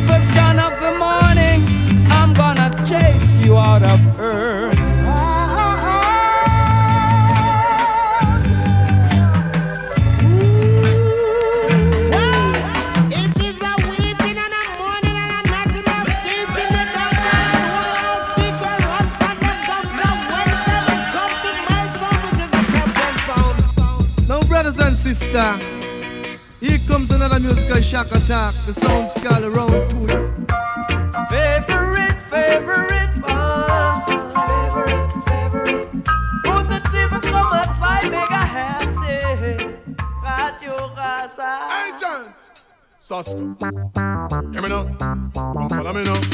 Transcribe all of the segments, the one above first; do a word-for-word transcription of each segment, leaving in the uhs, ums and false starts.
beautiful son of the morning, I'm gonna chase you out of earth. Brothers and sisters, here comes another musical shock attack. The sound's called around to you. Favorite, favorite one. Favorite, favorite. hundertsieben Komma zwei Megahertz. Radio Rasa. Agent Sasko. Hear me now. Come follow me now.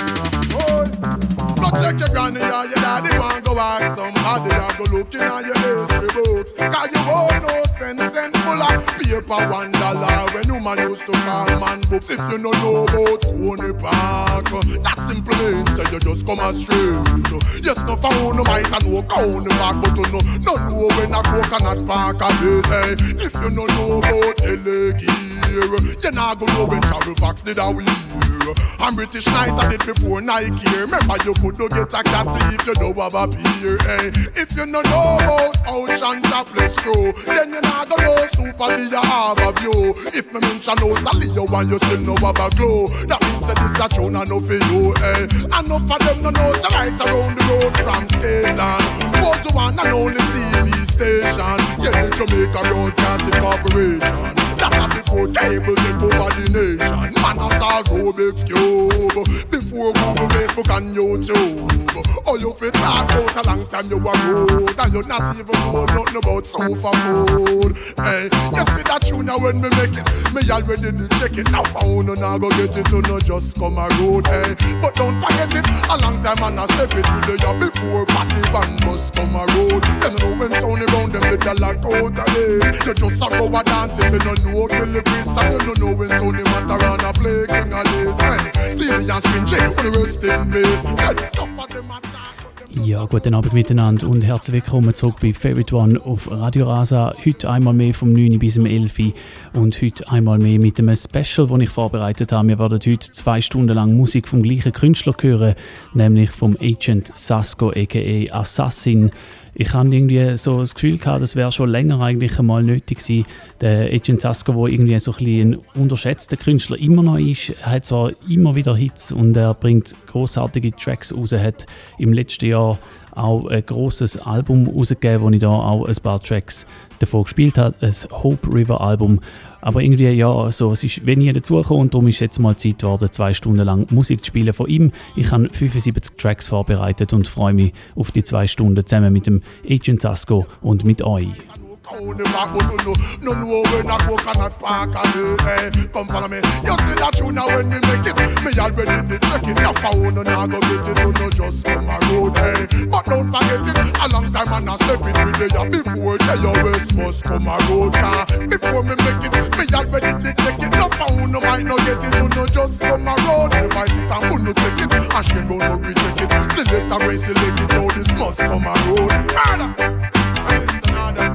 Boy, go check your granny or your daddy. Go and go ask somebody or go looking at your history books. Cause you won't know ten cent full of paper one dollar when you man used to call man books. If you don't know about Coney Park, that simple means so you just come a straight. Yes, no found no might and no Coney Park, but you know, no know when a coconut park a day. Hey, if you don't know about L A Gear, you not go know when travel packs did a wear. I'm British Knight, I did before Nike. Remember you could do get a cat if you don't have a beer. Hey, if you don't know about Ocean Topless Crew, then you not gonna know Super D you have a view. If me mention no Salio and you still know have a glow, that means that this a tune and no for you. Hey, enough of them no know so right around the road from Scaland was the one and only T V station. Yeah, the Jamaica Broadcasting Corporation. That was before cable took over the nation. Man, I saw Rubik's Cube before Google, Facebook and YouTube. Oh, you fit talk out a long time you were road, and you not even know nothing about sofa food. Hey, you see that tune now when me make it, me already did check it. Now found and I go get it to no just come a road. Hey, but don't forget it, a long time and I step it with the year before party band must come a road. Then you know when Tony round them the lock out of this. You just a go a dance if you don't know kill the priest, and you don't know when Tony Matarana play king of this. Hey, Stevie and Spin J on the rest in place. Hey, tough of them attack. Ja, guten Abend miteinander und herzlich willkommen zurück bei Favorite One auf Radio Rasa. Heute einmal mehr vom neun bis um elf und heute einmal mehr mit einem Special, das ich vorbereitet habe. Wir werden heute zwei Stunden lang Musik vom gleichen Künstler hören, nämlich vom Agent Sasko aka Assassin. Ich hatte irgendwie so das Gefühl gehabt, das wäre schon länger eigentlich einmal nötig gewesen. Der Agent Sasko, der irgendwie so ein bisschen ein unterschätzter Künstler immer noch ist, hat zwar immer wieder Hits und er bringt grossartige Tracks raus, hat im letzten Jahr auch ein grosses Album rausgegeben, wo ich da auch ein paar Tracks davon gespielt habe, ein Hope River Album. Aber irgendwie, ja, so, es ist wenig dazugekommen und darum ist jetzt mal Zeit geworden, zwei Stunden lang Musik zu spielen von ihm. Ich habe fünfundsiebzig Tracks vorbereitet und freue mich auf die zwei Stunden zusammen mit dem Agent Sasko und mit euch. On the back, but you know, no know when a coconut park a day. Hey, come follow me. You see that tune now when me make it, me already did check it. Now found and I go get it, you know, just come a road. Hey, but don't forget it, a long time and I step it with the year before the year West must come a road. Car before me make it, me already did check it. Now found no might not get it, you know, just come a road. If I sit and wouldn't take it, I should go no recheck it. Select a race, select it, now this must come a road. Murder, and it's another.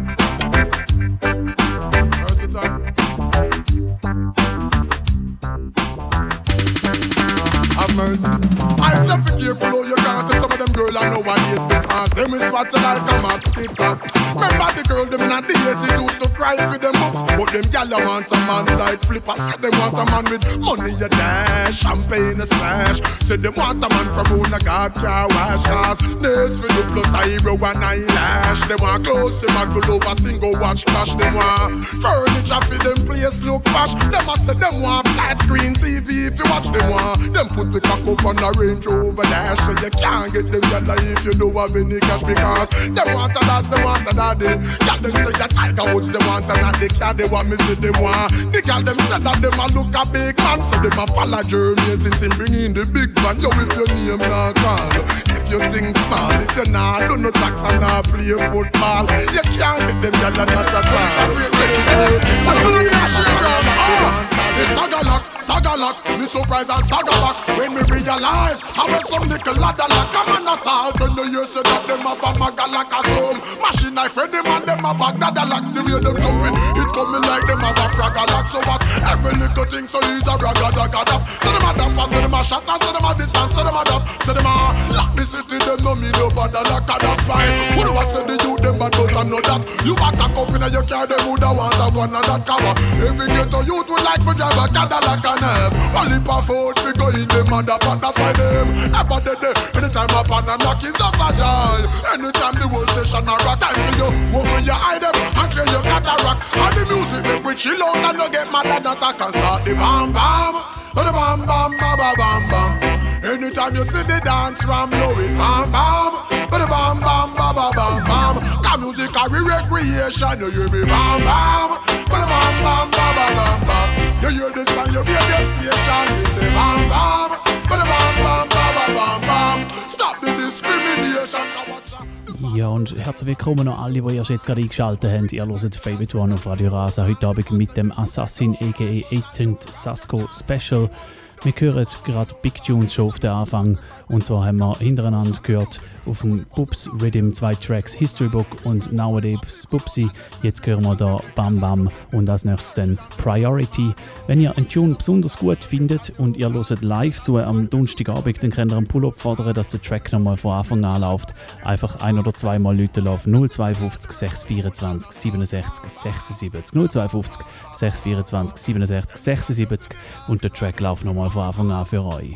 Have mercy. I say be careful how you can't tell some of them girls I nowadays because them is what you like a mosquito. Remember the girl them in the eighties used to cry for them books, but them gal want a man like Flipper. Say them want a man with money you dash, champagne a splash. Say them want a man from who the God car wash cars, nails for the plus eyebrow and eyelash. They want clothes, them want go over sing go watch clash. Them want furniture for them place look posh. Them a say them want flat screen T V if you watch them want. Them put the cock up on the Range Rover dash, so you can't get them yalla if you don't have any cash because them want a dance, them want a daddy. Got them say a Tiger Woods, them want a daddy. Cat they want me see them want. The girl them say that them a look a big man, so them a follow Jermaine since him bring in the big van. Yo, if your name not call, if you think small, if you not do no tracks and not play football, you can't get them yalla not at all. What do you shake on? It's Staggerlock, Staggerlock, me surprise and stagger back when me realize how was some little ladder like a man assault. When the years say that them a bag like a soul machine like Freddy man them a bag that like the way them jumping. It coming like them have a frag a lot. So what? Every little thing so he's a ragga dagga dap. So them a damper, so them a shatter, so them a distance, so them a dap. So them a lock the city, them no me no bad a lock a that's fine. Who do I say the youth them bad but I know that. You back a cup in your car, them woulda want a one and that cover. Every ghetto youth would like me drive a Cadillac and have only for food we go in them and the pot that's why them ever did it. Anytime up and a knock is just a joy. Anytime the whole session a rock time for you. When you hide them and clear your cataract. And the music make we chill out and don't get mad and attack and start the bam bam. The bam bam bam bam bam bam. Anytime you see the dance from blow it bam bam. The bam bam bam bam bam bam. Cause music a recreation. You hear me bam bam. The bam bam bam bam bam bam. You hear this from your radio station. We say bam bam. The bam bam bam bam bam bam. Stop the discrimination. Ja, und herzlich willkommen an alle, die erst jetzt gerade eingeschaltet haben. Ihr hört Favorite One auf Radio Rasa heute Abend mit dem Assassin aka Agent Sasko Special. Wir hören gerade Big Tunes schon auf den Anfang. Und zwar haben wir hintereinander gehört auf dem Bubs Rhythm zwei Tracks History Book und Nowadays Bubsy. Jetzt hören wir da Bam Bam und als nächstes dann Priority. Wenn ihr einen Tune besonders gut findet und ihr hört live zu am Donnerstagabend, dann könnt ihr einen Pull-up fordern, dass der Track nochmal von Anfang an läuft. Einfach ein- oder zweimal Leute auf null zwei fünf sechs vier zwei siebenundsechzig sechsundsiebzig null zwei fünf sechs vier zwei siebenundsechzig sechsundsiebzig und der Track läuft nochmal von Anfang an für euch.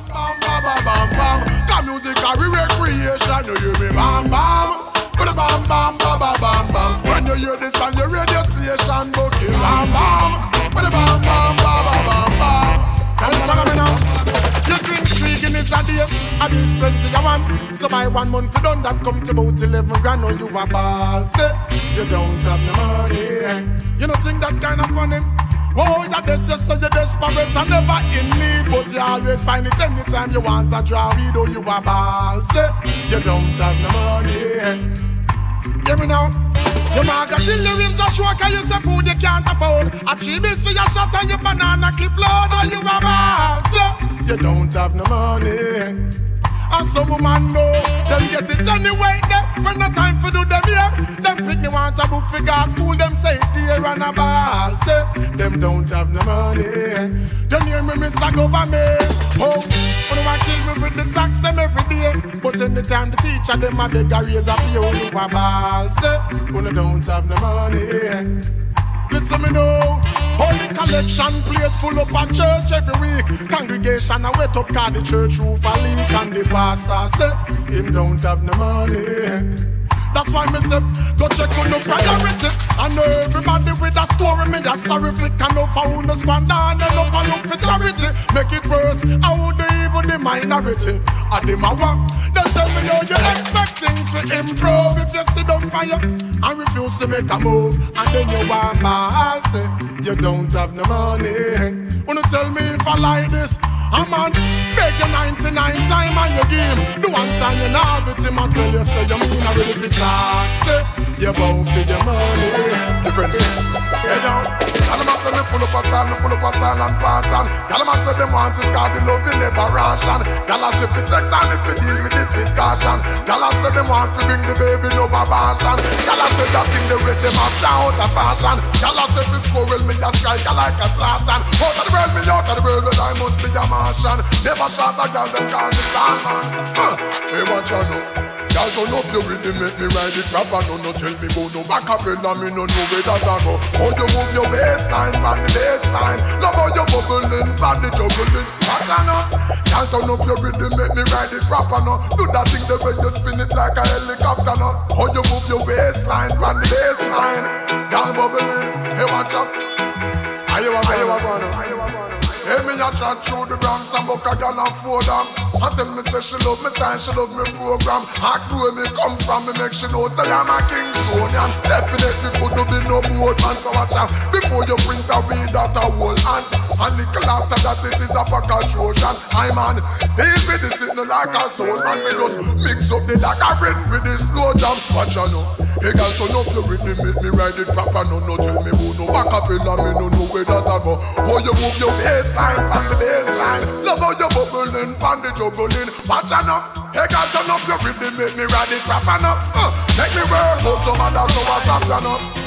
Bam bam bam, got music a recreation. You hear me bam bam, bam bam bam bam bam bam. When you hear this on your radio station, book it bam bam, bam bam bam bam bam bam. Come on, come on now. You drink three Guinness a day, I been twenty a one. So by one month you done that come to about eleven grand. Now you a ball, say you don't have no money. You don't think that kind of funny? Oh, you're this, you say you're desperate and never in need, but you always find it anytime you want a draw. We do you a ball, say you don't have no money. Hear me now. Your market till the rims are short, cause you say food you can't afford. A three bills for your shot and your banana clip load. Oh, you a ball, say you don't have no money. And some woman know them get it anyway. There when no time for do them here. Them pick me want a book for gas school. Them say dear and a ball. Say them don't have no money. Don't hear me miss a government. Oh, when they want kill me with the tax them every day. But anytime the teacher them a beg a raise a pay. Oh, you a ball. Say when they don't have no money. Listen me now. Holy collection plate full up a church every week. Congregation a wet up cause the church roof a leak. And the pastor say him don't have no money. That's why me say go check on the priority. And everybody with a story me a sorry flick. And no for who no squander and no for look for charity. Make it worse, how the evil the minority. And the mawa, they tell me how you expect things to improve. If you sit on fire and refuse to make a move. And then you want my say you don't have no money. Wanna tell me if I like this? A man beg you ninety-nine time on your game. The one time you not have it, him a tell you say you mean a really big talk. Say you bow for your money. Difference. Yeah, yo. Y'all a man say me full up a style, me full up a style and pattern. Y'all a man say them want it cause the love will never ration. Y'all a say fi take time if you deal with it with caution. Y'all a say them want fi bring the baby no abortion. Y'all a say that thing they with them up down out of fashion. Y'all a say fi squirrel me a strike like a Zlatan. Out of the world me out of the world but I must be a man. Never shot a girl, them call me tall man. uh, Hey, what you know? Girl, turn up your rhythm, make me ride it proper. No, no, tell me go no back up and me no know where that I go. How you move your waistline, pan the baseline. Love how you bubbling, pan the juggling. What you know? Girl, turn up your rhythm, make me ride it proper. No, do that thing the way you spin it like a helicopter. No, how you move your waistline, pan the baseline. Girl, bubbling, hey, watch out. Are you a gonna? Are you a gonna? Hey, me a chat through the Bronx and book a gal and four them. I tell me say she love me style, she love me program. Ask me where me come from, me make she know say I'm a Kingstonian. Definitely could do be no boat man, so watch out. Before you print a weed that a whole hand. And little after that it is a pack of Trojan. I man, these be the sitting like a soul man. Me just mix up the dagger with the slow jam. Watch out now. Hey girl, turn up your rhythm, make me ride it proper. No, no, tell me who no back up in and me no know where that I go. How you move your baseline, pan the baseline. Love how you bubbling, pan the juggling. Watch out now. Hey girl, turn up your rhythm, make me ride it proper now. uh, Make me work out some other so I stop you now.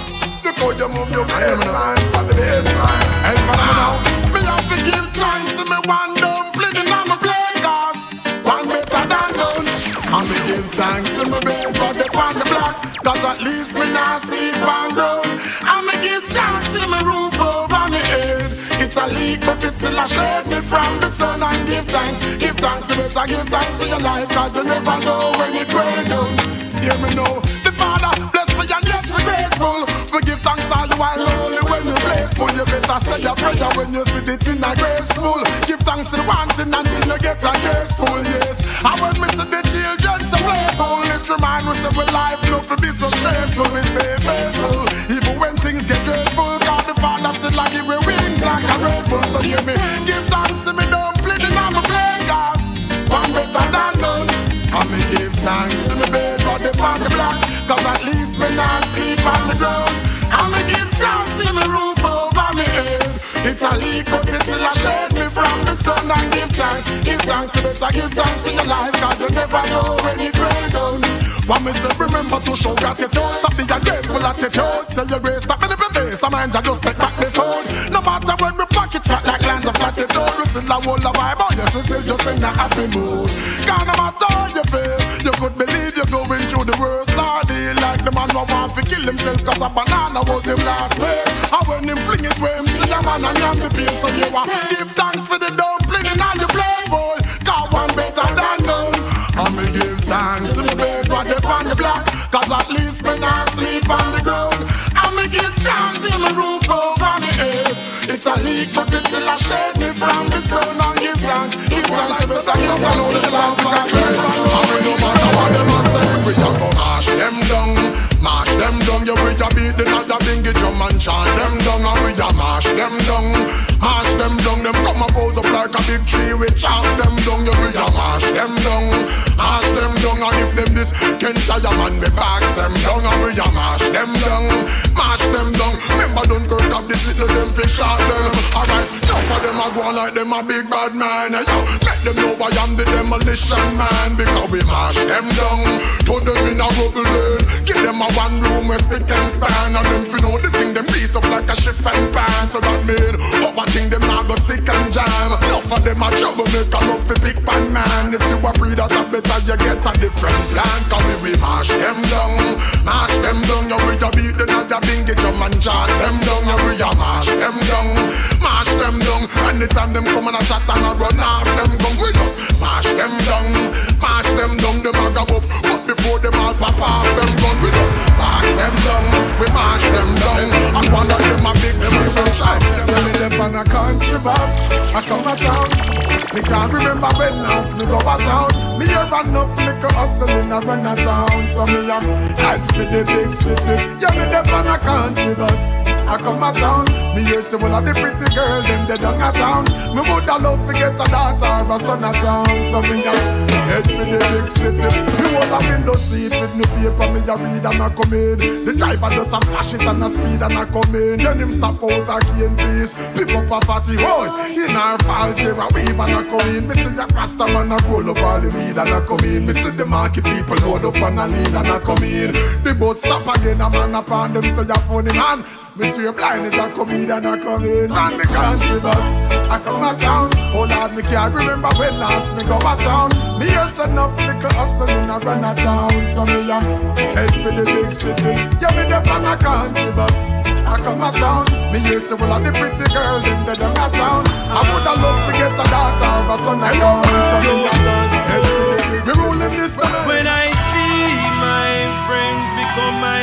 before you move your baseline. For the baseline. And for now, me have to give thanks to me one dumpling in my plate, cause one better than none. And me give thanks to me bed, but they on the block, cause at least me not sleep on ground. And me give thanks to me roof over me head. It's a leak, but it still a shade me from the sun. And give thanks, give thanks, you better give thanks to your life, cause you never know when it rain down. Hear me know, the Father bless me and yes we grateful. We give thanks all the while only when we playful. You better say your prayer when you see the thing a graceful. Give thanks to the one thing until you get a graceful, yes. And when we see the children so playful, it remind us that we life not to be so stressful. We stay faithful, even when things get dreadful, cause the Father still a give me wings like a Red Bull. So hear me, give thanks to me dumpling in my plate, cause one better than none. And me give thanks to me bed, but they on the block, cause at least me not sleep on the ground. And me give thanks to me roof over me head. It's a leak, but it still a shade me from the sun. And give thanks, give thanks, you better give thanks to your life, cause you never know when it rain down. What me say, remember to show gratitude. Stop the ungrateful attitude. Say your grace, stop in the face. I mind you just take back the phone. No matter when we pocket flat like lines of latitude, we still a whole of vibe, oh yes, we still just in a happy mood. Cause no matter how you feel, you could believe you're going through the worst ordeal. Like the man who want to kill himself cause a banana was him last week. And when him fling it where him see a man and yam the pain. So you want give thanks for the dumpling in all your plate bowl, cause one better than none. And me give thanks to the bed what they on the block, cause at least me not sleep on the ground. And me give thanks to the roof over me head. It's a leak but it still a shade me from the sun. And give thanks, give thanks to better give thanks to the Lord for the trade. And we no matter what them a say, we a go mash them down. Mash them down, yeah we a beat the night a bingy drum and chant them down. And we a mash them down, mash them down. Them come and pose up like a big tree, we chop them down. Yeah we a mash them down, mash them down. And if them this can't tire man, me box them down. And we a mash them down, mash them down. Remember Dunkirk have this little them fish shot them. Alright, enough of them a go on like them a big bad man. Yo, make them know I am the demolition man, because we mash them down, turn them in a rubble then. Give them a one room where spick and span. And them fi know the thing them piece up like a shift and pan. So that mean, how I think them not go stick and jam. Enough of them a trouble make a love fi big pan man. If you a breed that a better you get a different plan. Cause we, we mash them down, mash them down. Yeah we a beat the night a bingy drum and chant them down. Yeah we a mash them down, mash them down. Anytime them come and a chat and a run off them gun, we just mash them down, mash them down. Them a grab up, but before them all pop off them gun, we just mash them down, we mash them down. And one of them a big tree will try. So me them on a country bus, I come a town. Me can't remember when last me go a town. Me a run up liquor hustling a run a town. So me a head for the big city. Yeah me them on a country bus, I come a town. Me hear say one of the pretty girl them they down a town. Me woulda love to get a daughter or a son a town. So me a head for the big city. Me hold a window seat with me paper. Me a read and a come in. The driver just a flash it and a speed and a come in. Then him stop out a key in peace. Pick up a fatty boy in our falls here a weave and a come in. Me see a rasta man a roll up all the weed and a come in. Me see the market people load up and a lead and a come in. The bus stop again a man upon them say a funny man. Me swear blind is a comedian a come in. Run the country bus, I come a town. Oh Lord, me can't remember when last me go a town. Me hear say enough little hustling a run a town. So me a head for the big city. Yeah, me dem on a country bus, I come a town. Me hear say all of the pretty girl them they down a town. I woulda love to get a daughter or a son a town. So me a head for the big city. We rolling this time. When I see my friends become my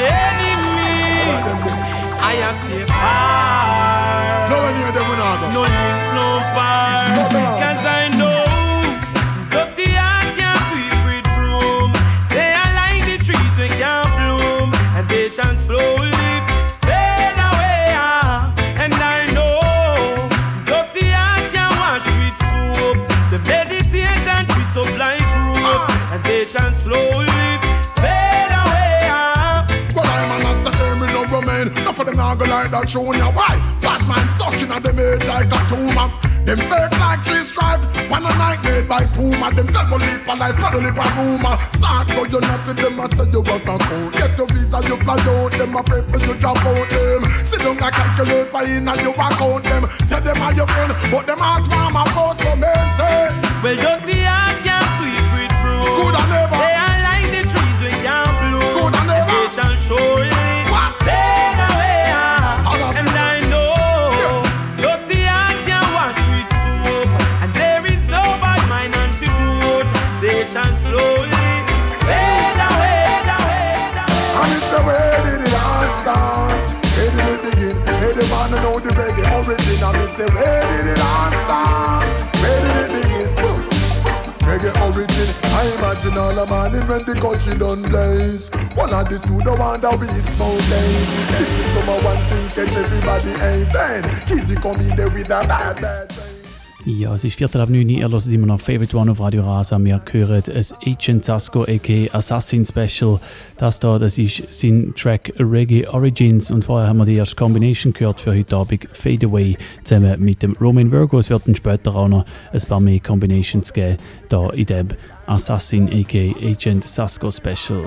enemy, I have stay far. No one hear them when I go. No link, no bar. No, no. Cause I know dirty heart can't sweep with broom. They are like the trees we can't bloom, and they shall slowly fade away. And I know dirty heart can't wash with soap. The meditation twist up like rope, and they shall slowly fade away. Well, I'm an answer, me no remain. Enough of them now go like that junior. Why? Bad man stuck in a them head like a tumor. Them fake like tree stripe. One a night made by poor Uma them tell me lip and lies, but lip and rumor. Start go you not to them, I say you work a code. Get your visa, you fly out, them a pray for you drop out them. Sit down and calculate by in and you account them. Say them are your friend, but them heart mama vote for me. Say, well, dirty heart can't sweep with broom. Good and never. They are like the trees we can't bloom. Good and never. They shall surely fade away. And I know dirty heart can't wash with soap. And there is no bad mind antidote. They shall slowly fade away. And it's the way did it all start? Where did it begin? Hey, they wanna know the reggae origin. And me say, where did it all start? Where did it begin? Boom. Reggae origin. I imagine all the morning when the country done blaze. One of the pseudo wonder weeds mountains. Kids is from a one thing catch everybody ace. Then Kizzy come in there with a bad bad thing. Ja, es ist Viertel ab neun, ihr hört immer noch Favorite One auf Radio Rasa. Wir hören ein Agent Sasco aka Assassin Special. Das da, das ist sein Track Reggae Origins. Und vorher haben wir die erste Combination gehört für heute Abend, Fade Away, zusammen mit dem Roman Virgo. Es wird dann später auch noch ein paar mehr Combinations geben, da in dem Assassin aka Agent Sasco Special.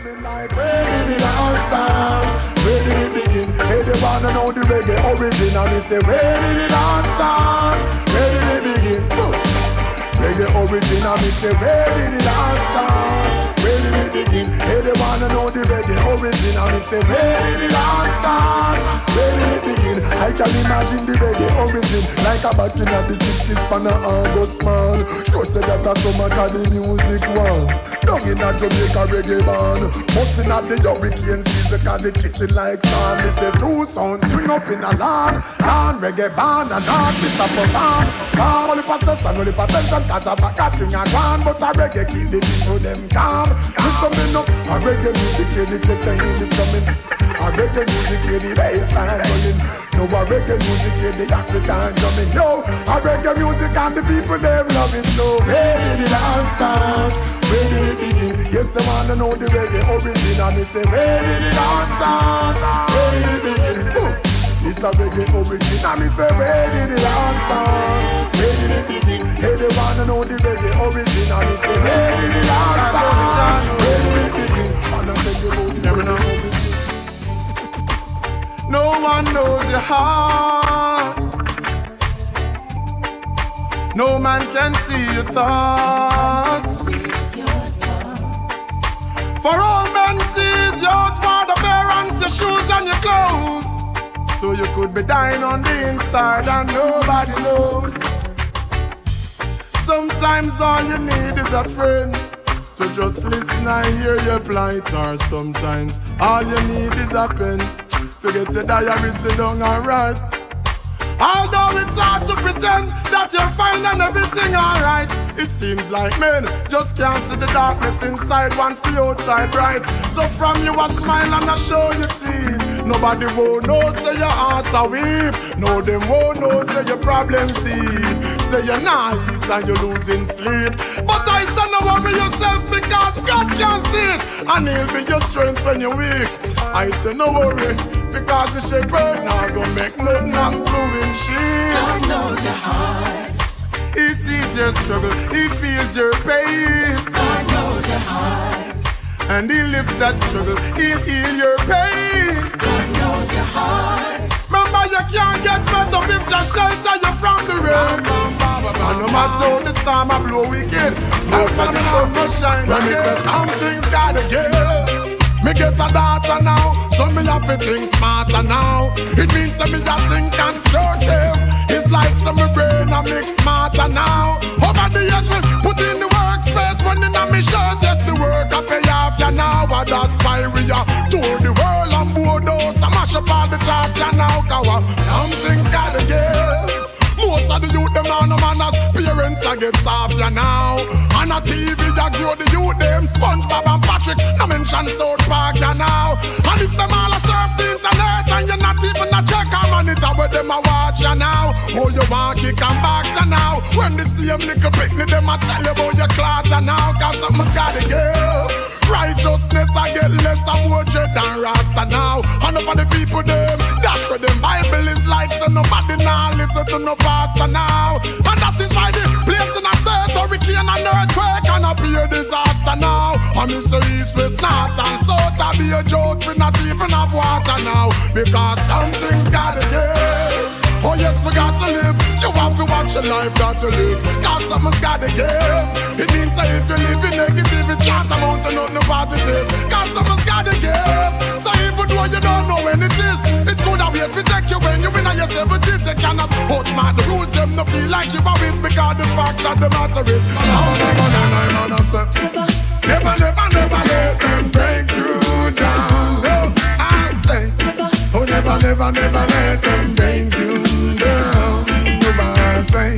Where did it begin? Hey, they wanna know the reggae origin. And they say, where did it all start? Where did it begin? Boom. Reggae origin. And they say, where did it all start? Where did it begin? Hey, they wanna know the reggae origin. And they say, where did it all start? Where did it begin? I can imagine the reggae origin like a back in the sixties pan a August man. Sure say that a summer cause the music one. Down in a Jamaica reggae band. Bustin' at the hurricane season cause it kicking like sand. They say two sounds swing up in a land. Land reggae band and not this a perform. Palm only for stress and only for tension cause a back a thing a gone. But a reggae keep the people them calm. Listen me up, a reggae music here the check the heat is coming. A reggae music here the bassline rolling. No a reggae music here the African drumming. Yo, a reggae music and the people them love it. So where did it all start? Where did it begin? Yes, they wanna know the reggae origin. And they say where did it all start? Where did it begin? Boom. This a reggae origin. And me say where did it all start? Where did it begin? Hey, they wanna know the reggae origin. And they say where did it all start? Where did it begin? And I say you know the reggae origin. No one knows your heart. No man can see your thoughts. For all men sees your outward appearance, your shoes and your clothes. So you could be dying on the inside and nobody knows. Sometimes all you need is a friend to just listen and hear your plight. Or sometimes all you need is a pen. Forget your diary, sit down and write. Although it's hard to pretend that you're fine and everything alright, it seems like men just can't see the darkness inside once the outside bright. So from you a smile and a show your teeth. Nobody won't know, say your heart's a weep. No, them won't know, say your problems deep. Say you're not eat and you're losing sleep. But I say no worry yourself because God can see it. And he'll be your strength when you're weak. I say no worry because the shepherd now gonna make nothing happen to him. She God knows your heart. He sees your struggle, he feels your pain. God knows your heart. And he'll lift that struggle, he'll heal your pain. God knows your heart. Remember you can't get better if just shelter you from the rain. And no matter how the storm a blow wicked, most of the sun will shine. When me say something's gotta give. Me get a daughter now, so me have to think smarter now. It means that me a think constructive. It's like some me brain a mix smarter now. Over the years we put in the work, spent running on me shirt. Yes, the work I pay off ya now. And that's why we are tour the world and board those. I mash up all the charts ya now. Cause something's gotta give. Most of the youth, them are no manners. Parents are get soft ya now. On a T V, ya grow the youth, them SpongeBob and Patrick. No mention South Park ya now. And if them all a surf the internet and you're not even a check a monitor, where them a watch ya now. Oh, you want kick and box ya now. When the same little picnic, them a tell you about your clothes ya now. Cause something's gotta give. Righteousness I get less and more dread than Rasta now. And for the people them, that's where them Bible is like. So nobody now listen to no pastor now. And that is why the place in a state hurricane and say east, west, north and south. I be a joke, we not even have water now. Because some things gotta give. Oh yes, we got to live. You have to watch your life, got to live. Cause someone's gotta give. It means that if you live in negative, it can't amount to nothing positive. Cause someone's gotta give. So even though you don't know when it is, it's good that we protect you when you win on your seventies. You cannot outsmart the rules, them no feel like you always. Because the fact that the matter is something on and I'm on a set. Never, never, never let them break you down. No, I say, oh never, never, never let them break you down. Nobody say,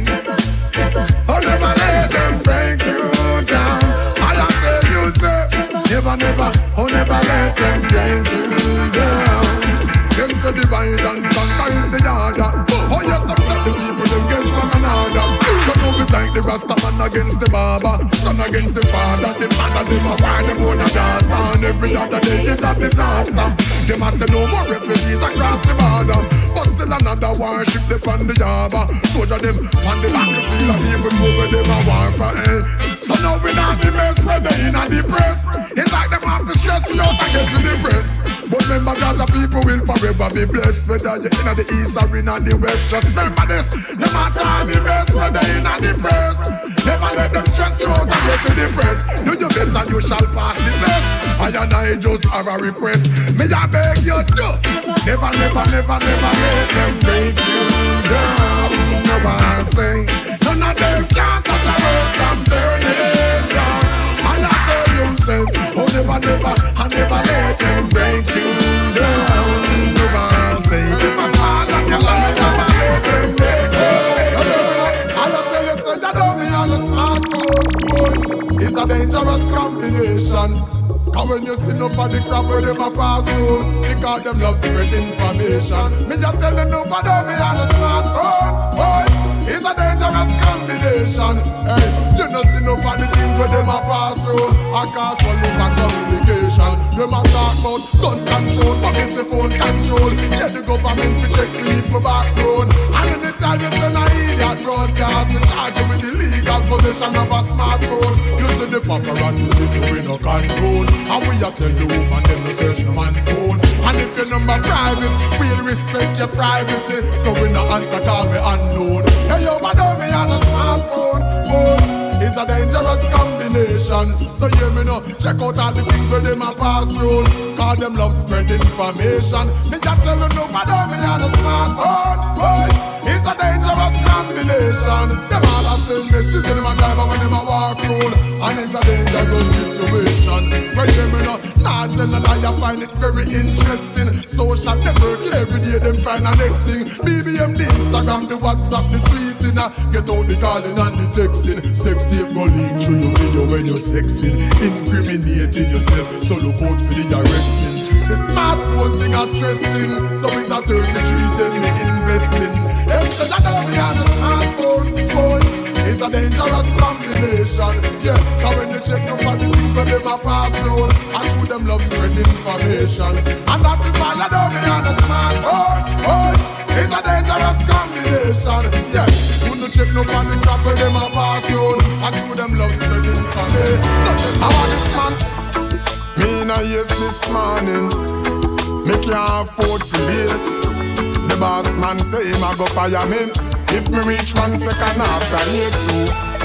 oh never let them break you down. I tell you, say, never, never, oh never let them break you down. Them say divide and conquer is the order. Oh yes, them set the people them against one another. So now it's like the Rasta man against the barber, son against the father, the mother them a war them own a daughter. And every other day is a disaster. Them a say no more refugees across the border, but still another warship they on the harbor. Soldier them on the battlefield and people go where them a war for hell. So now we not the mess where they in a depress. It's like them have to stress me out and get to the press. But remember that the people will forever be blessed. Whether you're in the east or in the west, just remember this. No matter the best, whether in the press, never let them stress you out and get to the press. Do your best and you shall pass the test. I and I just have a request. May I beg you to never, never, never, never let them break you down. No one say none of them can stop the world from turning round. And I tell you, say, oh never, never, I never let them break you down. No one say if I fall on your life, never let them break you down. I tell you, say, you don't be on a smartphone, boy. It's a dangerous combination. Cause when you sit up for the crap where them a pass through, because them love spread information. Me just tell you nobody be on a smartphone, boy. It's a dangerous combination. Hey, you not see no for the things where them a pass through. I cause one live a complication. Them a talk about gun control, but me say phone control. Yeah, the government fi check people background. And anytime you send a idiot broadcast, we charge you with illegal possession of a smartphone. You see the paparazzi see you with no control. And we a tell the woman them to search the man phone. And if your number private, we'll respect your privacy. So we no answer call me unknown. Hey yo, but don't be on a smartphone, boy. It's a dangerous combination. So hear me now, check out all the things where them a pass through. Cause them love spread information. Me just tell you no, but don't be on a smartphone, boy. It's a dangerous combination. Them all a send message to them a driver when them a walk road. And it's a dangerous situation. But hear me now, not tell a lie, I find it very interesting. Social network, every day them find a next thing. B B M, the Instagram, the WhatsApp, the tweeting. uh, Get out the calling and the texting. Sex tape go leak through your video when you're sexing. Incriminating yourself, so look out for the arresting. The smartphone thing a stressing. So it's a thirty-three ten me investing. Them say that don't be on the smartphone, boy. It's a dangerous combination. Yeah, cause when you check up for the things where them a pass through, and through them love spread information. And that is why you don't be on the smartphone, boy. It's a dangerous combination. Yeah, when you check up for the crap where them a pass through, and through them love spread information. I want this man. Me na yes this morning. Me can't afford to wait. The boss man say him a go fire me if me reach one second after eight. So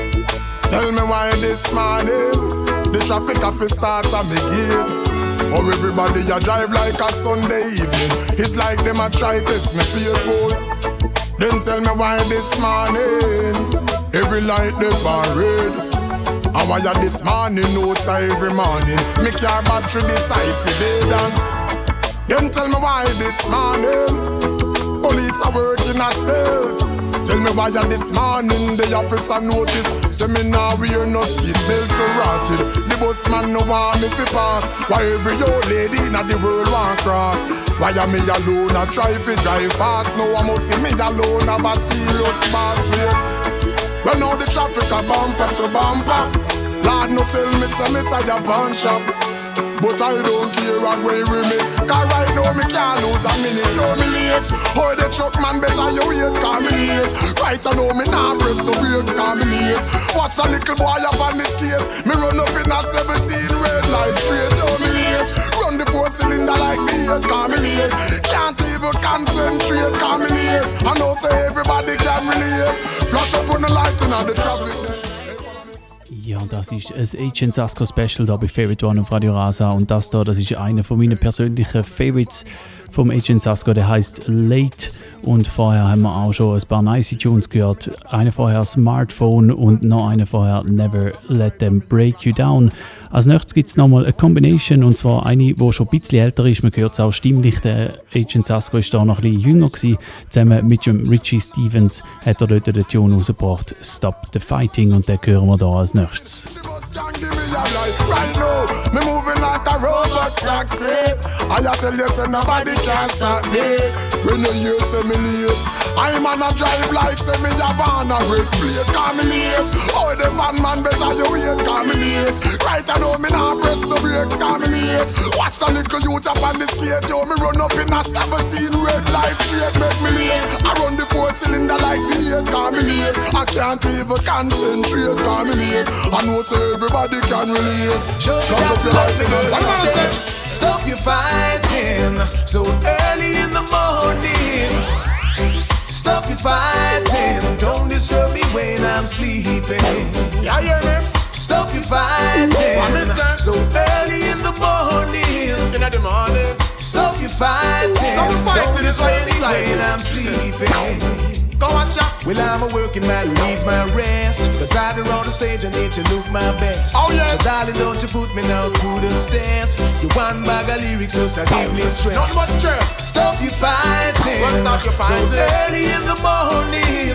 tell me why this morning the traffic office start at me gate. Or everybody a drive like a Sunday evening. It's like them a try test me feel good. Then tell me why this morning every light they bar red. And why you this morning, no time every morning. Make your battery decide for day down. Then tell me why this morning police are working a stealth. Tell me why you this morning the officer notice. Say me now wear no seat belt to rotted. The bus man no want me fi pass. Why every old lady in the world want cross? Why am me alone a try fi drive fast? No one must see me alone have a serious boss wait. Well now the traffic a bumper to bumper. Lord no tell me say me tired pawn shop. But I don't care what way we meet. Cause right now me can't lose a minute. Yo me late. Oh the truck man better you wait. Cause me late. Right I know me nah press the brakes. Cause me late. Watch a little boy up on the skate. Me run up in a seventeen red light. late, come me late. Can't even concentrate, come me late. I know say everybody can relate. Flash up on the light and on the traffic. Ja, das ist ein Agent Sasco Special hier bei Favorite One auf Radio Rasa. Und das hier, das ist einer von meinen persönlichen Favorites vom Agent Sasco, der heißt Late. Und vorher haben wir auch schon ein paar nice Tunes gehört. Eine vorher Smartphone und noch eine vorher Never Let Them Break You Down. Als nächstes gibt es nochmal eine Combination, und zwar eine, die schon ein bisschen älter ist. Man hört es auch stimmlich. Der Agent Sasco war da noch ein bisschen jünger gewesen. Zusammen mit dem Richie Stevens hat er dort den Tune rausgebracht, Stop the Fighting, und den hören wir da als nächstes. Right now, me moving like a robot taxi. I tell you, say nobody can stop me. When you hear say me late, I'm on a drive like say me a van a red plate. Call me late. Oh, the van man better you wait. Call me late. Right I know me now press the brakes. Call me late. Watch the little youth up on the skate. Yo, me run up in a seventeen red light straight. Make me late. I run the four cylinder like the eight. Call me late. I can't even concentrate. Call me late. I know say everybody can relate. Touch up your light in the Stop your fighting so early in the morning. Stop your fighting. Don't disturb me when I'm sleeping. Yeah, yeah, Stop your fighting so early in the morning. in the morning. Stop your fighting. Stop your fighting, Don't it's why disturb me inside when you. I'm sleeping. Go watch out. Well, I'm a working man who needs my rest. Cause out there on the stage I need to look my best. Oh, yes. So darling, don't you put me now through the stairs. You one bag of lyrics just to give me stress. Not much stress. Stop your fighting. Well, stop your fighting. So early in the morning.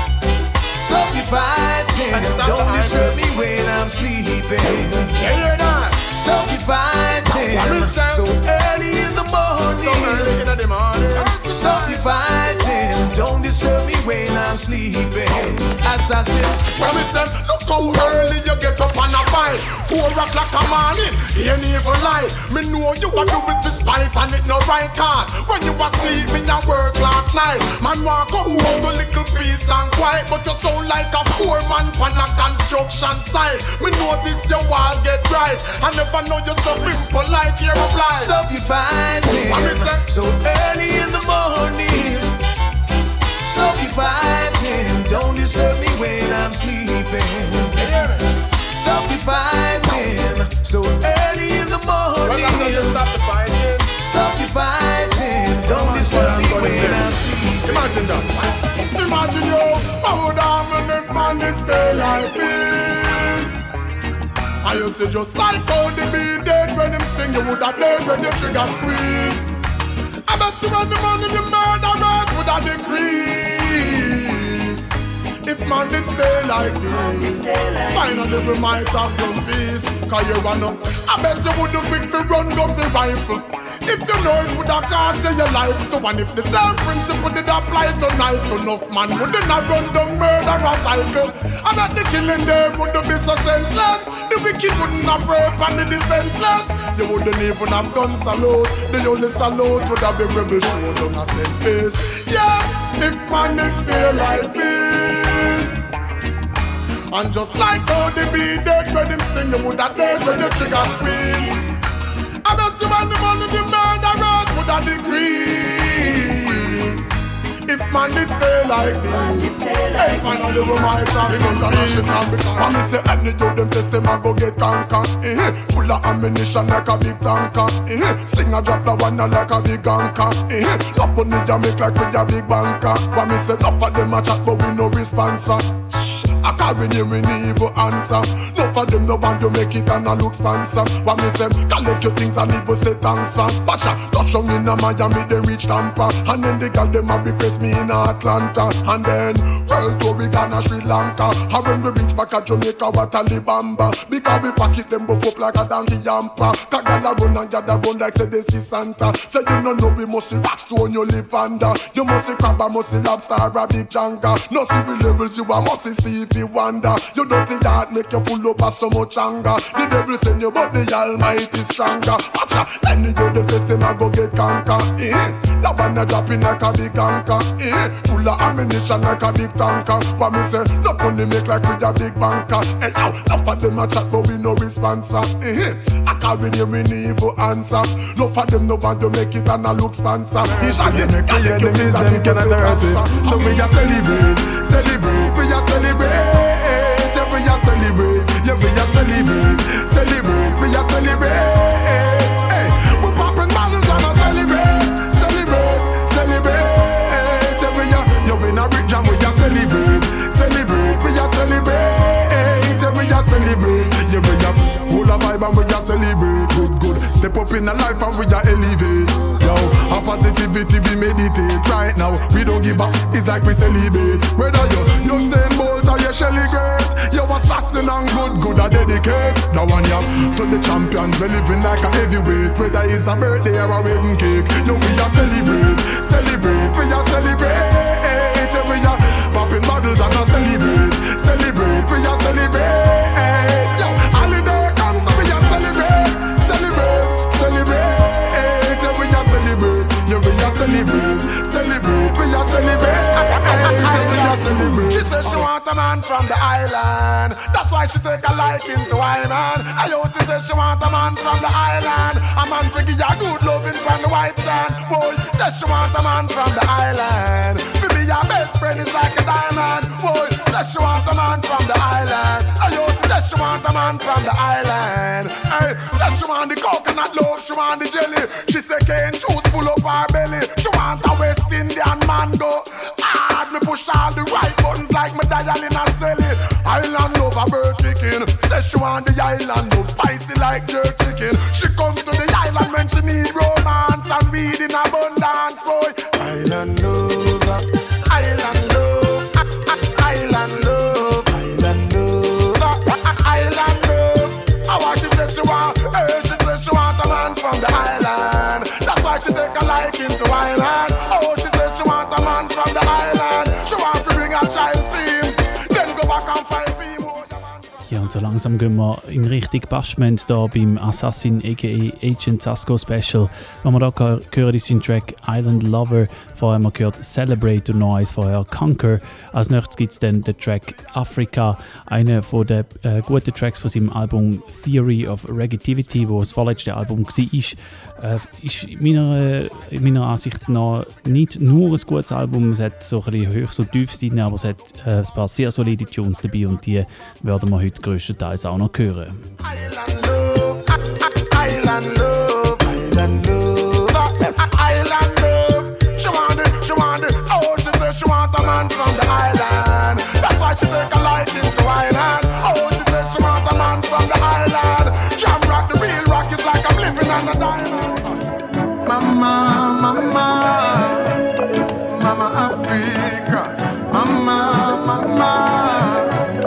Stop your fighting. And stop Don't the disturb arguing. me when I'm sleeping. Yeah, you're not. Stop your fighting. What is that? So early in the morning. So early in the morning. Stop your fighting. Don't disturb me when I'm sleeping. As I said, Promise them, look how early you get up and a fight. Four o'clock a morning, ain't even light. Me know you a do with this fight and it no right cause. When you was sleeping at work last night, man walk come home to little peace and quiet, but you sound like a poor man on a construction site. Me notice your wall get right. I never know you so impolite, you're a blind. stop your fighting. Promise them. So early in the morning. Stop your fighting. Don't disturb me when I'm sleeping. Stop your fighting. So early in the morning. Well, that's how you stop the fighting. Stop your fighting. Don't disturb me when I'm sleeping. Imagine that. Imagine you, how dominant man it stay like this. I used to just like how they be dead when them sting you would have dead when the trigger squeeze. I bet you when the money the murder rate would have decrease. If man did stay like this, finally we might have some peace. Cause you wanna, I bet you would have quick to run off the rifle. If you know it would have cost you your life to. And if the same principle did apply to knife, enough man wouldn't have run down murder or cycle. I bet the killing there wouldn't be so senseless. The wicked wouldn't have rape and the defenseless. You wouldn't even have done salute. The only salute would have been rebel show down a same place. Yes, if man did stay like this. And just like how they be dead when them sting, you would have dead when the trigger squeeze. I bet you when the money the murder rate would have decrease. If man did stay like this, hey, finally we might have some peace. And me say any you them test them a go get conquer. Eh, full of ammunition like a big tanker. Eh, sling a drop the one like a big anchor. Eh, enough money you make like with a big banker. But me say enough of them a chat but we no response for. I can't bring you any evil answer. Enough of them no want you make it and a look sponsor. But me say collect your things and leave you say thanks for. Pacha touch on in a Miami they reach Tampa. And then the girl them a be press me in Atlanta. And then world tour we gonna Sri Lanka. And when we reach back at Jamaica what a Libamba. Because we pack it them buff up like a donkey yampa. Cause gyal a run and gyal a run like say they see Santa. Say you no know we must see rock stone you live under. You must see crab and must see lobster or a big janga. No see we levels you a must see sleep the wonder. You dirty heart make you full up of so much anger. The devil send you but the Almighty stronger. Watcha, then you the best them a go get conquer. Eh? That one a dropping like a big anchor. Eh? Full of ammunition like a big tanker. But me say, no funny make like with a big banker. Hey yo, enough of them a chat but we no response for. Eh? I can't be there with evil answer. No for them no want to make it and a look sponsor. It's a game, can you give me that you can say. So we a celebrate, celebrate, we a celebrate. We a celebrate, yeah we a celebrate, celebrate, we a celebrate. Hey, we popping bottles and a celebrate, celebrate, celebrate. Yeah we a, yeah in a big jam we a celebrate, celebrate, we a celebrate. Yeah we a celebrate, yeah we a hold a vibe and we a celebrate. Good, good, step up in a life and we a elevate. Yo, a positivity we meditate right now. We don't give up, it's like we celebrate. Whether you, you Saint Bolt or you Shelly Great, you assassin and good, good a dedicate. Now one yam to the champions, we living like a heavyweight. Whether it's a birthday or a wedding cake, yo we a celebrate, celebrate, we a celebrate. We a popping bottles and a celebrate, celebrate, we a celebrate. Yo, holiday comes so we a celebrate, celebrate, celebrate. Yeah, we a celebrate, celebrate, we a celebrate, we a celebrate. She says she want a man from the island. That's why she take a liking to Iman. I also say she want a man from the island. A man to give you good loving from the white sand. Boy, says she want a man from the island. For me, your best friend is like a diamond. Boy, says she want a man from the island. I also say she want a man from the island. Hey, says she want the coconut love, she want the jelly. She say cane juice full of her belly. She want a West Indian mango. Hard me push all the right buttons like me dial in a celly. Island love a bird chicken. Says she want the island love spicy like jerk chicken. She come to the island when she need romance and weed in abundance, boy. Island love, island love, island love, island love, island love. How she says she want, hey, she says she want a man from the island. That's why she take a liking to island. Oh, she says she want a man from the island. She want to bring a child theme, then go back and find theme. Ja, und so langsam gehen wir in Richtung Bashment da beim Assassin aka Agent Sasko Special. Wenn wir da hören, ist sein Track Island Lover. Vorher haben wir gehört Celebrate und noch eins vorher Conquer. Als nächstes gibt es dann den Track Africa, einer von den äh, guten Tracks von seinem Album Theory of Reggaetivity, wo das vorletzte Album war. Äh, ist meiner, in meiner Ansicht nach nicht nur ein gutes Album, es hat so ein bisschen Höchst- und Tiefs drin, aber es hat äh, ein paar sehr solide Tunes dabei und die werden wir heute grösstenteils auch noch hören. Island love, island love, island love, island love. She want it, she want it. Oh, she says she want a man from the island. That's why she take a liking to island. Oh, she says she want a man from the island. Jam rock, the real rock is like I'm living on a diamond. Mama, mama, mama Africa, mama, mama.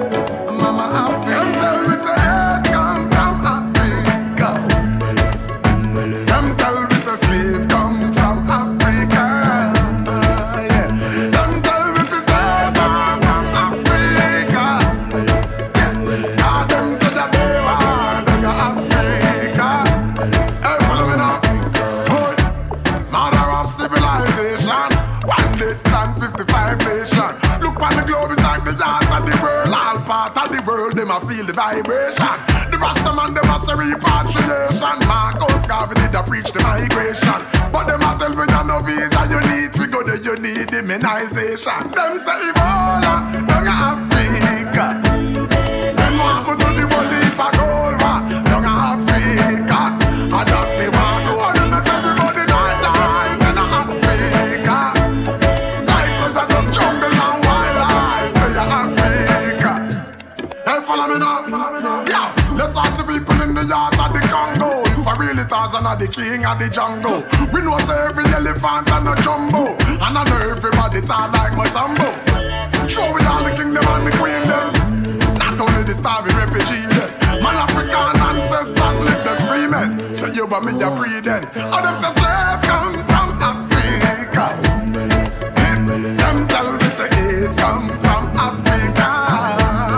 Them a feel the vibration. The Rastaman them a say repatriation. Marcus Garvey did a preach the migration. But them a tell me you no visa you need. We go there you need immunization. Them say Ebola, down in Africa. Them want me to the world heap of gold, down in Africa. I don't be want to hold them at everybody night life in Africa. Like so you just jungle and wildlife in Africa. Hey, follow me now. Yeah, let's ask the people in the yard of the Congo. If I really Tarzan are the king of the jungle. We know say every elephant and a jumbo. And I know everybody talk like Matambo. Show me all the kingdom and the queen them. Not only the starving refugee them. My African ancestors live the screaming. So you and me a breathing. All them say slave come from Africa. Them tell me say AIDS come from Africa.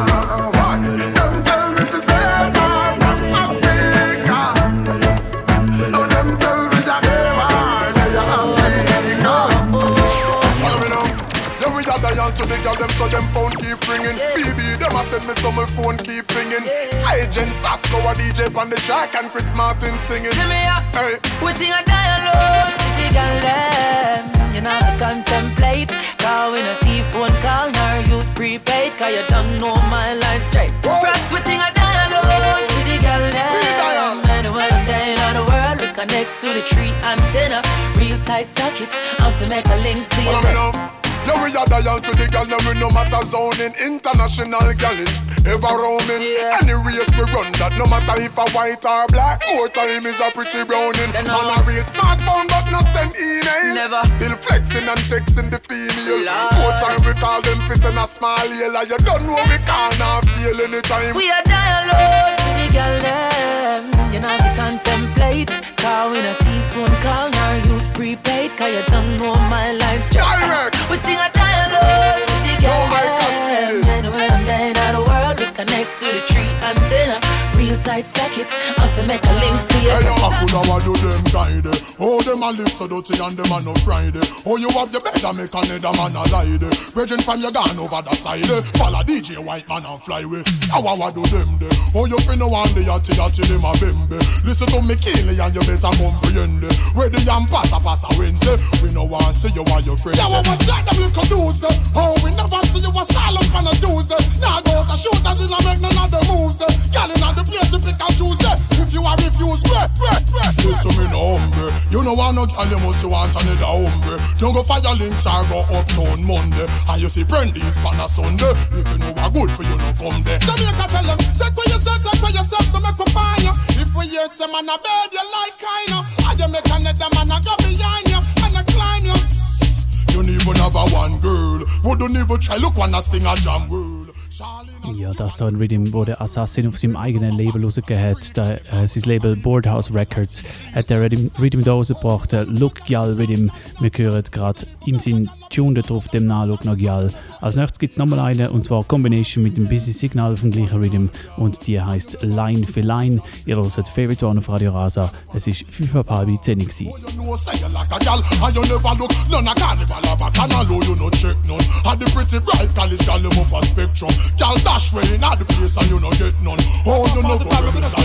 them phone keep ringing. B B, them a send me some my phone keep ringing. I Jen Sasko a D J on the track and Chris Martin singing. See me up, hey. We think I die alone. The girl them, you know to contemplate. Call when a T-phone call, nor use prepaid. Cause you don't know my line straight. Trust we think I die alone. To the girl them, anywhere day in the world, we connect to the tree antenna. Real tight socket, and fi make a link to your bed. Yo, we are dial to the gal, we no matter zoning. International gal is ever roaming. Yeah. Any race we run that, no matter if a white or black, more time is a pretty browning. Man a real smartphone but no send email. Never. Still flexing and texting the female. Lord. More time we call them fist and a smile yellow. You don't know we can't feel anytime. We are dial low to the gal them. You know to contemplate. Call when a T-phone call, nor use prepaid. Cause you don't know my line straight. Direct. We think I dialogue to the girl. Anywhere I'm down in the world, we connect to the tree antenna. Real tight socket, up to make a link to your hey, I could have do them kind. Oh, them a live so dirty and them a no Friday. Oh, you have your bed and make another man a lie. Brethren from your gun over the side. Follow D J White Man and fly away. How I do them there. Oh, you finna one day yatty yatty them a bembe. Listen to me Keely and you better comprehend. Where the yam pass a pass a Wednesday. We no want see you while your friends. Yeah, what that them little dudes there. Oh, we never see you a silent on a Tuesday. Now go to shoot as in a make none of the moves there. Girl in the place to pick and choose there. If you are refused, wait, wait, wait. Listen me no hombre. You know want no girl, you must want another hombre. Don't go fire links or go uptown Monday. And you see Brandy's on a Sunday. If you know what good for you, no come there. Jamaica tell them, take for yourself, take for yourself to make me find you. If we hear some man a bed, you like kind of. And you make another man a go behind you and a climb you. You don't even have a one girl. Who don't even try look one as thing a jam world. Ja, das da ein Rhythm, wo der Assassin auf seinem eigenen Label rausgegeben hat. Da, äh, sein Label Boardhouse Records hat der Rhythm, Rhythm da rausgebracht. Der Look Gyal Rhythm. Wir hören gerade im Sinn Tune drauf, dem Nachlook nach Gyal. Als nächstes gibt es nochmal eine, und zwar Combination mit dem Busy Signal vom gleichen Rhythm. Und die heisst Line für Line. Ihr hört Favorite One auf Radio Rasa. Es war fünf ab halb zehn gewesen. Y'all dash way in all the place and you no get none. Oh, you know what we say.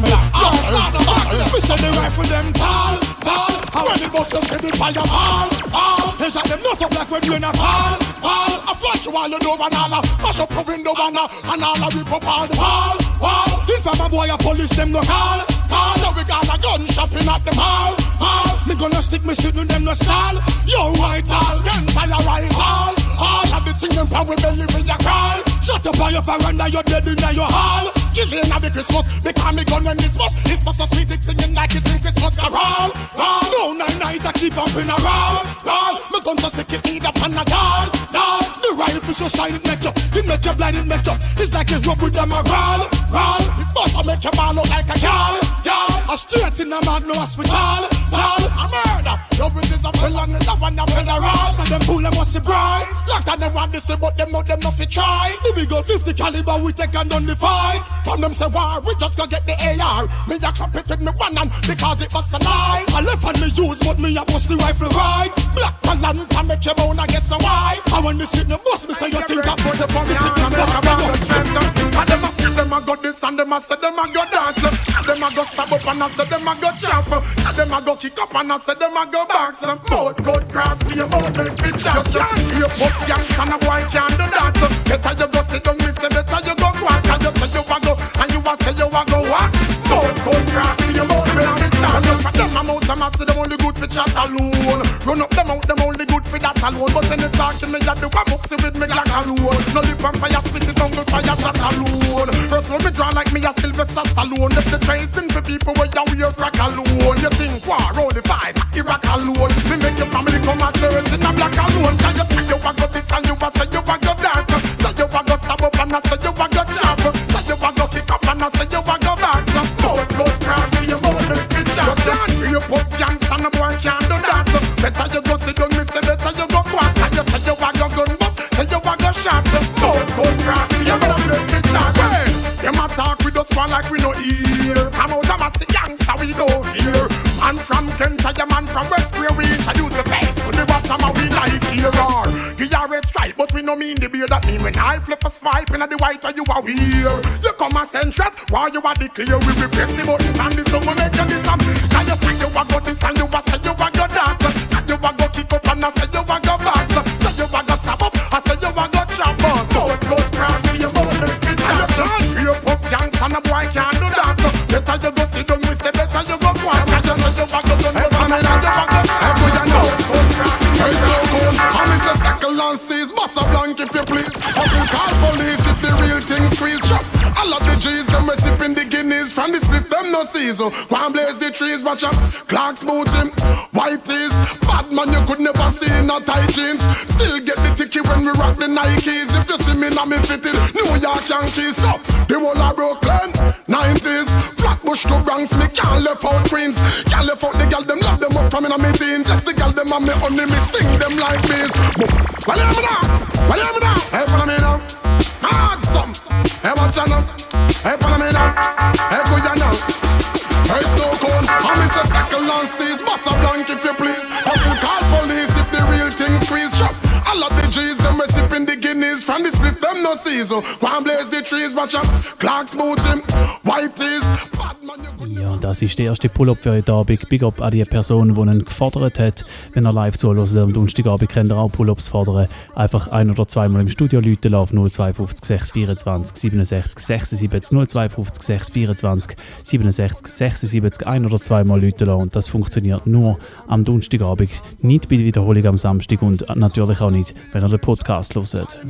We say the rifle them tall, tall. When the bus just say the fire fall, fall. They shot them not so black when you in a fall, fall. I flash you while you do banana, mash up the window banana, and all a rip up all the wall, wall. If I'm a boy, a police them no call, call. So we got a gun shopping at the mall, mall. Me gonna stick me shit with them no stall. Yo white all, gun fire rise all. All of the thing them power belly with your crawl. Shut up on your veranda, you're dead in your hall. Killing at the Christmas, because me gun when it's must. It was a sweet it singing like it's in Christmas carol. Roll, no nine nights I keep up in a roll. Roll, me gun to sick it eat up on a doll. Doll, the rifle so shine it make you, it make you blind it make you. It's like a rub with them a roll. Roll, it must make your ball look like a girl. Girl, a straight in the Magno hospital. Roll, a murder. Your bridges a felon and that one a federal. So them fool them must be bright. Like that them want to say but them know them not fit try. The big old fifty caliber we take and done the fight. From them say war we just go get the A R. Me a clap it with me one hand because it was a lie. I left hand me use but me a bust the rifle right. Black and land can make your bone a get so wide. And when they sit in the bus me say you think I put the me sit in the box. And them a say them a go this and them a say them a go dance. And them a go stab up and I say them a go chop. And them a go kick up and I say them a go box. Boat go cross me about make me chop. You put young and a boy can't do that. Better you go sit down, me say better you go walk. And you say you a go, and you a say you a go walk. Boat go cross me about me and me chop. Look at them amount and I say them only good for chat alone. Run up them out, them only good for that alone. But when they talking me, you do a must with me like alone. No lip and fire, spit it down with fire shot alone. First one me draw like me a Sylvester Stallone. If the tracing for people where you wear frack alone. You think war, roll the fight, Iraq alone. Me make your family come at church in a black alone. Can you say you a go this and you a say you a go that? Say you a go stab up and I say you a go chop. Say you a go kick up and I say you a go back. So boat go cross me, you bout make me chop. You can't you put young son a boy can't do that. Better you go sit down, me say better you go quack. And you say you a go gun but say you a go shot. So boat go cross me, you bout make me chop. Hey, them a talk with us one like we no hear. Come out and say gangsta we don't hear. Man from Kent, a man from West Square, we introduce the face to the bottom and we like here or give a red stripe, but we no mean the beer that me when I flip a swipe in the white where you are weird. You come and send threat while you are declare. We replace the button and the song will make you this and can you say you a go this and you a say you a go that. Say you a go kick up and I say you a go back. Say you a go snap up, I say you a go trap up. Boat, boat, cross, see you boat, make it trap. And you pop gangs and a boy can't do that. Better you go sit down, we say better you go quiet. I just say you a go done, but I mean I you a go. I go you know. Hey, so cool. I'm Mister Second and C's, boss a blank if you please. Hustle call police if the real thing squeeze. Shop. I love the G's, them we sipping the Guinness. From the split, them no season. Go and blaze the trees, watch out. Clark's booting, white tees. Bad man, you could never see in a tight jeans. Still get the ticket when we rock the Nikes. If you see me now, me fitted New York Yankees. Up, the whole of Brooklyn, nineties. Flatbush to Bronx, me can't left out Queens. Can't left out the gal, them love them up from in a me teens. Just the gal, them and me only me sting them like bees. But, well, hear me now, well, hear me now. Hey, follow me now. Mad some. Hey, watch out now. Hey, follow me now. Hey, go ya now. Hey, Snow Cone. I'm Mister Second and C's. Boss a blank if you please. Hustle call police if the real thing squeeze. Shop. I love the G's, them we sipping the Guinness. From the split, them no season. Go and blaze the trees, watch out. Clark's booting, white tees. Ja, das ist der erste Pull-Up für heute Abend. Big up an die Person, die ihn gefordert hat. Wenn er live zuhört, am Donnerstagabend könnt ihr auch Pull-Ups fordern. Einfach ein- oder zweimal im Studio läuten auf null zwei fünf sechs vierundzwanzig siebenundsechzig sechsundsiebzig null zwei fünf sechs vierundzwanzig siebenundsechzig sechsundsiebzig ein- oder zweimal läuten lassen. Und das funktioniert nur am Donnerstagabend, nicht bei der Wiederholung am Samstag und natürlich auch nicht, wenn ihr den Podcast hört.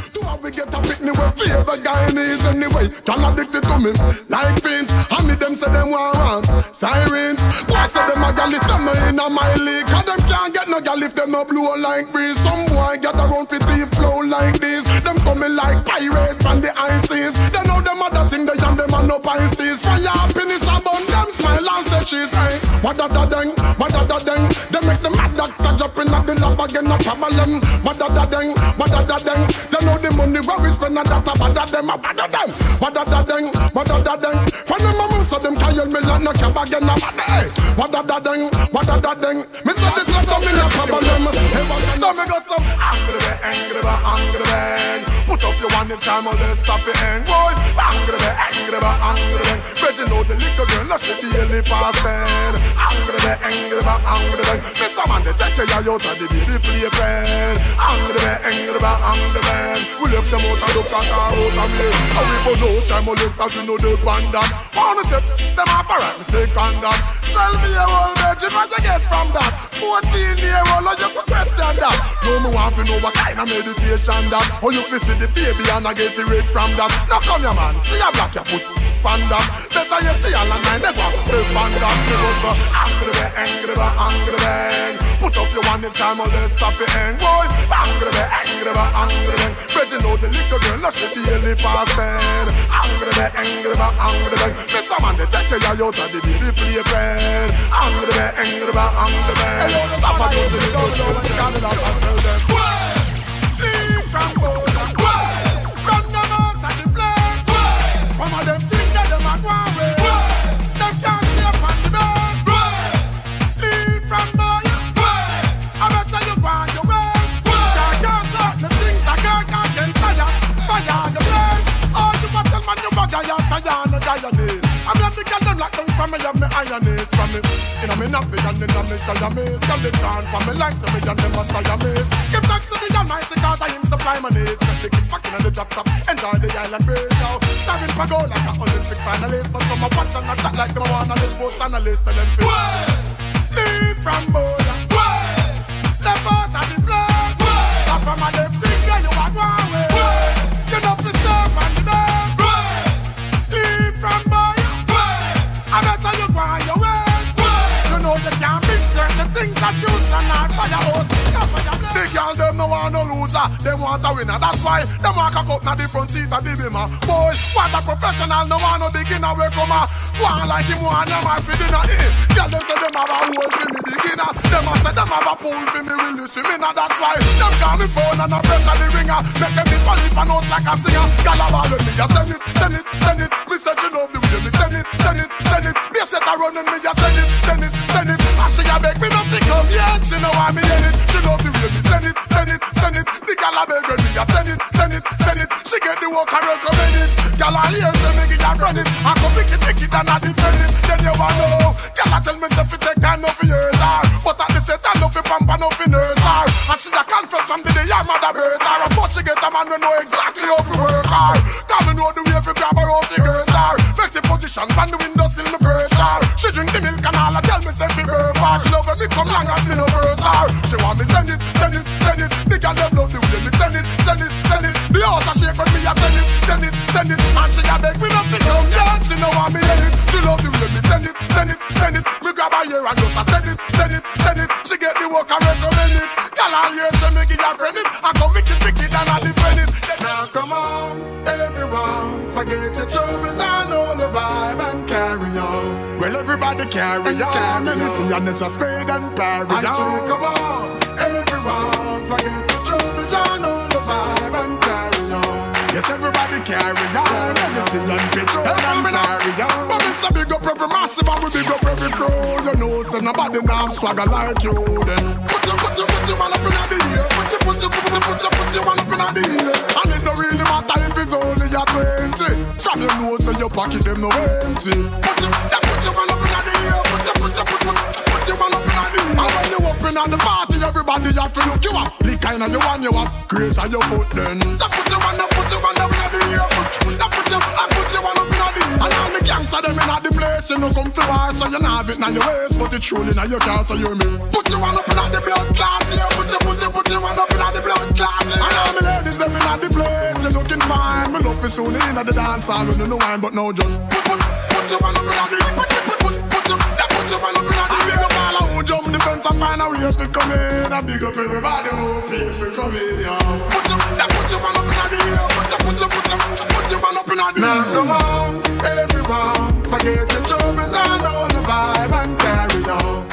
Sirens, boy say them a gal is come in a my league. Cause them can't get no gal if them no blow like breeze. Some boy get around for deep flow like this. Them coming like pirates from the ices. They know them other thing they and them a no Pisces. Fire happiness about them smile and say cheese. Hey, what da da deng, what da da deng. They make the mad doctor jump in at the lab again no problem. What da da deng, what da da deng. They know the money where we spend on that about that them, what da them. What da da deng, what da da deng. When them a move so them can't yell me like no cab again no bad. Hey, what da da deng, what da da deng. Me say this not to me no problem. So me got some angry bang, angry bang, angry bang. Put up your one in time or let's stop it and boy. Angry bang, angry bang, angry bang. But you know the little girl no she barely past ten. Angry bang, angry bang, angry bang. Me some man they take you out of the baby playpen. Angry bang, angry bang, angry bang. We left them out and look at our out of me. And we put no time or let's stop you know the bandam. Wanna say them off a right, me say condom. Tell me a whole virgin what you get from that. Fourteen year old, you could question that. No me want to know what kind of meditation that. Or you can see the baby and I get the rate from that. Now come here man, see a black you put on that. Better you see all the nine, they go to step on that. Me go so angry bang, angry bang, angry bang. Put up your one in time or let's stop it and boy. Angry bang, angry bang, angry bang. But you know the little girl, no she barely past ten. Angry bang, angry bang, angry bang. Me some man they take you out of the baby playpen. Angry bang, angry bang, angry bang. Stop a dozen it don't know what you got it up and tell them. Leave from Bola. Run them out of the place. Some of them think that them are going away. Them can't stay up on the bed. Leave from Bola. I better you go on your way. Can't get certain things I can't get fire. Fire the place. Oh, you must tell man you bug a yard, fire no Guyanese. I'm not the girl them lock down from me, have me ironese from me. You know me nappy and then I'm me Siamese. Girl they chant for me like so me and them a Siamese. Give thanks to the Almighty cause I him supply my needs. Let me keep fucking on the drop top, enjoy the island breeze now. Starring for gold like an Olympic finalist. But some a watch and a chat like them a one on the sports analyst. And them feel leave from Bola. Step out of the place. Stop from a left thing girl you are going away. You know to step on the bed. Leave from Bola. I better you go on your way. You know you can't mix certain things that you cannot fire hose. The girl them no want no loser, them want a winner. That's why them want cock up na the front seat of the bimmer. Boy, what a professional, no want no beginner. We come a go on like him want them a for dinner. Eh, girl them say them have a hole for me beginner. Them a say them have a pool for me really swimming. That's why them call me phone and a pressure the ringer. Make them be polyp and out like a singer. Girl a ball with me, you send it, send it, send it. Me say you love the way me send it, send it, send it. Me set a run and me you send it, send it, send it. And she a beg me not to come yet. She know why me in it. She love the way me send it, send it, send it. The girl a beg me you send it, send it, send it. hear say me give her run it, I go pick it, pick it and I defend it. Then you wanna know, girl I tell me say fi take time off yours her, but at the same time no fi pamper no fi nurse her. And she a confess from the day her mother birth her. And but she get a man we know exactly how to work her. Cause me know the way fi grab her off the girls her. Flex the position from the window sill me pressure. She drink the milk and all I tell me say fi burp her. She love when me come long and me no verse her. She want me send it, send it, send it. The girl them love the way me send it, send it, send it. The house a shake when me a send it, send it, send it. And she a beg me not fi come down. She know want me end it. She love the way me send it, send it, send it. Me grab her ear and just a send it, send it, send it. She get the work and recommend it. Girl all year say me give her friend it. I come make it, pick it and I defend it. Now come on, everyone, forget your troubles and all the vibe and carry on. Well everybody carry on. Let me see and it's a spade and parry on. I say come on, everyone, forget your troubles and all the vibe and carry on. Yes, everybody carry on. Let me see and pitch on and carry on. But it's a big up every massive and we big up every crew. You know, so nobody now swagger like you then. Put your, put your, put your one up in the ear. Put your, put your, put your, put your, put your one up in the ear. And it don't really matter if it's only your twenty. From your nose and your pocket, them no empty. Put your, that put your one up in the ear. Put your, put your, put your, put your one up in the ear. And when you open at the party, everybody have to look you up. Lick kind of you want you up. Great on your foot then. That put your one up, put your one up in the ear. That put your, I put your one up in the ear. And all the gangsta them in the place, you know come to war. So you not have it now your waist, but it's truly now your car, so you hear me. Put your one up in the blood clot here. Put your, put your, put your one up in the blood clot here. And all the ladies them in the place, you looking fine. Me love you soon in the dance hall when you know wine, but now just put, put, put your one up in the put, put, put, put your, that put your one up in the I big up all who jump the fence and find a way to come in. I big up everybody who pay for coming, yo. Put your, that put your one up in the air. Put your, put your, put your, put your one up in the air. Now come on, everyone, forget your troubles and all the vibe and carry on.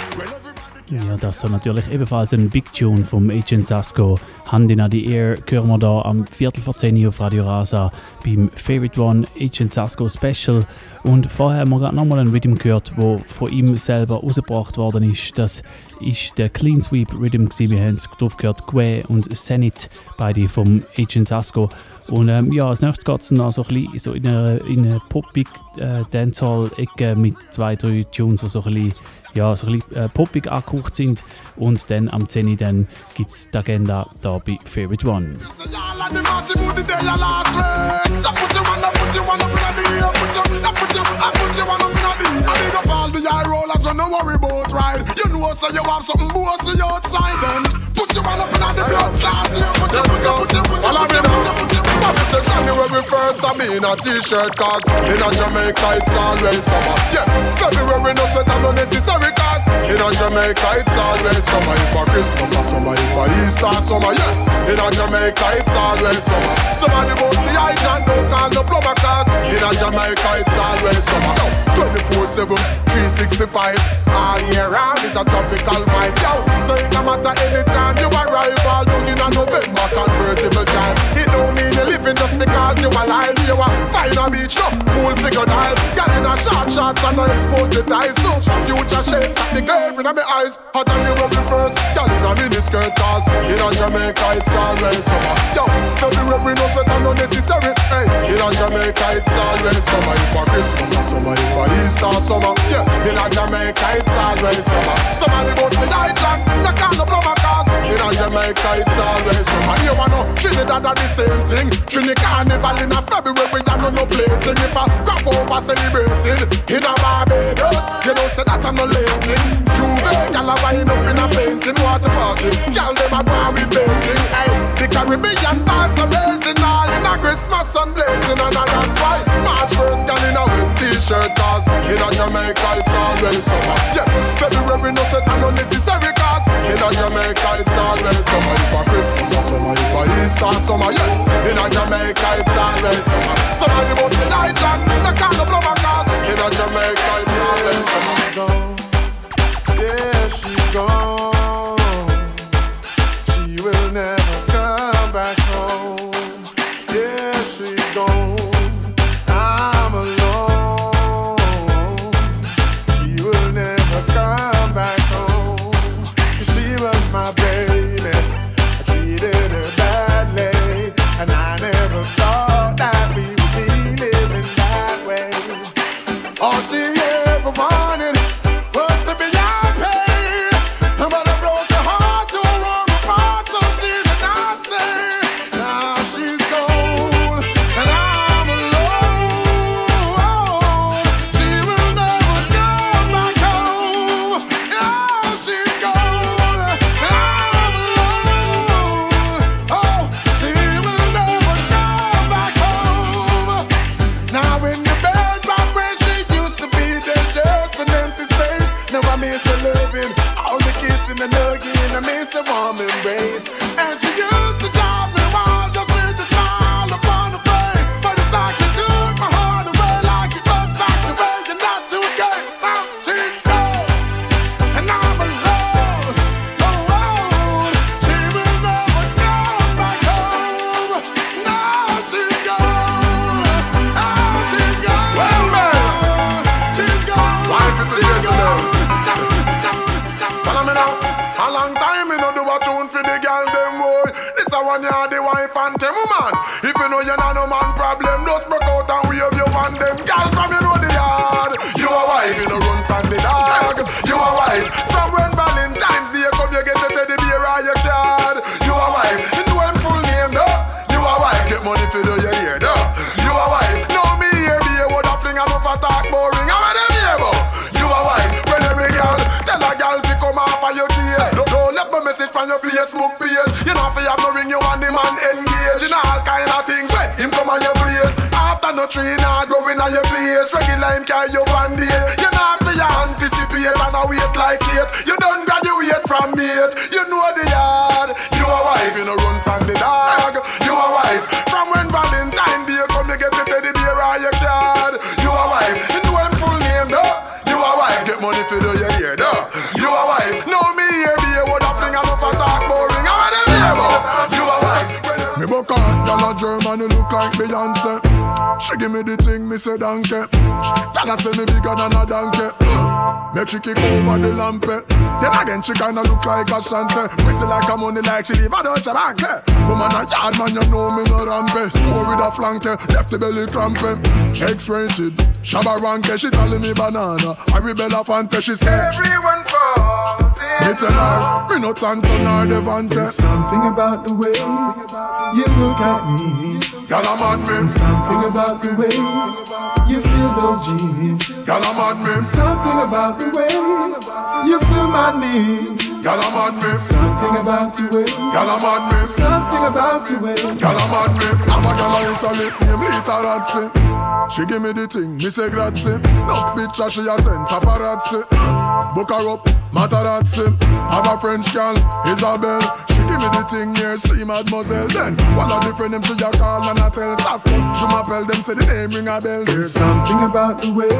Ja, das ist natürlich ebenfalls ein Big Tune vom Agent Sasco. Hand in the Air hören wir da am Viertel vor zehn auf Radio Rasa beim Favorite One Agent Sasco Special. Und vorher haben wir gerade nochmal einen Rhythm gehört, der von ihm selber rausgebracht worden ist. Das ist der Clean Sweep Rhythm gewesen. Wir haben es drauf gehört, Gue und Zenit, beide vom Agent Sasco. Und ähm, ja, als nächstes geht es noch so ein bisschen so in eine, in eine poppig äh, Dancehall-Ecke mit zwei, drei Tunes, die so ein bisschen ja, so ein bisschen äh, poppig angehaucht sind. Und dann am zehn dann gibt es die Agenda da bei Favorite One. No worry about ride. You know so you have something bossy outside then. Put your one up in the blood class here. Put your, put your, put your, put your, put your, put your, put your. Bobby said January first I mean a t-shirt cause in a Jamaica it's always summer. Yeah, February no sweater no necessary cause in a Jamaica it's always summer. If a Christmas or summer, if a Easter summer, yeah. In a Jamaica it's always summer. Somebody bout the hydrant don't call no plumber cause in a Jamaica it's always summer. twenty-four seven, three sixty-five all year round it's a tropical vibe, yo. So it no matter anytime you arrive, all June in a November convertible drive. It don't mean you're living just because you're alive. You a find a beach, no pool figure dive. Girl in a short shorts and no expose the ties. So future shades at the glare in my eyes. Hot and you rub me first, girl in a mini skirt cause in a Jamaica it's always summer. Yo, February no sweater no necessary. Hey, in a Jamaica it's always summer. If a Christmas or summer, if a Easter summer, yeah. In a Jamaica it's always summer. Somebody goes to the island, they call the plumber cause in a Jamaica it's always summer. You wanna know Trinidad are the same thing. Trini Carnival in a February and no no place. And if I crop over celebrating in a Barbados, you know say that I'm no lazy. Juve, gal a wind up in a painting water party. Gal them a go on with painting. Hey, the Caribbean vibes amazing. All in a Christmas sun blazing and that's why March first gal in a with t-shirt cause in a Jamaica it's always summer. Yeah, February no set and no necessary cause in a Jamaica it's always summer. If a Christmas or summer, if a Easter summer, yeah. In a Jamaica it's always summer. Somebody must be Lightland, they call the plumber cause in a Jamaica it's always summer. Yeah, she's gone. She will never come back home. Yeah, she's gone. I'm alone. She will never come back home. 'Cause she was my baby. I treated her badly, and I never thought that we would be Now in the bedroom where she used to be, there's just an empty space. Now I miss her loving, all the kissing and hugging, I miss her warm embrace. And she used to drive me wild just with a smile upon her face. But it's like she took my heart away, like it goes back the way you're not too good. Now she's gone, and I'm alone. Oh, oh, she will never come back home. Now she's gone, oh, she's gone. Well, man. She's gone, Wife is the she's president. gone. Follow me now. A long time me no do a tune for the girl them boy. This a one ya the wife and them woman. If you know you not no man problem, just broke out and wave you and them girl from you know the yard. You a wife, you no run from the dog. You a wife from when Valentine's Day come you get a teddy bear or your card. You a wife, you know him full name though. You a wife, get money for do your hair though. You a wife, know me here be a would a fling and off a talk boring. I'm a them here boy. You a wife, when every girl tell a girl to come off of your case. Don't, don't left no message from your Facebook page. You know if you have no ring you and the man engage. You know all kind of things when him come on your place. After no tree now growing on your place. Regular him carry you one day. You know after you anticipate and I wait like it. You don't graduate from mate. You know the yard. You a wife, you no run from the dog. You a wife, from when Valentine Day come you get the teddy bear or your card. You a wife, you know him full name though. You a wife, get money for do your hair though. You a wife, know me here be a word of fling and up a talk boring. I'm a them here boy. You a wife. Me book out, girl a German, you look like Beyonce. She give me the thing, me say donkey. Girl a say me bigger than a donkey. Make she kick over the lamp. Then again she kinda look like a shante. Pretty like a money like she live a Deutsche Bank. Woman a yard man, you know me no rampe. Score with a flanke, left the belly crampe. X-rated, Shabba Ranke. She calling me banana, I rebel a fante. She say everyone falls in. Me tell her, me no tanto nor devante. There's something about the way you look at me. Girl I'm mad me. Something about the way you feel those jeans. Girl I'm mad me. Something about the way you feel my need. Girl I'm mad me. Something about the way. Girl I'm mad me. Something about the way. Girl I'm mad me. Have a girl in Italy, name Litarazzi. She give me the thing, me say grazie. No picture she a send paparazzi. Book her up, Matarazzi. Have a French girl, Isabel. She give me the thing here, see mademoiselle. Then one of the friend them she a call and I tell Sasko. She m'appelle them say the name ring a bell. There's something about the way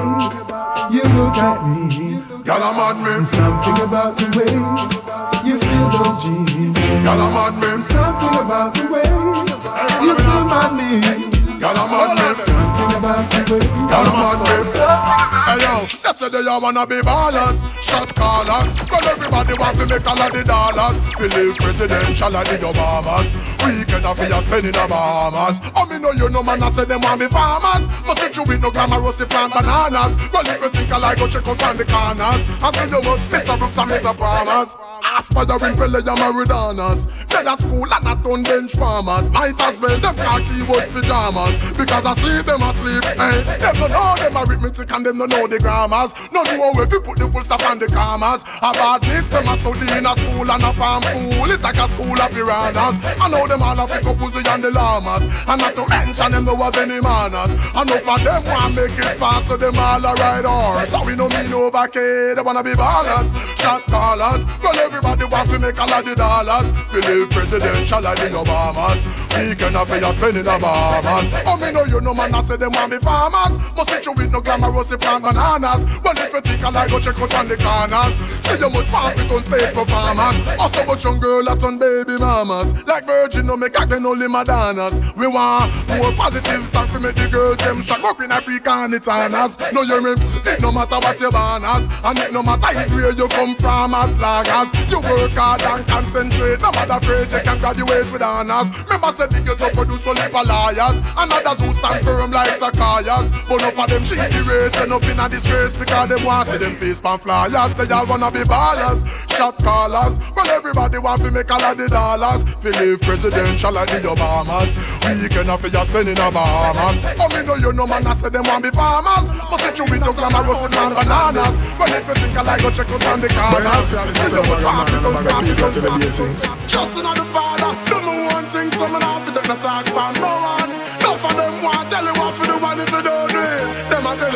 you look at me. Girl I'm mad me. Something about the way you feel those jeans. Girl I'm mad me. Something about the way you feel my need. Girl I'm mad me. Something about the way. Girl I'm mad me. Hey yo, they say they all wanna be ballers, shot callers. Well everybody want to make all of the dollars. We live presidential like the Obamas. Weekend of your spending the Bahamas. Oh me know you know man I say them want be farmers. Must sit you with no glamorous plant bananas. Well if you think I like go check out on the corners and see you much Mister Brooks and Mister Palmers. Aspiring Pele and Maridanas. They are school and not on bench farmers. Might as well them khaki was pajamas. Because I sleep them asleep. Hey, them don't know them arithmetic and them don't know the grammars. No know if you put the full stop on the commas. About this them a study in a school and a farm fool. It's like a school of piranhas. I know them all a pick up Uzi and the llamas. And not to mention them don't have any manners. I know for them want make it fast so them all a ride horse. So we no mean over kid, they wanna be ballers, shot callers. Well everybody want to make all of the dollars. We live presidential like the Obamas. Weekend of your spending the Bahamas. Oh me know you know man I say them want be farmers. Must sit you with no glamorous plant bananas. Well if you think I like go check out on the corners. See you much want fit on stage for farmers. Also much young girl that on baby mamas. Like Virgin no make again only Madonnas. We want more positive song to make the girls them strong. More in African Itanas. No you mean it no matter what your banners. And it no matter is where you come from as long as you work hard and concentrate. No matter afraid you can graduate with honors. Remember said the girls don't produce only for liars. And others who stand firm like Zacchaeus. But enough of them cheat the race and up in a disgrace. Because them want see them face pan flyers. They all wanna be ballers, shot callers. Well everybody want to make all of the dollars. Fi live presidential like the Obamas. Weekend of your spending the Bahamas. Oh me know you know man I say them want be farmers. Must sit you with no glamorous and bananas. Well if you think I like go check out on the corners. See you much want to don't stop it don't stop. Just another father. Don't know one thing so man have to take no talk from no one. No for them want tell you what for the one if you don't.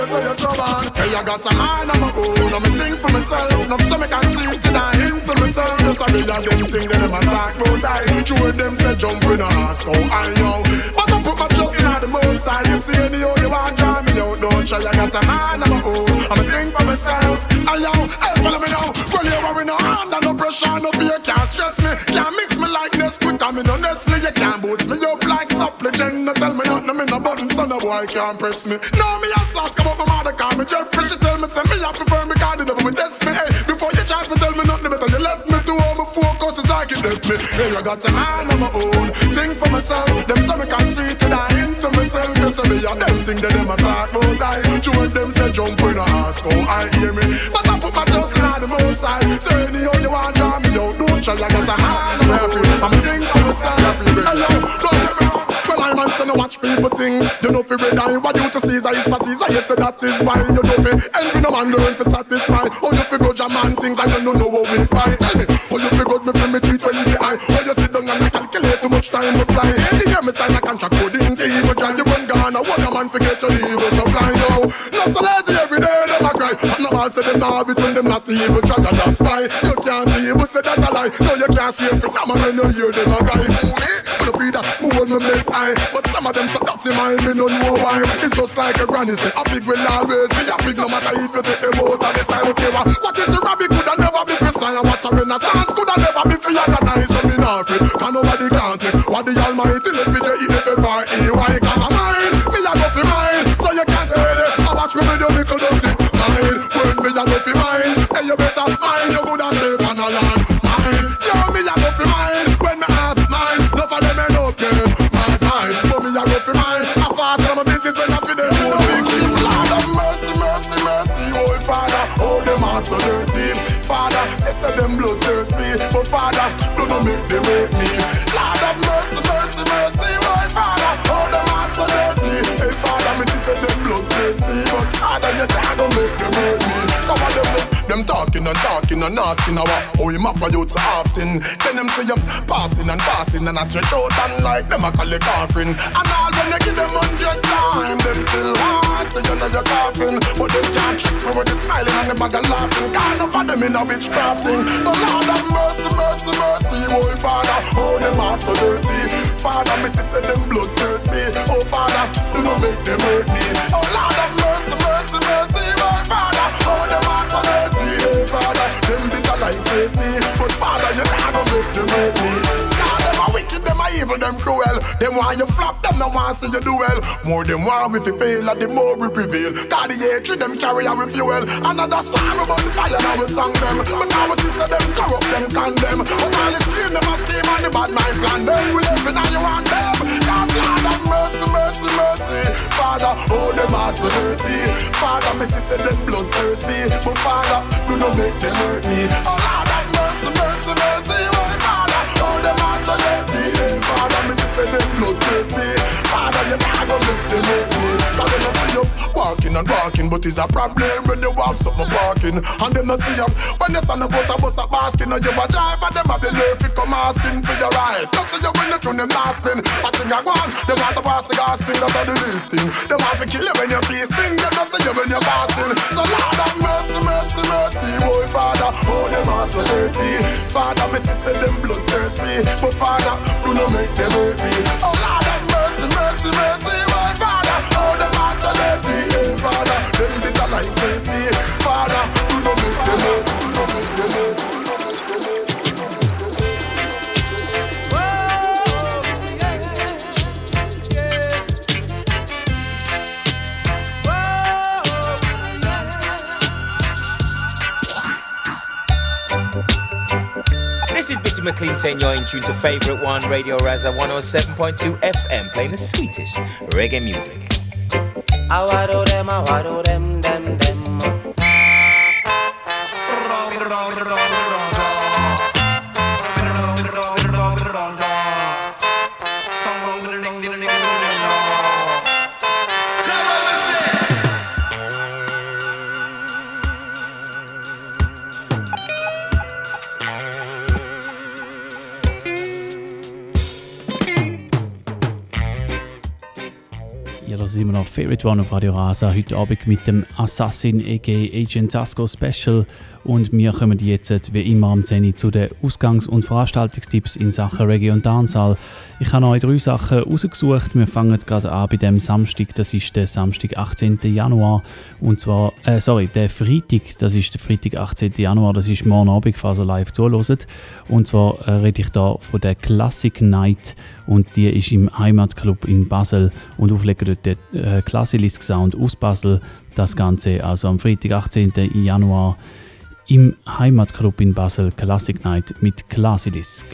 so you're stubborn. Hey, I got a mind of my own, I'm a thing for myself. Now so me can see it and I into myself. Just a real of them thing that them attack about I. True them say jump in a ass, go I yo. But I put my trust in the most side. You see any how you want drive me out, don't try. I got a mind of my own, I'm a thing for myself. And yo, hey, follow me now. Well, you worry no under no pressure, no fear, can't stress me. Can't mix me like this quick, I'm in honestly. You can't boots me up like supplicant. No tell me nothing, me no button, so no boy can't press me. Now me a sauce, come up my mother, call me Jeffrey. She tell me, say me I prefer me, call the devil with test me. Hey, before you charge me, tell me nothing better. You left me to all my focus is like it left me. Hey, I got a man of my own, think for myself. Them say me can't see it and I into myself. You say me a them thing that them attack, but I join them say jump in a ass, go I hear me. But I put my trust in the most side. So anyhow you want to draw me out, don't try. I got a man of my own, I'm a thing for myself. Hello, don't get me wrong. Well, I'm on saying watch people things. You know fi red eye, what you to Caesar is for Caesar. Yes, so that is why you know fi envy no man learn fi satisfy. Oh, you fi grudge a man things and you don't know how we fight. Tell me, oh, you fi grudge me fi me treat when the eye. Oh, you sit down and you calculate too much time to fly. You hear me sign a contract coding, the evil try. You run gone, I want a man forget your evil supply. Yo, not so lazy every day, them a cry. No all say them now have it when them not evil try. And that's why you can't evil say that a lie. No, you can't see every time when you hear them a guy. Ooh, me, the breeder, who hold me makes eye. But some of them so dirty mind, me don't know why. It's just like a granny say, a pig will always be a pig. No matter if you take them out of this time, okay, what, what is the rabbit could have never be for slime. What's a renaissance could have never be for organize. So me not free, can nobody can't take. What the almighty let me tell you if you are E Y. Cause I'm mine, me a go for mine. So you can't stay there, I watch me with your little dirty mind. When me a go for mine, hey you better mind. You could have stayed on a land, mine. Yo, me a go for mine, when me have mine. No for them ain't no game, my time. But me a go for mine, I fast and I'm a business when I feel them. You know big shit, Lord of mercy, mercy, mercy. Oh Father, oh them hearts so dirty. Father, they say them bloodthirsty. But Father, do not make them hate me. Lord of mercy, mercy, mercy. Oh Father, oh them hearts so dirty. Hey Father, me see say them bloodthirsty. But Father, you can't go make them hate me. Come on, them, them, them talking and talking and asking our oh you mafia you so often. Then them say you passing and passing and I stretch out and like them a call it coughing. And all when you give them hundred times, them still want say you know you're coughing. But them can't trick me with the smiling and the bag of laughing. Can't enough of them in a witchcrafting. The Lord have mercy, mercy, mercy. Oh Father, oh them hearts so dirty. Father, me say them bloodthirsty. Oh Father, do not make them hurt me. Oh Lord have mercy, mercy, mercy. Oh Father, oh them hearts so dirty. Hey Father, them bitter like Tracy. But Father, you can't go make them hurt me. God, them are wicked, them are evil, them cruel. Them want you flop, them no want see you do well. More them want we fi fail, and the more we prevail. God, the hatred them carry our fuel. Another song about the fire, now we song them. But now we see say them corrupt, them condemn. But all the scheme, them a scheme and the bad mind plan them. We live in and you want them. God's Lord have mercy, mercy, mercy. Father, oh them hearts so dirty. Father, me see say them bloodthirsty. But Father, do not make them hurt me. Oh Lord have mercy, mercy, mercy. Oh Father, oh them hearts so dirty. Hey Father, me see say them bloodthirsty. Father, you can't go make them hurt me. Cause them not see you walking and walking, but it's a problem when you have something walking. And them not see you when you stand up out a bus a basking. And you a drive and them have the nerve to come asking for your ride. Don't see you when you through them last spin. I think I go on, them want to pass the gas thing. That's the least thing. Them want to kill you when you're feasting. They don't see you when you're fasting. So Lord have mercy, mercy, mercy. Boy Father, oh them hearts so dirty. Father, me see say them bloodthirsty. But Father, do not make them hurt me. Oh Lord have mercy, mercy, mercy. Boy Father, oh them hearts so dirty. Hey Father, them bitter like Tracy. Father, do not make them hurt. Do not make them hurt. This is Bitty McLean saying you're in tune to Favorite One, Radio Raza one oh seven point two F M, playing the sweetest reggae music. I wado them, I wado them, them, them. sind wir noch Favorite One auf Radio Rasa. Heute Abend mit dem Assassin aka Agent Sasko Special. Und wir kommen jetzt wie immer am zehn Uhr zu den Ausgangs- und Veranstaltungstipps in Sachen Reggae und Dancehall. Ich habe euch drei Sachen rausgesucht. Wir fangen gerade an bei dem Samstag. Das ist der Samstag, achtzehnten Januar. Und zwar, äh, sorry, der Freitag. Das ist der Freitag, achtzehnten Januar. Das ist morgen Abend, falls ihr live zuhört. Und zwar äh, rede ich da von der Classic Night. Und die ist im Heimatclub in Basel. Und auflegen dort der äh, Classic Sound aus Basel. Das Ganze also am Freitag, achtzehnten Januar. Im Heimatclub in Basel, Classic Night mit Classidisk.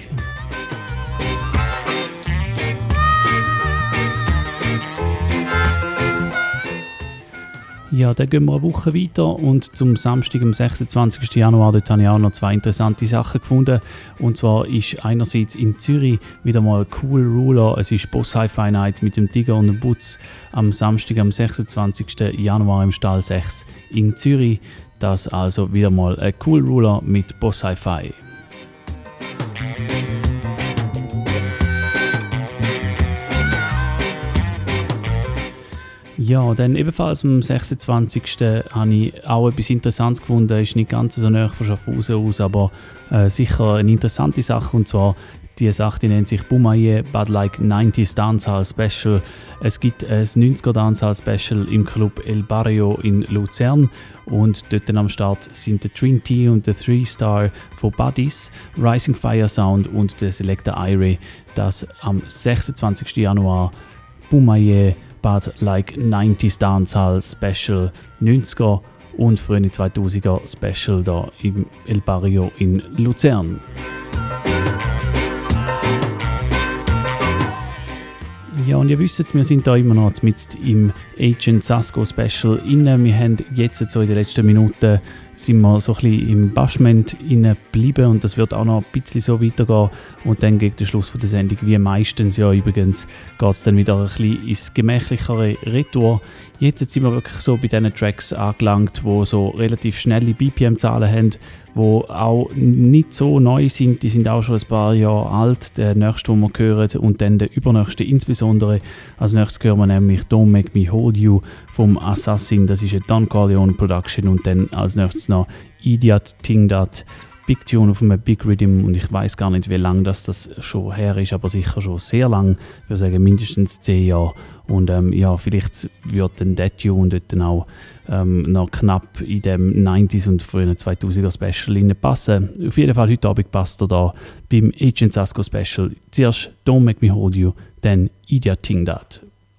Ja, dann gehen wir eine Woche weiter und zum Samstag, am sechsundzwanzigsten Januar, dort habe ich auch noch zwei interessante Sachen gefunden. Und zwar ist einerseits in Zürich wieder mal Cool Ruler, es ist Boss Hi-Fi Night mit dem Digger und dem Butz am Samstag, am sechsundzwanzigsten Januar im Stall sechs in Zürich. Das also wieder mal ein Cool Ruler mit Boss Hi-Fi. Ja, dann ebenfalls am sechsundzwanzigsten habe ich auch etwas Interessantes gefunden. Ist nicht ganz so nahe von Schaffhausen aus, aber äh, sicher eine interessante Sache. Und zwar, die Sache die nennt sich Bumaye Bad Like neunziger Dancehall Special. Es gibt ein neunziger Dancehall Special im Club El Barrio in Luzern. Und dort am Start sind der Trinity und der Three Star von Buddies, Rising Fire Sound und der Selector Irie. Das am sechsundzwanzigsten Januar Bumaye Bad Like neunziger Dancehall Special neunziger und frühe zweitausender Special da im El Barrio in Luzern. Ja, und ihr wisst, wir sind da immer noch mit im Agent Sasko Special inne. Wir haben jetzt so in den letzten Minuten sind wir so ein bisschen im Bashment inne geblieben und das wird auch noch ein bisschen so weitergehen. Und dann gegen den Schluss von der Sendung, wie meistens ja übrigens, geht es dann wieder ein bisschen ins gemächlichere Retour. Jetzt sind wir wirklich so bei diesen Tracks angelangt, die so relativ schnelle B P M-Zahlen haben, die auch nicht so neu sind. Die sind auch schon ein paar Jahre alt. Der nächste, den wir hören, und dann der übernächste insbesondere. Als nächstes hören wir nämlich Don't Make Me Hold You vom Assassin. Das ist eine Don Corleone Production. Und dann als nächstes noch Idiot Ting Dat. Big Tune auf einem Big Rhythm und ich weiß gar nicht, wie lange das, das schon her ist, aber sicher schon sehr lang. Ich würde sagen mindestens zehn Jahre. Und ähm, ja, vielleicht wird dann der Tune dort dann auch ähm, noch knapp in dem neunziger und frühen zweitausender Special passen. Auf jeden Fall heute Abend passt er da beim Agent Sasko Special. Zuerst Don't Make Me Hold You, dann Idiot Ting Dat.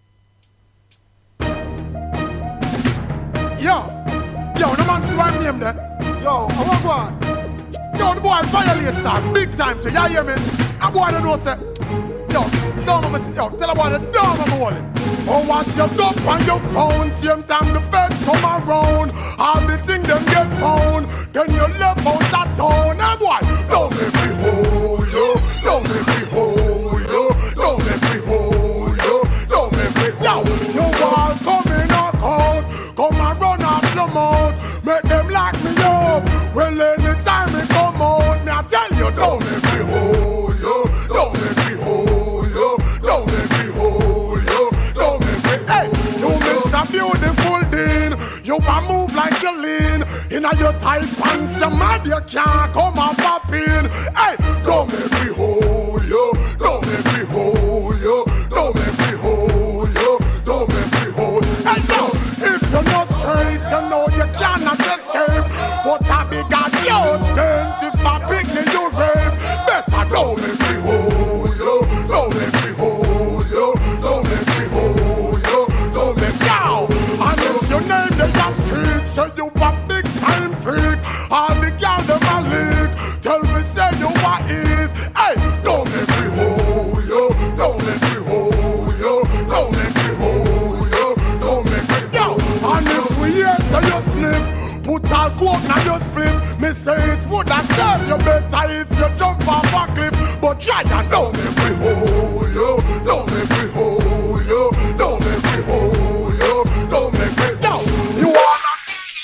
Yo, yo, no man to my name there. Yo, I want one. Yo, the boy violates that big time to you, hear me? A boy don't know say, yo, don't know me, yo, tell a boy the don't know me hold it. Oh, once you go on your phone, same time the feds come around, all the things them get found, then you left out that town. A boy, don't make me hold you, don't make me hold you, don't make me hold you, don't make me, yo, you all come in knock out, come and run off your mouth, make them lock me up. Well, anytime we come out, me I tell you, don't make me hold you, don't make me hold you, don't make me hold you, don't make me, hey, you Mister Beautiful Dean, you can move like you lean, in a your tight pants, you mad, you can't come and pop in, hey, don't make me hold you, don't make me hold you, don't make me hold you, don't make me hold, hey, yo, if you're not straight, you know you cannot escape, but I be got judgment if I pick me you rape. Better don't make me hold you, don't make me hold you, don't make me hold you, don't make me out. And if your name they are street, so you a big time freak. All the girls them a leak, tell me say you a eat. Hey, don't make me hold you, don't make me hold you, don't make me hold you, don't make me yo. And if we hear so you sniff, put all coke na your split. Me say it would have served you better if you jump off a cliff. But try and don't make me hold you, don't make me hold you, don't make me hold you, don't make me yo. You wanna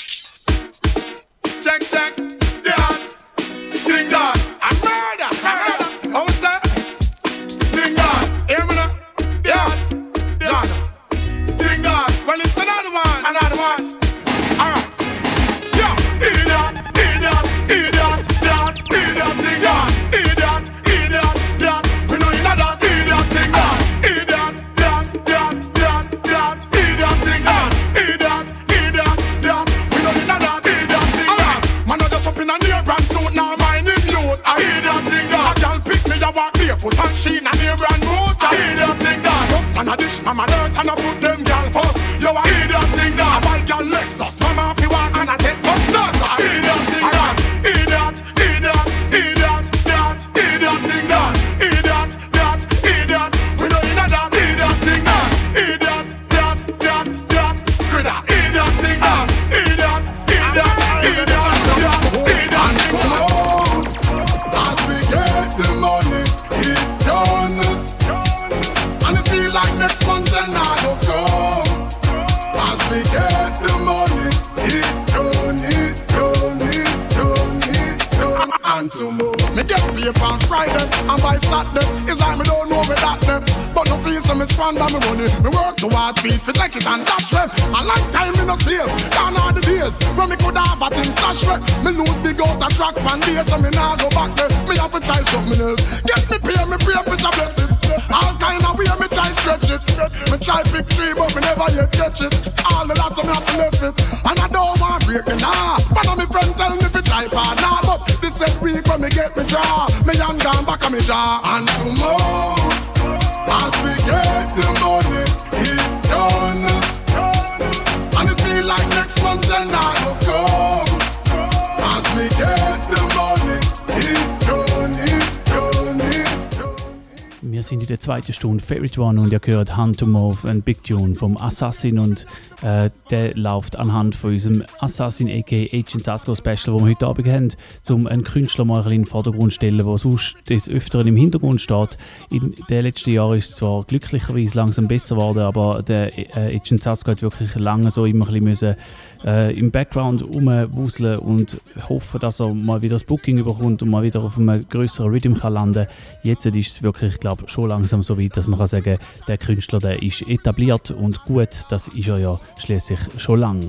check check yeah, ting that I murder, I murder. I say ting that, hear me now, yeah, yeah, ting that. paper on Friday, and by Saturday, it's like me don't know me that them. But no fees so me squander me money. Me work to hard feet fi take it and dash way. A long time me no save, gone all the days when me could have a thing stash way. Me lose big out a track one day, so me nah go back there. Me have to try something else. Get me pay, me pray for the blessing. All kind of way me try stretch it. Me try big tree, but me never yet catch it. All the lot of me have to left it, and I don't want break it nah. One of me friend tell me fi try part nah, but this said week when me get me draw, me hand gone back on me jaw. And tomorrow, as we get the money, it done. And it feel like next month then I go come. As we get the money, it done, it done, it done. Wir sind in der zweiten Stunde Favorite One und ihr hört Hand to Move, ein Big Tune vom Assassin und äh, der läuft anhand von unserem Assassin aka Agent Sasco Special, wo wir heute Abend haben, um einen Künstler mal in den Vordergrund zu stellen, der sonst des Öfteren im Hintergrund steht. In den letzten Jahren ist es zwar glücklicherweise langsam besser geworden, aber der äh, Agent Sasco hat wirklich lange so immer ein bisschen müssen, äh, im Background rumwuseln und hoffen, dass er mal wieder das Booking überkommt und mal wieder auf einem grösseren Rhythm kann landen. Jetzt ist es wirklich, ich glaube, schon langsam so weit, dass man kann sagen, der Künstler, der ist etabliert und gut, das ist er ja schließlich schon lang.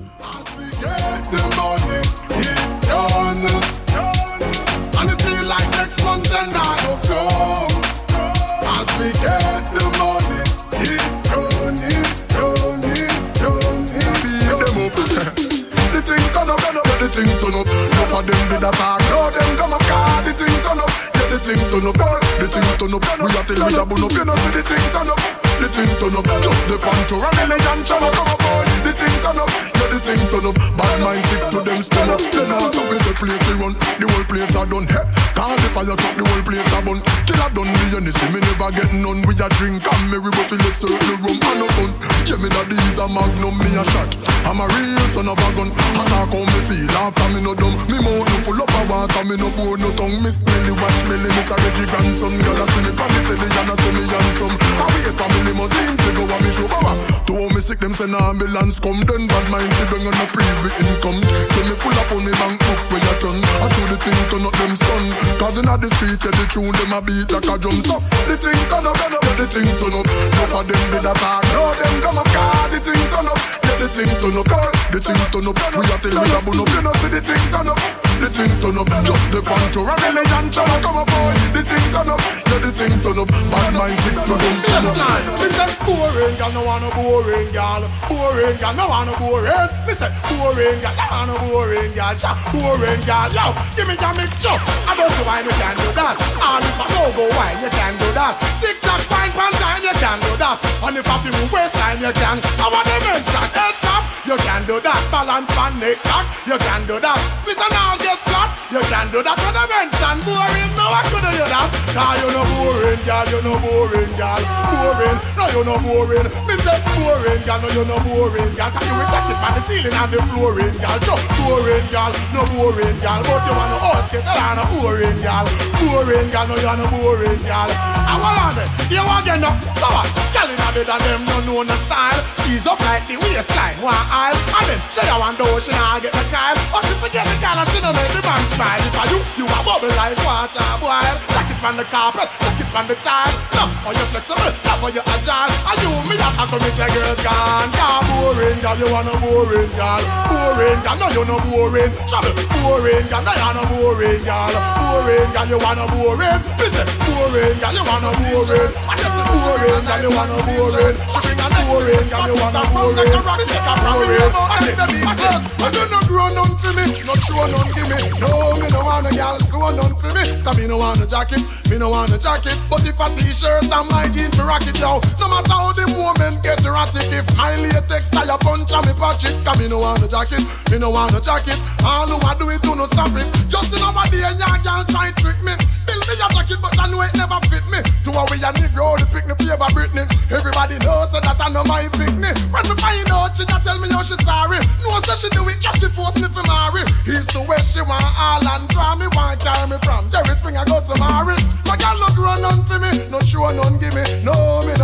The thing turn up, enough of them did attack. Now them come up, car. The thing turn up, yeah the thing turn up, the thing turn up. We are till we a bun up, you know see the thing turn up. The thing turn up, just the pancho and the legend channel come up, boy. The thing turn up, yeah the thing turn up. Bad mind sick to them spin up. Then after we say place we run, the whole place a done. Hey, call the fire truck, the whole place a bun. Kill a done me and you see me never get none. We a drink and merry but we let circle rum and no fun. Yeah me that these a magnum, me a shot. I'm a real son of a gun. Attack how me feel after me no dumb. Me mouth no full up of water, me no bone no tongue. Miss Nelly wash me, Miss a Reggie grandson. Girl a see me from the telly and a see me handsome. I wait for me limousine to go and me show power. To how me sick them send ambulance come. Then bad mind see bring on a private income. So me full up on me bank book when you turn. I throw the thing turn up them stun. Cause in the street yeah the tune them a beat like a drum. So the thing turn up, yeah the thing turn up. Enough of them did attack, now them come up. Car the thing turn up, yeah the thing turn up. Car the thing turn up. We a tell we a bun up, you know see the thing turn up. The thing turn up, just the pancho and the legend channel come up, boy. The thing turn up, yeah the thing turn up. Bad mind sick to them stand up. Me say boring girl, no want no boring girl. Boring girl, no want no boring. Me say boring girl, no want no boring girl. Cha, boring girl, yo, give me your mix up. I don't know why you can do that. And if I don't go wine, you can do that. Tick tock, fine pan time, you can do that. And if I feel waistline, you can. I want them in track, head top, you can do that. Balance pan neck cock, you can do that. Split and all get flat, you can do that. When I mention boring, no I couldn't do that. Cause you no boring girl, you no boring girl. Boring, no you no boring. Me say boring girl, no you no boring girl. Cause you will take it by the ceiling and the flooring girl. Just boring girl, no boring girl. But you want to horse get around a boring girl. Boring girl, no you no boring girl. I want on it, you want get up. So what? Girl in a bed and them no know no style. Seize up like the waistline, one aisle. And then she a want to she nah get the kyle. But she forget the girl and she no make the man smile. If I you, you a bubble like water boil. Take it from the carpet, take it from the tile. Love how you flexible, love how you agile. And you me that I come with your girls gone. Yeah, boring girl, you want a boring girl. Boring girl, no you no boring. Trouble, boring girl, no you no boring girl. Boring girl, you want a boring. Listen, boring girl, you want a boring. I just a boring girl, you want a boring. She bring a boring girl, you want a boring. Take a boring, I take the beast blood. I do not grow none for me, not show none give me. No, me no want a girl, so none for me. Cause me no want a jacket, me no want a jacket. But if a t-shirt and my jeans me rock it, yo. No matter how the woman get erratic, if my latex tire punch on me pocket. Cause me no want a jacket, me no want a jacket. All who I do it, do no stop it. Just in our day, young girl try trick me. Build me a jacket, but I know it never fit me. To a way a Negro, the pick me favor Britney. Everybody knows so that I know my picnic. When me find out, she just tell me how she sorry. No, so she do it just she force me for marry. He's the way she want all and draw me, want carry me from Jerry Spring I go to marry. My girl look run on for me, no show none give me. No, me no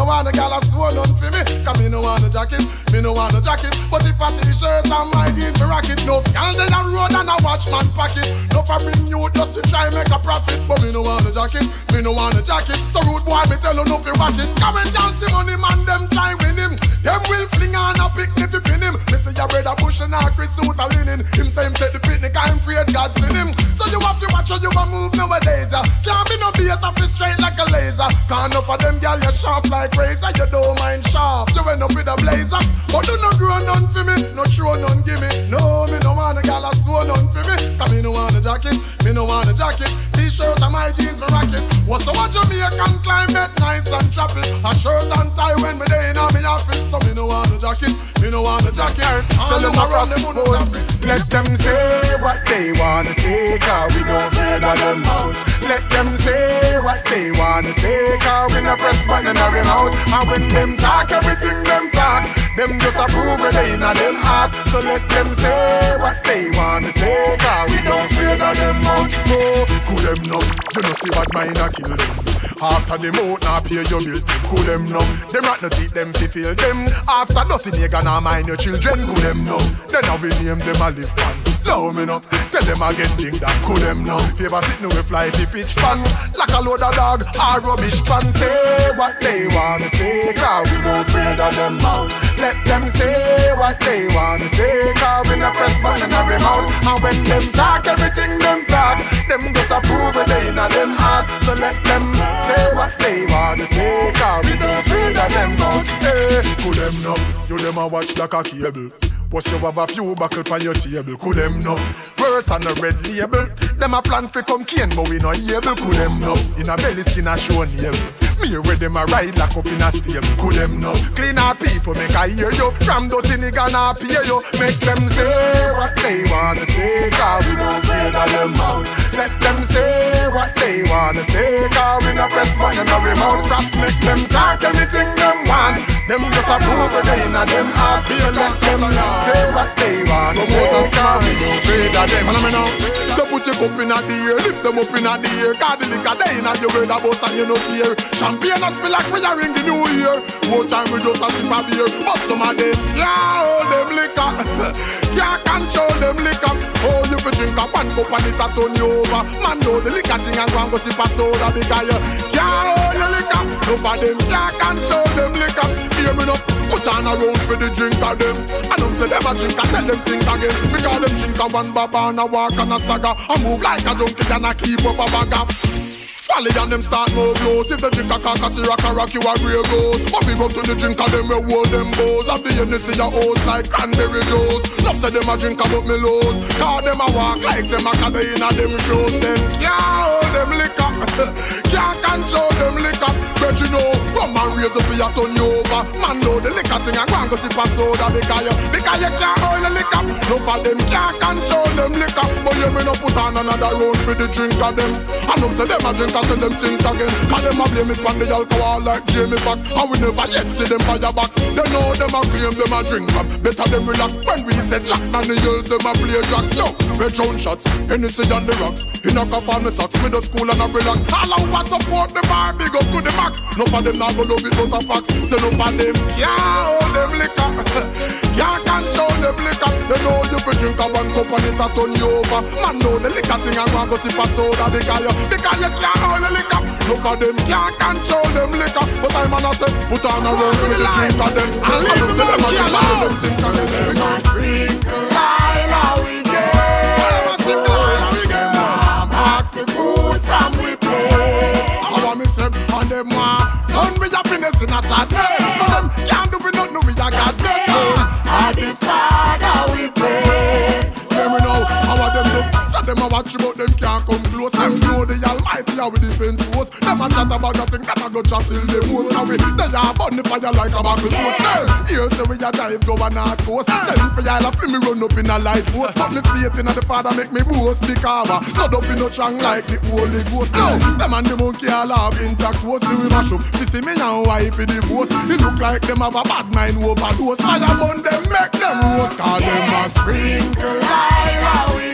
want a gal a swan on for me. Cause me no want a jacket, me no want a jacket. But if a t-shirt and my jeans me rock it. No gal they a road and a watchman pocket. No for bring you just to try make a profit. But me no want a jacket, me no want a jacket. So rude boy me tell you no fi watch it. Come and dance the money man them try win him. Them will fling on a picnic to pin him. Me say your brother Bush and a Chris suit a linen. Him say him take the picnic I'm afraid God send him. So you have to watch how you a move nowadays. uh. Can't be no beat off it straight like a laser. Can't enough of them girl you sharp like razor. You don't mind sharp, you end up with a blazer. But do not grow none for me, no show none give me. No, me no want a gal a sew none for me. Cause me no want a jacket, me no want a jacket. T-shirt and my jeans me rock it. What's so what Jamaican climate nice and tropic. A shirt and tie when me day in my office. So me no want a jacket, me no want a jacket. All them around them on the topic. Let them say what they wanna say, cause we don't fear of them out. Let them say what they wanna say, cause we no press button or them out. And when them talk, everything them talk, them just approve it in a them heart. So let them say what they wanna say, cause we don't fear of them out. No, cool them now, you know see what mine a kill them. After them out, now pay your bills, cool them now. Them rat no teeth, them fi feel them. After nothing, you gonna mind your children, cool them now. Then I will name them a live pan. Love me now, tell them I get thing that cool them now. Paper sit no we fly the pitch pan, like a load of dog or rubbish pan. Say what they wanna say, cause we don't afraid of them out. Let them say what they wanna say, cause we no press button in every mouth. And when them talk, everything them talk, them just approve it in a them heart. So let them say what they wanna say, cause we don't afraid of them out. Hey, cool them now, you them a watch like a cable. Plus you have a few buckle on your table, could them know? Worse on a red label. Them a plan for come cane, but we not able, could them know? In a belly skin a show nail. Me where them a ride lock up in a stable, could them know? Clean our people, make I hear you. From dirty nigga not pay you. Make them say what they wanna say, cause we don't fear of them out. Let them say what they wanna say, cause we no press button or remote. Frost make them talk anything them want. Them just approve it in a them heart. So let them say what they want to say, cause we don't fear of them. Follow me now. So put your cup in a the air, lift them up in a the air. Cause the liquor they in a you heard a bus and you no fear. Champagne a spill like we a ring the new year. One time we just a sip a beer, but some of them can't hold them liquor. Can't control them liquor. Oh, you fi drink a one cup and it a turn you over. Man know the liquor thing and go and go sip a soda because you can't hold the liquor. No for them can't control them liquor. Hear me now, put on a round for the drink of them. I don't say them a drink, I tell them think again. Because them drink a one baba and a walk and a stagger. I move like a junkie and I keep up a bagger. Folly and them start more blows. If they drink a carcass, rock a rock, you a grey ghost. But we go to the drink of them, we hold them bows. Have the Hennessy a host like cranberry juice. Love say them a drink about me lows. Cause them a walk like them a caddy in a them shows. Them can't hold them liquor. Can't control them liquor. But you know, rum and razor for you turn you over. Man know the liquor thing and go and go sip a soda. Because you, because you can't hold the liquor. No for them can't control them liquor. But you may not put on another round for the drink of them. I know say them a drink. Tell them think again. Cause them a blame it on the alcohol like Jamie Foxx. And we never yet see them fire box. They know them a claim them a drink up. Better them relax. When we say Jack and the girls them a play drugs. Yo, red round shots, Hennessy on the rocks. He knock off on the socks. With the school and a relax. All over support the bar, big up to the max. No for them not go love it out of facts. Say no for them, yeah, hold them liquor. Can't control them liquor. They know you fi drink a one cup and it a turn you over. Man know the liquor thing and go and go sip a soda. Because you, because you can't all the liquor. Look at them, can't control them liquor. But I'm gonna say, put on a round for the drink of them. And leave them them a drink of them think of them. We gon' sprinkle Lila we get. Whatever sprinkle Lila we get. Mom ask the food from we play. I want me say, and them want turn me happiness in a sadness. Cause them can't do me nothing, we a God bless us. And the Father we praise. Hear me now, how are them do? So them a watch about them can't come close. Them know the Almighty how we defend force. Them a chat about nothing, that a go chat till they most. Now we, they a burn the fire like a buckle torch. Here say we a drive go and not coast. Send for y'all a feel me run up in a light post. But me faith in the Father make me boast. Because not up in no strong like the Holy Ghost. Now, them and the monkey all have intercourse. See we mash up, we see me and wife in the post. It look like them have a bad mind overdose. Fire burn them, make them roast. Cause them a sprinkle like we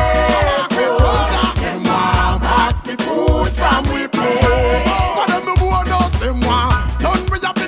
get. Them want box the food from we play. But them the bonus, them want done with your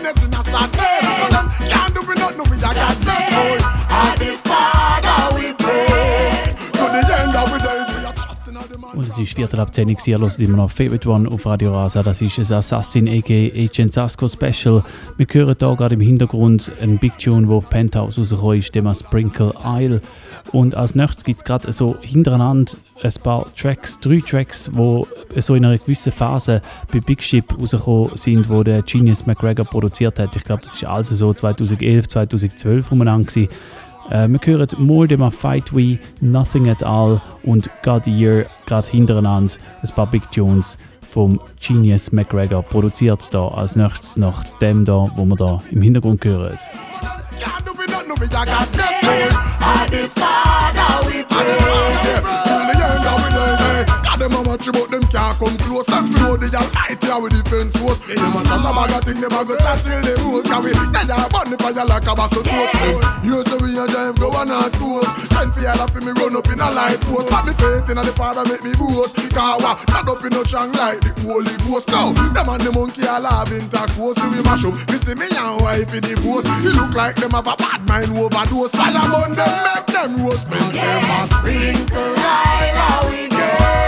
Und es ist Viertel ab zehn Uhr, ihr hört immer noch Favorite One auf Radio Rasa. Das ist ein Assassin aka Agent Sasko Special. Wir hören hier gerade im Hintergrund einen Big Tune, der auf Penthouse rausgekommen ist, dem Sprinkle Isle. Und als nächstes gibt es gerade so hintereinander ein paar Tracks, drei Tracks, die so in einer gewissen Phase bei Big Ship rausgekommen sind, wo der Genius McGregor produziert hat. Ich glaube, das war also so zwanzig elf, zwanzig zwölf umeinander gewesen. Äh, wir hören More Than a Fight We, Nothing at All und God a Year gerade hintereinander. Ein paar Big Tunes vom Genius McGregor produziert da als nächstes nach dem da, wo wir da im Hintergrund hören. Them a watch about them can't come close. Them know the almighty how we defense force. Them a chat a bag a thing, them a go chat till them rose. Cause we tell ya burn the fire like a buckle torch. You say we a drive go on our toes. Send for y'all for me run up in a light post. Put me faith in the Father make me boast. Cause wa not up in no strong like the Holy Ghost. Now them and the monkey all have intercourse. So we mash up. Me see me and wife in the post. You look like them have a bad mind overdose. Fire burn them, make them roast. Spend them a sprinkle right how we get.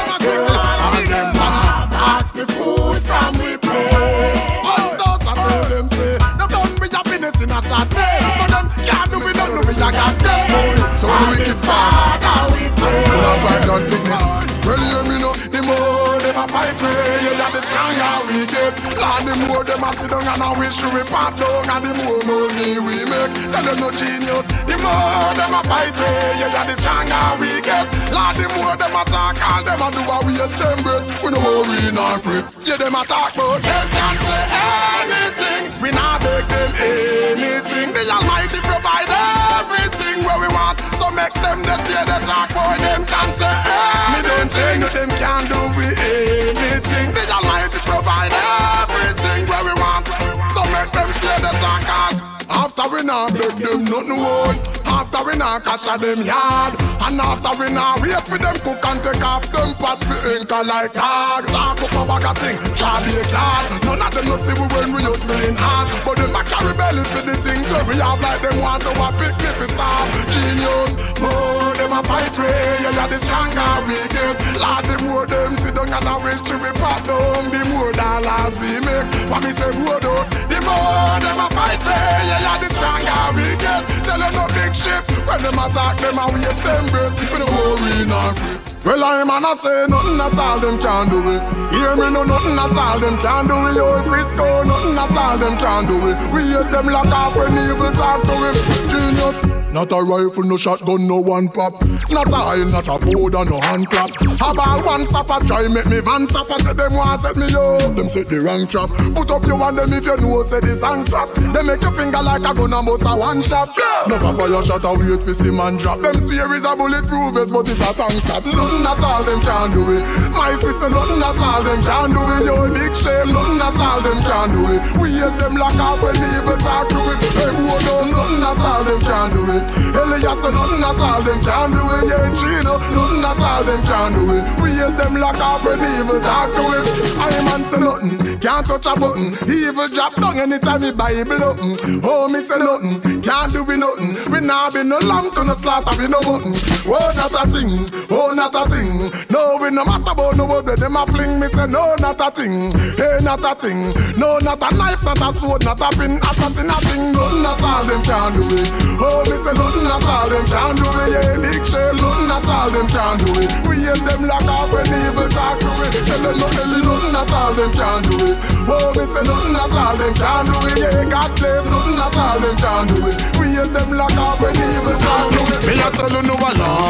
Ask the food from we play. All those I tell them say, them done with happiness in a sadness. But them can't do it, don't do it, I got this. So when the wicked talk, when I fight down dignity, well you me know, the more them a fight way, yeah, yeah, the stronger we get. Lord, the more them a sit down and a wish we pop down, and the more money we make. Tell them no genius, the more them a fight way, yeah, yeah, the stronger we get. Lord, the more them a talk, all them a do a waste them breath. We no worry nor fret. Yeah, them a talk but them can't say anything. We not beg them anything. The Almighty provide everything where we want. So make them just stay the talk, boy, them can't say anything. Me don't say no, them can't do with anything. The Almighty provide everything where we want. So make them stay the talk, cause after we not beg them nothing wrong. After we not catch a them yard. And after we not wait for them cook and take off them pot for anchor like dog. Talk up a bag of thing, try be a card. None of them no see we when we hustling hard. But them a carry belly for the things where we have like them want to a picnic for stop. Genius, more them a fight way. Yeah, yeah, the stronger we get. Lord, the more them sit down and a wish to we pop down. The more dollars we make. What me say, more those, the more them a fight way. Yeah, yeah, the stronger we get. Tell them no big shit. When them attack them and waste them breath. We don't worry nor fret. Well, I'm man I say nothing at all them can do it. Hear me no nothing at all them can do it. Yo, Frisco, nothing at all them can do it. We use them lock off when evil talk to him. Genius. Not a rifle, no shotgun, no one pop. Not a oil, not a powder, no hand clap. About one stopper, try make me van stopper. Say them want set me up, them set the wrong trap. Put up your one them if you know say the song trap. They make your finger like a gun and bust a one shot. No papa your shot a wait for see man drop. Them swear is a bulletproof vest, but it's a tank top. Nothing at all them can do it. My sister, nothing at all them can do it. Yo big shame, nothing at all them can do it. We use them lock up when people talk to it. Hey who knows, nothing at all them can do it. Elias, so nothing at all them can do it. Yeah, Gino, nothing at all them can do it. We use them lock up when evil talk to it. I am answer nothing, can't touch a button. Evil drop down anytime me Bible open. Oh, me say nothing, can't do we nothing. We not be no lamb to no slaughter, we no mutton. Oh, not a thing, oh, not a thing. No, we no matter about no word, them a fling. Me say no, not a thing, hey, not a thing. No, not a knife, not a sword, not a pin. Assassin a thing, nothing at all them can do it. Oh, me say nothing at all them can do it. Yeah, big shame, nothing at all them can do it. We hate them lock off when evil talk to it. Tell them nothing, nothing at all them can do it. Oh, me say nothing at all them can do it. Yeah, God bless, nothing at all them can do it. We hate them lock off when evil talk to it. Me a tell you no a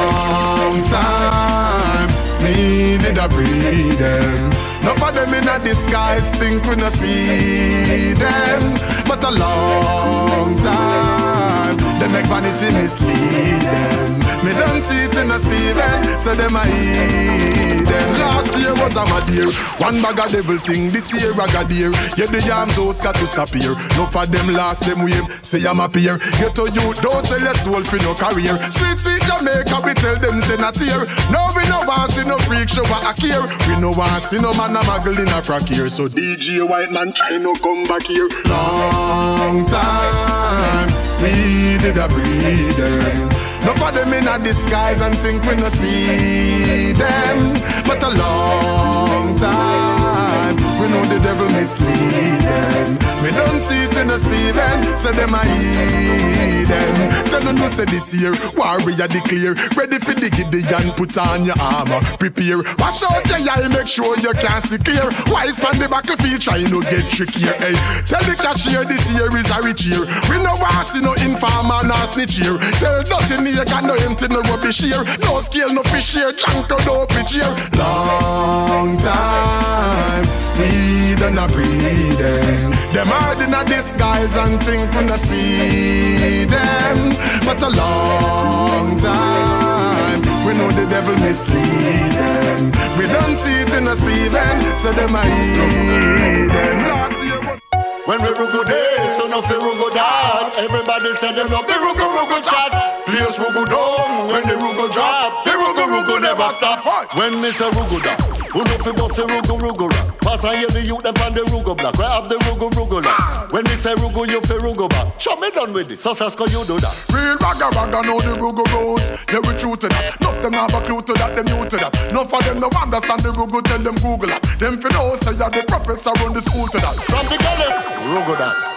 long time. Me did a breed them. Enough of them in a disguise think we no see them. But a long time they make vanity mislead them. Me don't see it in a Steven, so them a eat them. Last year was a mad year, one bag of devil thing. This year I got here. Yeah, the yams house got to stop here. Enough of them last them wave, say I'm up here. Get to you, don't sell your soul for no career. Sweet, sweet Jamaica, we tell them say not here. No, we no want see no freak show back here. We no want see no man a muggle in a frack here. So D J White Man try no come back here. Long time we did a breed them. No of them in a disguise and think we no see them. But a long time, we know the devil mislead them. We don't see it in the Stephen, so them a eat them. Tell them no say this year, warrior declare, ready for the Gideon, put on your armor, prepare. Wash out your eye, make sure you can see clear. Wise man the battlefield, try no get trickier. Hey, tell the cashier this year is a rich year. We no want see no informer, no snitch here. Tell nothing here, can no empty, no rubbish here. No scale, no fish here, junk or no pitch here. Long time, we done a breeding. Them hard in a disguise and think we no see them. But a long time, we know the devil mislead them. We don't see it in a Stephen, so them a eat them. When we rugo day, so no fi rugo that. Everybody say them love the rugo rugo chat. Players rugo down, when the rugo drop, the rugo rugo never stop. When me say rugo da, who no fi bust the rugo rugo rap. Pass and hear the youth them on the rugo block. We have the rugo rugo rap. When me say rugo, you fi rugo back. Show me done with this, so Sasko you do that. Real ragga ragga know the rugo rules. Yeah, we true to that. Nuff them have a clue to that, them new to that. Nuff of them no understand the rugo, tell them Google that. Them fi know say you're the professor run the school to that. From the gully. Rugo that.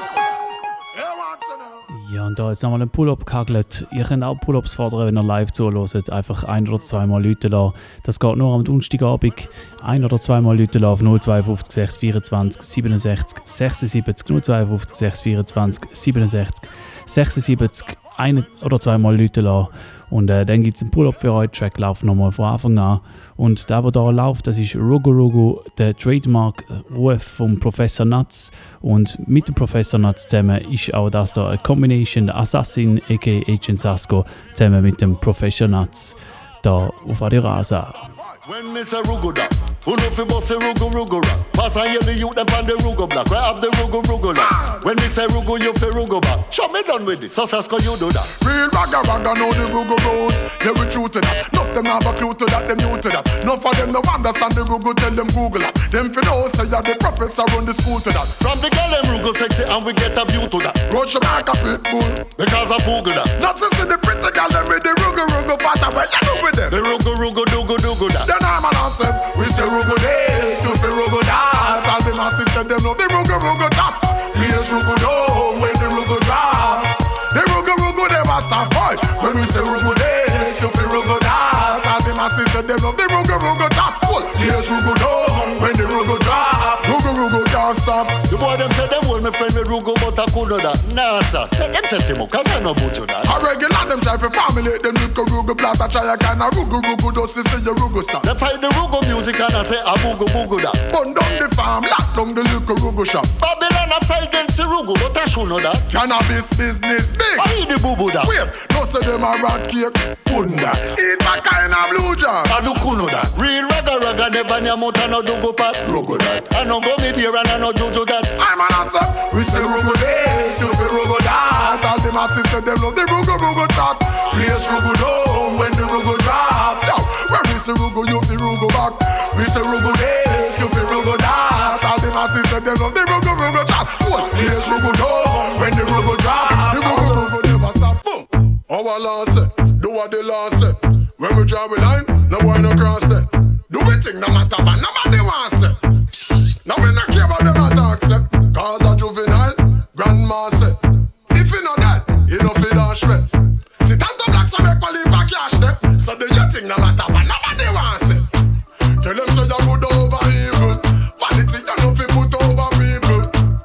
Ja, und da jetzt nochmal ein Pull-Up gehagelt. Ihr könnt auch Pull-Ups fordern, wenn ihr live zuhört. Einfach ein- oder zweimal Leute lassen. Das geht nur am Donnerstagabend. Ein- oder zweimal Leute lassen auf null zwei fünf sechs vierundzwanzig siebenundsechzig sechsundsiebzig. null zwei fünf sechs vierundzwanzig siebenundsechzig sechsundsiebzig. Ein- oder zweimal Leute lassen. Und äh, dann gibt es einen Pull-Up für euch. Track läuft nochmal von Anfang an. Und der, der hier läuft, das ist Rugo Rugo, der Trademark-Ruf vom Professor Nuts. Und mit dem Professor Nuts zusammen ist auch das da eine Combination, der Assassin, aka Agent Sasko, zusammen mit dem Professor Nuts, da auf Radio Rasa. When me say rugo da, who no fi bust the rugo rugo rap. Pass and hear the youth them on the rugo block. We have the rugo rugo rap. When me say rugo, you fi rugo back. Show me done with this, so Sasko you do that. Real ragga ragga know the rugo rules. Yeah, we true to that. Nuff them have a clue to that, them new to that. Nuff of them no understand the rugo, tell them Google that. Them fi know say you're the professor run the school to that. From the girl them rugo sexy and we get a view to that. Rush your back a pit bull, because I Google that. Not to see the pretty girl them with the rugo rugo fatter, but you know with them. The rugo rugo dugo dugo that. Then I'm an answer. We say rugo this, you fi rugo that. All the massive said them know the rugo rugo top. Please rugo down when the rugo drop. The rugo rugo never stop boy. When we say rugo this, you fi rugo that. All the massive said them know the rugo rugo top. Please rugo down when the rugo drop. Rugo rugo can't stop. The boy them say them hold me friend with rugo, but I could know that. Nah sir, say them set him up, cause I know about you that. I regular them try to formulate them little rugo blast. I try a kind of rugo rugo just to see your rugo stop. They find the rugo music and I say a bugo bugo that. Burn down the farm, lock down the little rugo shop. Babylon a fight against the rugo, but I should know that. Cannabis business big. I eat the bubu that. Wait, no say them a rat cake. Couldn't that. Eat my kind of blue jar. I do kuno that. Real ragga ragga never near mouth and no do go pat. Rugo that. I no go me beer and I no juju that. I'm an answer. We say rugo this, you feel rugo that. All the massive say them love the rugo rugo chat. Place rugo down when the rugo drop. Yo, when we say rugo, you feel rugo back. We say rugo this, you feel rugo that. All the massive say them love the rugo rugo chat. Place rugo down when the rugo drop. The rugo rugo never stop. Boom. Our law say, do what the law say. When we draw a line, no boy no cross that. Do we think no matter but nobody wants it. Now we not care about them attacks, say. Cause a juvenile, grandma say. If you know that, you know fi dash way. Sit on the black so make one leave a cash there. So do you think no matter but nobody wants it. Tell them so you good over evil. Vanity you know fi put over people.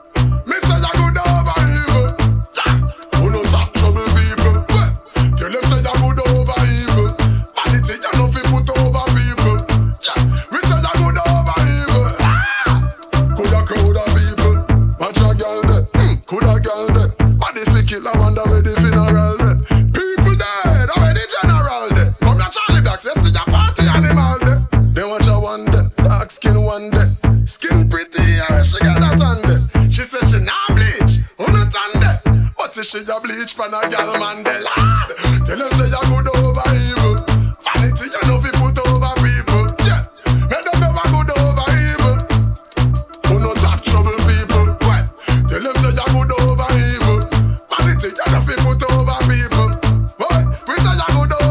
Me say you good over evil. Yeah, who no talk trouble people. Well, tell them so you good over evil. Vanity you know fi put over people. Yeah, we say you good over evil. Ah, coulda crowd of people. Watch a girl there, mm, coulda girl there. Body fi kill I wonder where the funeral there. People dead, where the general there. Come here Charlie Blacks, you see your party animal there. They watch a one day, dark skin one day. Skin pretty, yeah, she got that on there. She say she not bleach, who not on there. But say she a bleach pan a girl man the lad. Tell them say you good over evil. Vanity you know fi put over people. Yeah, make them never good over evil. Who no talk trouble people. Well, tell them say you good over evil. Vanity you know fi put over people. Well, we say you good over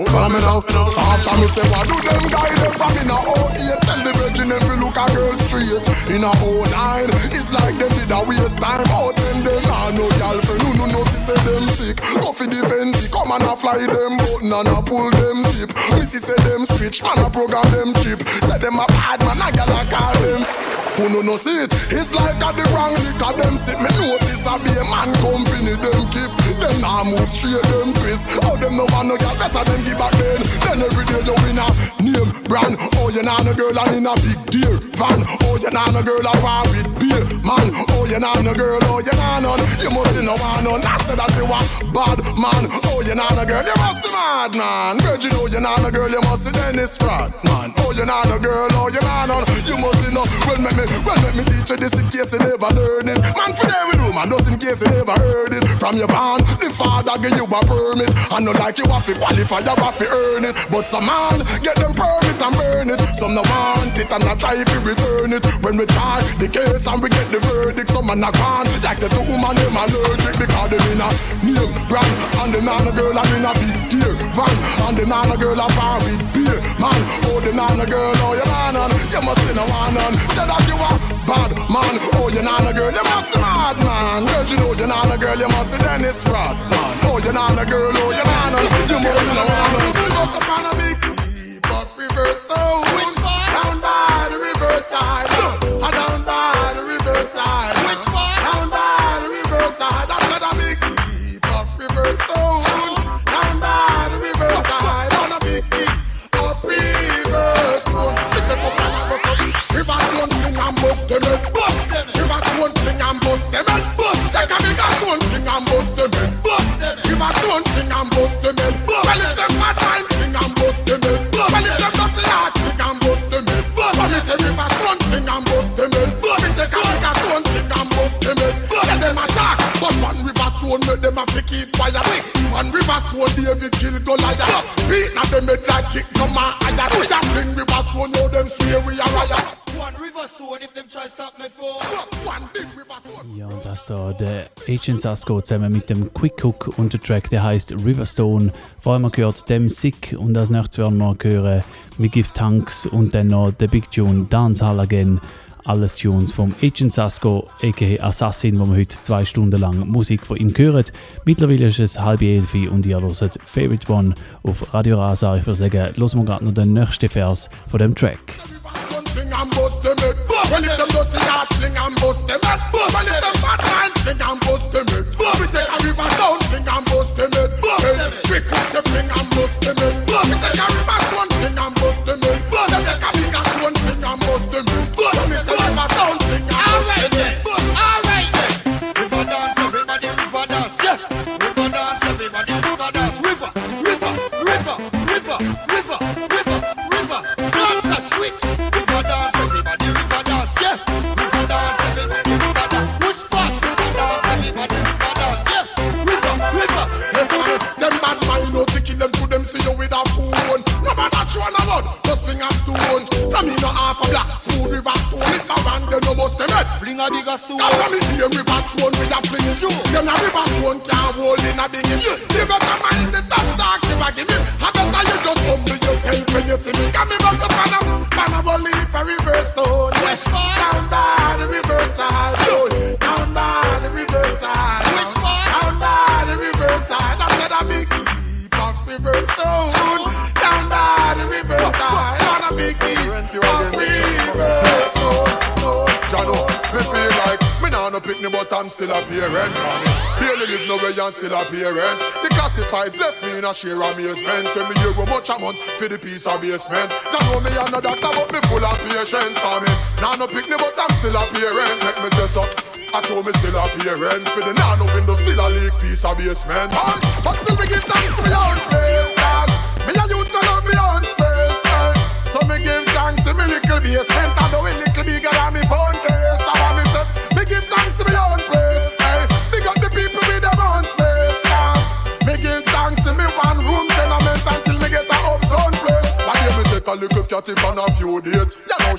Follow me now. After me say what do them guide them from in a oh eight. Tell the virgin if you look a girl straight. In a oh nine, it's like them did a waste time. Out them them nah no girlfriend. No no no, she say them sick. Go for defense, come and a fly them button and a pull them zip. Missy say them switch, man a program them chip. Say them a bad man, a gal a call them. Who no no see it? It's like a the wrong lick of them sit. Me notice a be a man company them keep. Them nah move straight them twist. How them no man no gal better than give back then. Then every day you win a name brand. Oh you nah no girl and in a big deer van. Oh you nah no girl a war with beer man. Oh you nah no girl, oh you nah none. You must see no one none. I said that you a bad man. Oh you nah no girl, you must see mad man. Virgin oh you nah no girl, you must see Dennis Fraud man. Oh you nah no girl, oh you nah none. You must see no. Well make me, well make me teach you this in case you never learn it. Man for there we do man, just in case you never heard it. From your band, the father give you a permit. I know like you have to qualify, you have to earn it. But some man get them permit and burn it. Some no want it and I try to return it. When we try the case and we get the verdict, some man a gone. Like say to woman them allergic because them in a name brand. And the man a girl I'm in a big deer van. And the man a girl a bar with beer man. Oh the man a girl, oh you man on. You must see no one on. Say that you a bad man. Oh you not a girl, you must see mad man. Girl you know you not a girl, you must see Dennis Fraud man. Oh you not a girl, oh you not on. You must see no one on. Look up on a big heap of reverse stone. Which part? Down by the reverse side. Uh, down by the reverse side. Which part? Down by the reverse side. That's not a big heap of reverse stone. Down by the reverse side. On a big heap of reverse stone. Pick up on a bus. River stone fling and bust them head. Bust them. River stone fling and bust them head. Bust. Take a big stone fling and bust them head. Bust them. River stone fling and bust them head. Well if them bad time fling and bust them head. Well if them dirty heart fling and bust them head. But me say river stone fling and bust them head. Me take a big stone fling and bust them head. Let them attack. But one river stone make them a fi keep fire. One river stone David kill Goliath. Beat na them head like kick no man higher. We a fling river stone, know them swear we a riot. One river stone if them try stop me for. One big river stone. Ja, und das da der Agent Sasko zusammen mit dem Quick Hook und der Track, der heißt Riverstone. Vor allem gehört dem Sick und als nächstes werden wir hören We Give Thanks und dann noch der Big Tune Dance Hall Again. Alles Tunes vom Agent Sasko, aka Assassin, wo wir heute zwei Stunden lang Musik von ihm hören. Mittlerweile ist es halb elf und ihr hört Favorite One auf Radio Rasa. Ich würde sagen, hören wir gerade noch den nächsten Vers von dem Track. Fling and bust them head. Well if them dirty heart fling and bust them head. Well if them bad mind fling and bust them head. We take a river down fling and bust them head. Hey, quick quick say fling and bust them head. We take a river down fling and bust them head. We take a bigger stone fling and bust them head. We say river down fling and bust them head. All right then. River dance, everybody river dance. Yeah. River dance, everybody river dance. River, river, river, river, river, river, river. Dancers quick. River dance, everybody river dance. Yeah. River dance, everybody river dance. Which part? River dance, everybody river dance. Yeah. River, river. Them bad mind no to kill them to them see you with a phone. No matter you on a road, just fling a stone. Come in no half a black, smooth river stone. If my band they no bust them head. Fling a bigger stone. Come from me here river stone with a fling you. Them a river stone can't hold in a big in. You better mind the top dark never give me. I better you just humble yourself when you see me. Come me back up and up, and I will leave a reverse stone. Which part? Down by the reverse side. Down by the reverse side. Which part? Down by the reverse side. I said a big heap of reverse stone. Down by the reverse side. On a big heap of reverse stone. Jano, me feel like me nah no pick me but I'm still a parent. Barely live nowhere and still a parent. The classifieds left me in a sheer amazement. Tell me you how much a month for the piece of basement. Jano me a no doctor but me full of patience. For me, nah no pick me but I'm still a parent. Make me say so. I show me still a parent. For the nano window still a leak piece of basement. But still me give thanks to me own place. Me a youth no love me own space. So me give thanks to me little basement. And though it little bigger than me phone case. I want me say, me give thanks to me own place. Hey, big up the people with their own space. Yes. Me give thanks to me one room tenement until me get a uptown place. But here me take a little cat if on a few dates. You know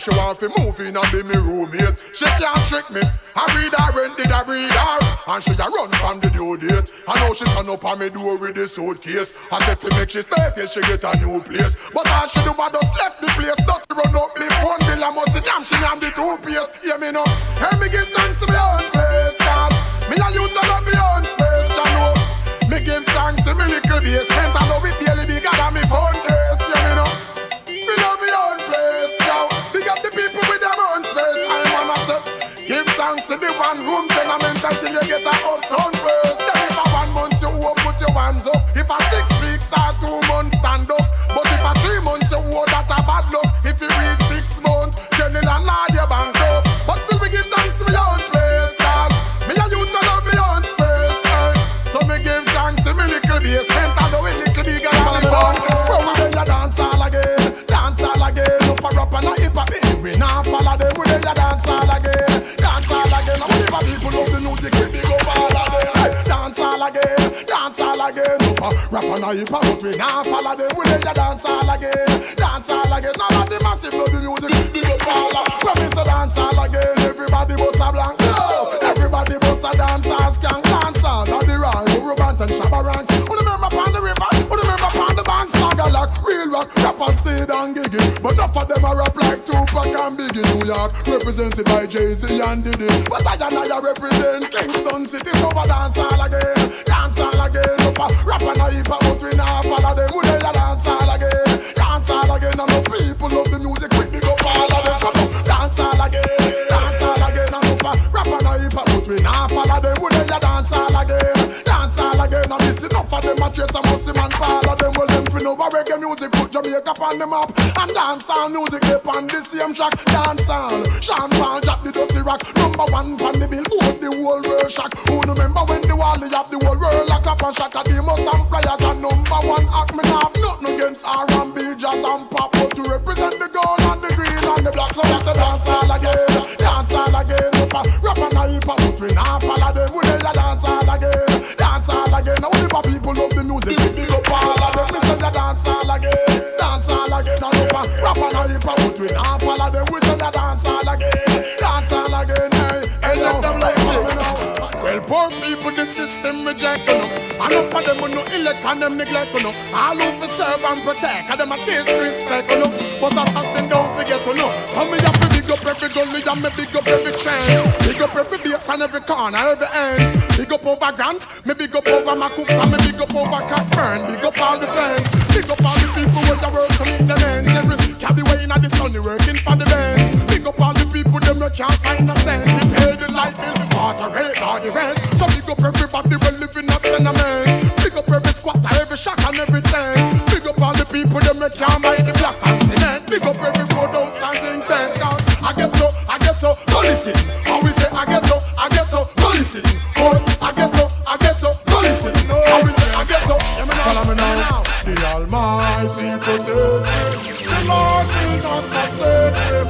she want to move in and be me roommate. She can't trick me. I read her rent, did I read her? And she a run from the due date. I know she turn up on me door with the suitcase. I said to make she stay till she get a new place. But all she do was just left the place. Not to run up me phone bill. I must say damn she am the two-piece. Hear me now. Hey, me give thanks to my own place. Cause me a use to love my own space. You know. Me give thanks to me little basement. I know it daily bigger than me phone case. Hear me now. Me love my own place. Yo. Big up the people with their own space. I wanna say give thanks to the one room tenement until you get a uptown place. Then if a one month you work, put your hands up. If a six weeks or two months, stand up. But if a three months you work, that's a bad luck. If you read six months, then in a land you bank up. But still we give thanks to my own place. Cause me a youth to love my own space. Eh? So me give thanks to me little basement. I know it little bigger than me one. Bro, we then you dance all again. Dance all again. No for up and a hip hop. We now follow them. We then you dance all again. Dance all again. Now whenever people love the music, we big up all of them. Hey, dance all again. Dance all again. No for rap and a hip hop. But we now follow them. We then you dance all again. Dance all again. Now that the massive love the music, we big up all of them. When we say dance all again, everybody bust a blank. No, everybody bust a dance all skank. Dance all of the rhyme. Urubant and Shabba ranks. Who remember upon the river? Who remember upon the bank? Saga like real rock. Rappers say and giggy. But enough of them a rap like Tupac and Biggie. New York represented by Jay-Z and Diddy. But I and I represent Kingston City. So for dance all again. Dance all again. No for rap and a hip hop. But we now follow them. Who they a dance all again. Dance all again. And no people love the music. We big up all of them. Come on. Dance all again. Dance all again. And no for rap and a hip hop. But we now follow them. Who they a dance all again. Dance all again. And this enough of them a trace a musty man follow them. Well them fin over reggae music. Put Jamaica on the map. And dance all music. They on the same track. Dance all. Sean Paul Jack the dirty rock. Number one from the billboard. The whole world shock. Who remember when the wall they have the whole world lock up and shock. The most and players and number one act. Me have nothing against R and B, jazz and pop. But to represent the gold and the green and the black. So I say dance all again. Dance all again. Rap and a hip hop. But we now follow them. We they a dance all again. Dance all again. Now whenever people love the music, big up all of them. Me say ya dance all again. Dance all again. And rap and a hip hop. But we now follow them. We say ya dance all again. Dance all again. Hey, hey, let them like me now. Well, poor people, the system reject you know. Enough of them who no elect and them neglect you know. All who for serve and protect, and them a disrespect you know. But assassin don't forget to know. So me have to big up every gully and me big up every trench. Big up every base and every corner, every ends. Big up over Grants, me big up over my cooks and me big up over Catburn. Big up all the fans, big up all the people with the work to meet the ends. Every cabby way in the sun, working for the bands. Big up all the people them no can't find a cent. We pay the light bill, water rate, all the rent. So big up everybody we living up tenements. Big up every squatter, every shack and every tent. Big up all the people them no can't buy the block and cement. Big up every road house and zinc fence. Cause I get so, I get so, go listen. How we say I get so, I get so, go listen. Oh, I get so, I get so, go listen. How we say I get so, follow me now. The Almighty protect me. The Lord will not forsake me.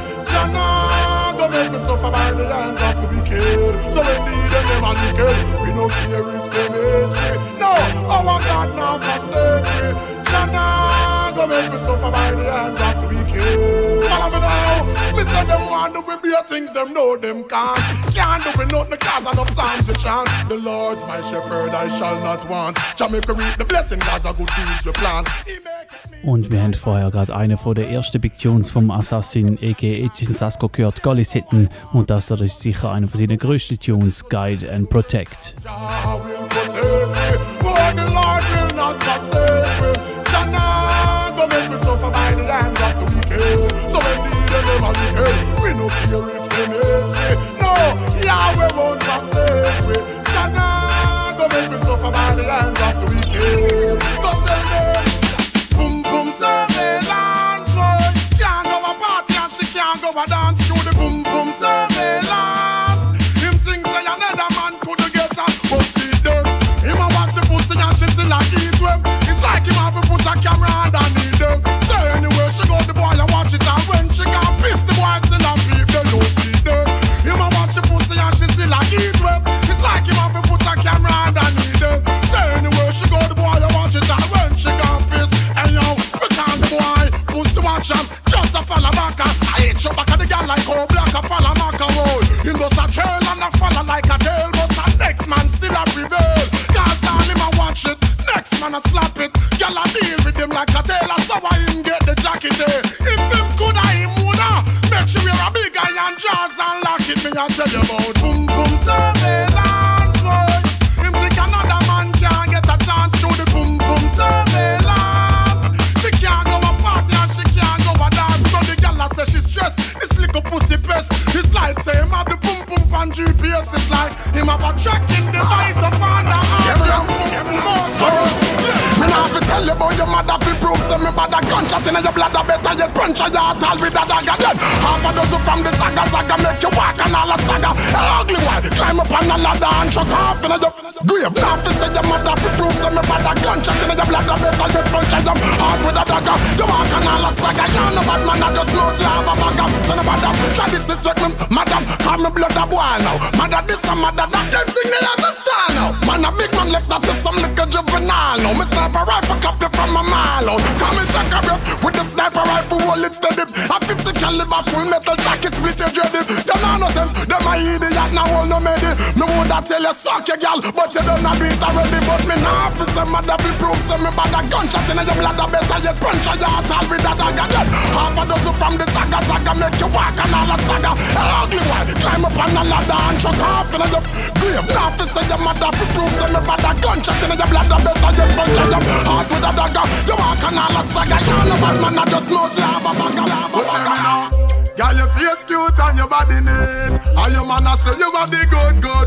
Jannah, don't make me suffer by the hands of the wicked. So indeed them never wicked. We no care if they hate me. No, our God not forsake me. Jannah, don't make me suffer by the hands of the wicked. Follow me now. Me say them want to be better things, them know them can't. Can't do it nothing cause enough psalms to chant. The Lord's my shepherd, I shall not want. Jamaica reap the blessing cause of good deeds we plan. Und wir haben vorher gerade eine von der ersten Big Tunes vom Assassin a k a. Etienne Sasko gehört, Golly Sitten. Und das ist sicher eine von seinen größten Tunes, Guide and Protect. We no care if they hate me. No, Yahweh won't forsake me. Jannah, don't make me suffer by the hands of the wicked. Don't tell me, boom boom surveillance. Can't go a party and she can't go a dance through the boom boom surveillance. Him thinks say another man could get her, but see them. Him a watch the pussy and she still a eat them. It's like him have to put a camera underneath them. So anywhere she go, the boy a watch it, and when she can't piss, the boy still a peep. They don't see them. Him a watch the pussy and she still a eat them. It's like him have to put a camera underneath them. So anywhere she go, the boy a watch it, and when she can't piss, and yo, we call the boy pussy watch him, just a follow back. I ain't show back at the like how black a fall a mark a wall. Him goes a trail and a follow like a tail, but the next man still a prevail. Cause all him a watch it, next man a slap it. Y'all a deal with him like a tailor, so why him get the jacket there? If him coulda, him woulda. Make sure you're a big iron jaws and lock it. Me a tell you about boom boom surveillance, boy. Him think another man can't get a chance to the boom boom surveillance. She can't go a party and she can't go a dance. So the gal a say she stressed. This little pussy pest. It's like say him have the boom boom pan G P S. It's like him have a tracking device up on the arm. Me nah fi tell you about your mother fi prove say me bad a gunshot inna your blood a better yet punch a your tall with a dagger then. Half a dozen from the saga saga make you walk and all a stagger. Ugly one climb up on a ladder and shut off inna your grave. Nah fi say your mother fi prove say me bad a gunshot inna your blood a better yet punch a your heart with a dagger. You walk and all a stagger. You no bad man a just know you have a bag of. So no bad up. Try this respect me, madam. Call me blood a boy now. Mother this and mother that. Them thing they understand now. Man a big man left that to some little juvenile now. Me sniper rifle cop you from a mile out. Come and take a breath with the sniper rifle roll it steady. A fifty caliber full metal jacket split your dreaded. Them no sense, them a idiot now all no medi. Me woulda tell you suck your gal, but you don't do it already. But me nah fi say mother fi prove say me bad a gunshot inna your blood a better yet punch a your tall with a dagger then. Half a dozen from the saga saga make you walk and all a stagger. Ugly one climb up on a ladder and shut off inna your grave. Nah fi say your mother fi prove say me bad a gunshot inna your blood a better yet punch a your heart with a dagger. You walk and all a stagger. You no bad man a just know you have a bag of lava. But tell me now, girl your face cute and your body neat. And your man a say you have the good good.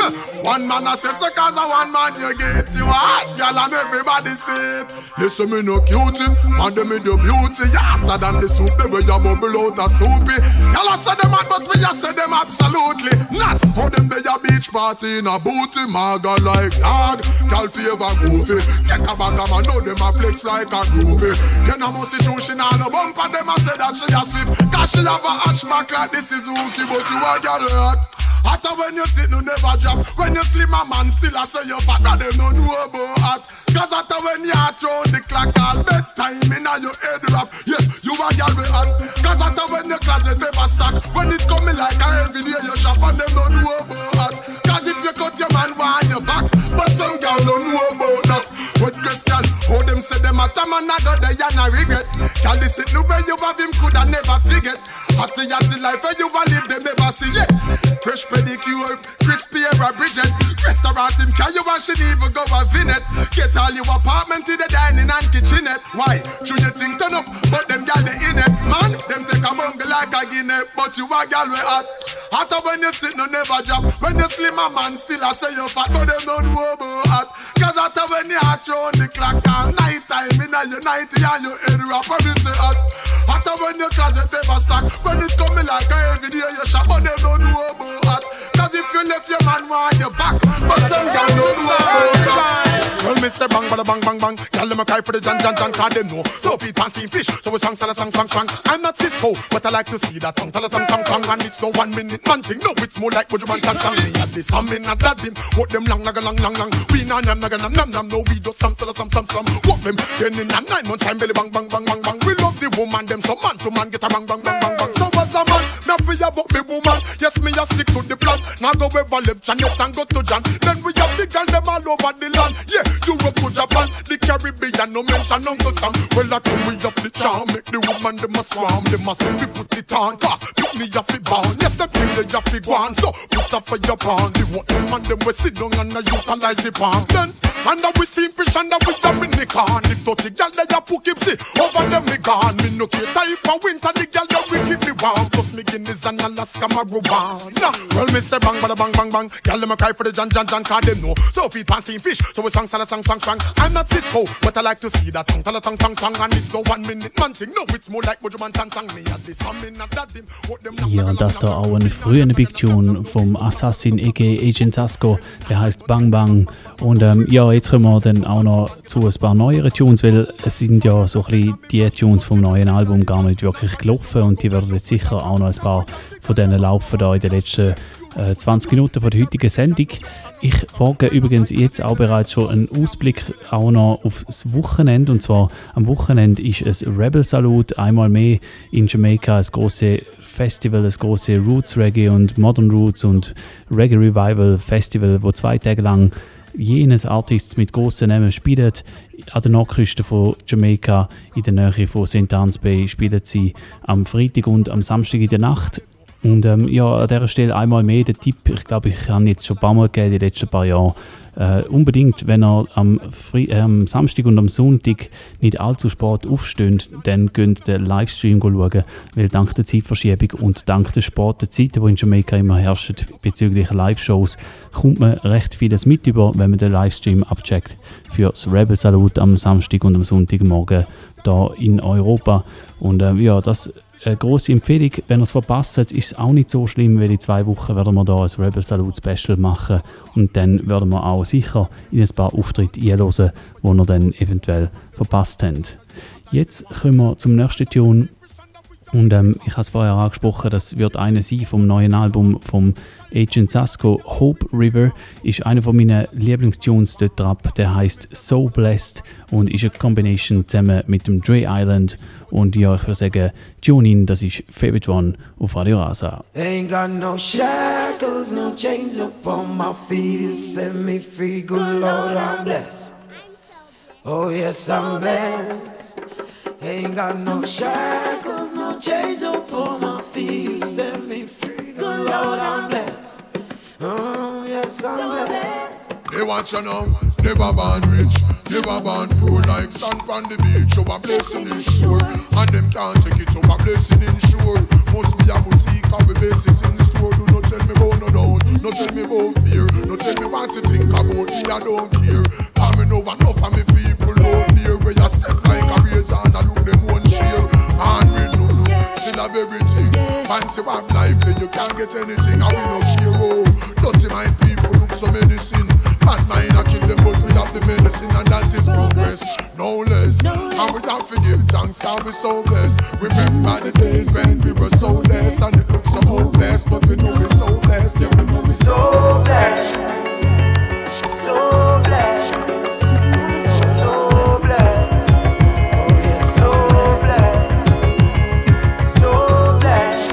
One man a say so cause a one man you get. You hot girl and everybody see it. Listen me no cutie, and them me do beauty. You hotter than the soup, the way you bubble out a soupy. Y'all a say them mad but we a say them absolutely not. How them they a beach party in a booty. Maga like dog, girl favor goofy. Take a bag of man, know them a flex like a groovy. Then a musty true she nah no bump and them a say that she a swift. Cause she have a hatchback like this is hooky, but you a girl hurt. Hotter when you sit, no never drop. When you slim a man still a say you fat, that them no know about hot. Cause hotter when you hot round the clock, all bedtime inna your head wrap. Yes, you a girl with hot. Cause hotter when your closet never stock. When it coming like a every day you shop and them no know about hot. Cause if you cut your man behind your back, but some girl don't know about that. What question? How them say them a time and I got the and I regret. Girl this it the way you have him coulda never forget. Hotty hotty life and you a live them never see yet. Fresh pedicure, crispy hair a Bridget. Restaurant him can you and she even go a vinet. Get all your apartment to the dining and kitchenette. Why? True you think turn up, but them gal they in it. Man, them take a bungle like a guinea. But you a gal we hot. Hotter when you sit no never drop. When you slim a man still a say you fat. But them don't know about hot. Cause hotter when you hot round the clock. All night time inna your nighty and your head wrap. When you say hot. Hotter when your closet ever stock. When it coming like a every day you shop. But them don't know about hot. Cause if you left your man on your back. But some gal don't know about that. Well me say bang bada bang bang bang. Gal them a cry for the jan jan jan. Cause them know so feet and steam fish. So we song sala song song song. I'm not Cisco, but I like to see that tongue tala tongue tongue tongue. And it's no one minute man thing. No, it's more like Bujuman tang tang. Me at this, I'm in a dad him. What them long naga long long long. We na nam naga nam nam nam. No, we do some tala some some some. What them then in a nine months time belly bang bang bang bang bang. We love the woman them so man to man get a bang bang bang bang bang. So as a man, now we about me woman. Yes me a stick to the plan. Now go ever live Janet and go to John. Then we have the girl them all over the land. Yeah, Europe to Japan, the Caribbean no mention Uncle Sam. Well that we have the charm. Make the woman them a swarm. Them a say we put it on. Cause pick me a fi born. Yes the thing they a fi go on. So put up for your pawn. The what is man them we sit down and a utilize the palm. Then and we steam fish and we up in the can. If dirty girl they a put keep see over them me gone. Me no care if for winter the girl they will keep me warm. Plus me Guinness and Alaska marijuana. Well me say bang bada bang bang bang. Girl them a cry for the jan jan jan. Cause them know so feet pan steam fish. So we song sala song song song. I'm not Cisco, but I like to see that tongue tala tongue tongue tongue. And it's no one minute man thing. No, it's more like Bujuman tang tang. Me at this I'm in a dad him. Ja, das da auch ein früher Big Tune vom Assassin aka Agent Sasko, der heißt Bang Bang. Und ähm, ja, jetzt kommen wir dann auch noch zu ein paar neueren Tunes, weil es sind ja so ein bisschen die Tunes vom neuen Album gar nicht wirklich gelaufen und die werden jetzt sicher auch noch ein paar von denen laufen da in den letzten äh, zwanzig Minuten von der heutigen Sendung. Ich wage übrigens jetzt auch bereits schon einen Ausblick auch noch auf das Wochenende. Und zwar am Wochenende ist es Rebel Salute, einmal mehr in Jamaika, ein grosses Festival, ein grosses Roots Reggae und Modern Roots und Reggae Revival Festival, wo zwei Tage lang jenes Artists mit grossen Namen spielen. An der Nordküste von Jamaika, in der Nähe von Saint Anne's Bay, spielen sie am Freitag und am Samstag in der Nacht. Und ähm, ja, an dieser Stelle einmal mehr der Tipp, ich glaube, ich habe jetzt schon ein paar Mal gegeben, die letzten paar Jahre, äh, unbedingt, wenn ihr am, Fre- äh, am Samstag und am Sonntag nicht allzu spät aufsteht, dann könnt ihr den Livestream schauen, weil dank der Zeitverschiebung und dank der späten Zeiten, die in Jamaika immer herrschen bezüglich Live-Shows, kommt man recht vieles mit über, wenn man den Livestream abcheckt für das Rebel Salute am Samstag und am Sonntagmorgen hier in Europa. Und äh, ja, das eine grosse Empfehlung, wenn ihr es verpasst, ist es auch nicht so schlimm, weil in zwei Wochen werden wir hier ein Rebel Salute Special machen und dann werden wir auch sicher in ein paar Auftritte einhören, die ihr dann eventuell verpasst habt. Jetzt kommen wir zum nächsten Tune und ähm, ich habe es vorher angesprochen, das wird einer sein vom neuen Album vom Agent Sasco. Hope River ist einer von meinen Lieblingstunes dort drauf, der heißt So Blessed und ist eine Combination zusammen mit dem Dre Island. Und ja, ich würde sagen, tune in, das ist Favorite One auf Radio Rasa. Ain't got no shackles, no chains upon my feet. You set me free, good Lord, I'm blessed. Oh yes, I'm blessed. Ain't got no shackles, no chains upon my feet. You set me free, good Lord, I'm blessed. Oh yes, I'm blessed. They want you know, never born rich, never born poor. Like sand on the beach, oh a blessing is sure. And them can't take it, oh a blessing is sure. Must be a boutique, have a basis in store. Do not tell me about no doubt, no tell me about fear. No tell me what to think about me, I don't care. Cause me know enough of me people out there. Where you step like a razor and I look them one share. And we no no, still have everything. Fancy one life, then you can't get anything. And we no care, oh. Dirty mind people look so medicine. Bad mind I kill them, but we have the medicine, and that is progress, no less. And we have to give thanks, cause we so blessed. Remember the days when we were so less, and it looks so hopeless, but we know we're so blessed. Yeah, we know we're so blessed, so blessed, so blessed. Oh yeah, so blessed, so blessed,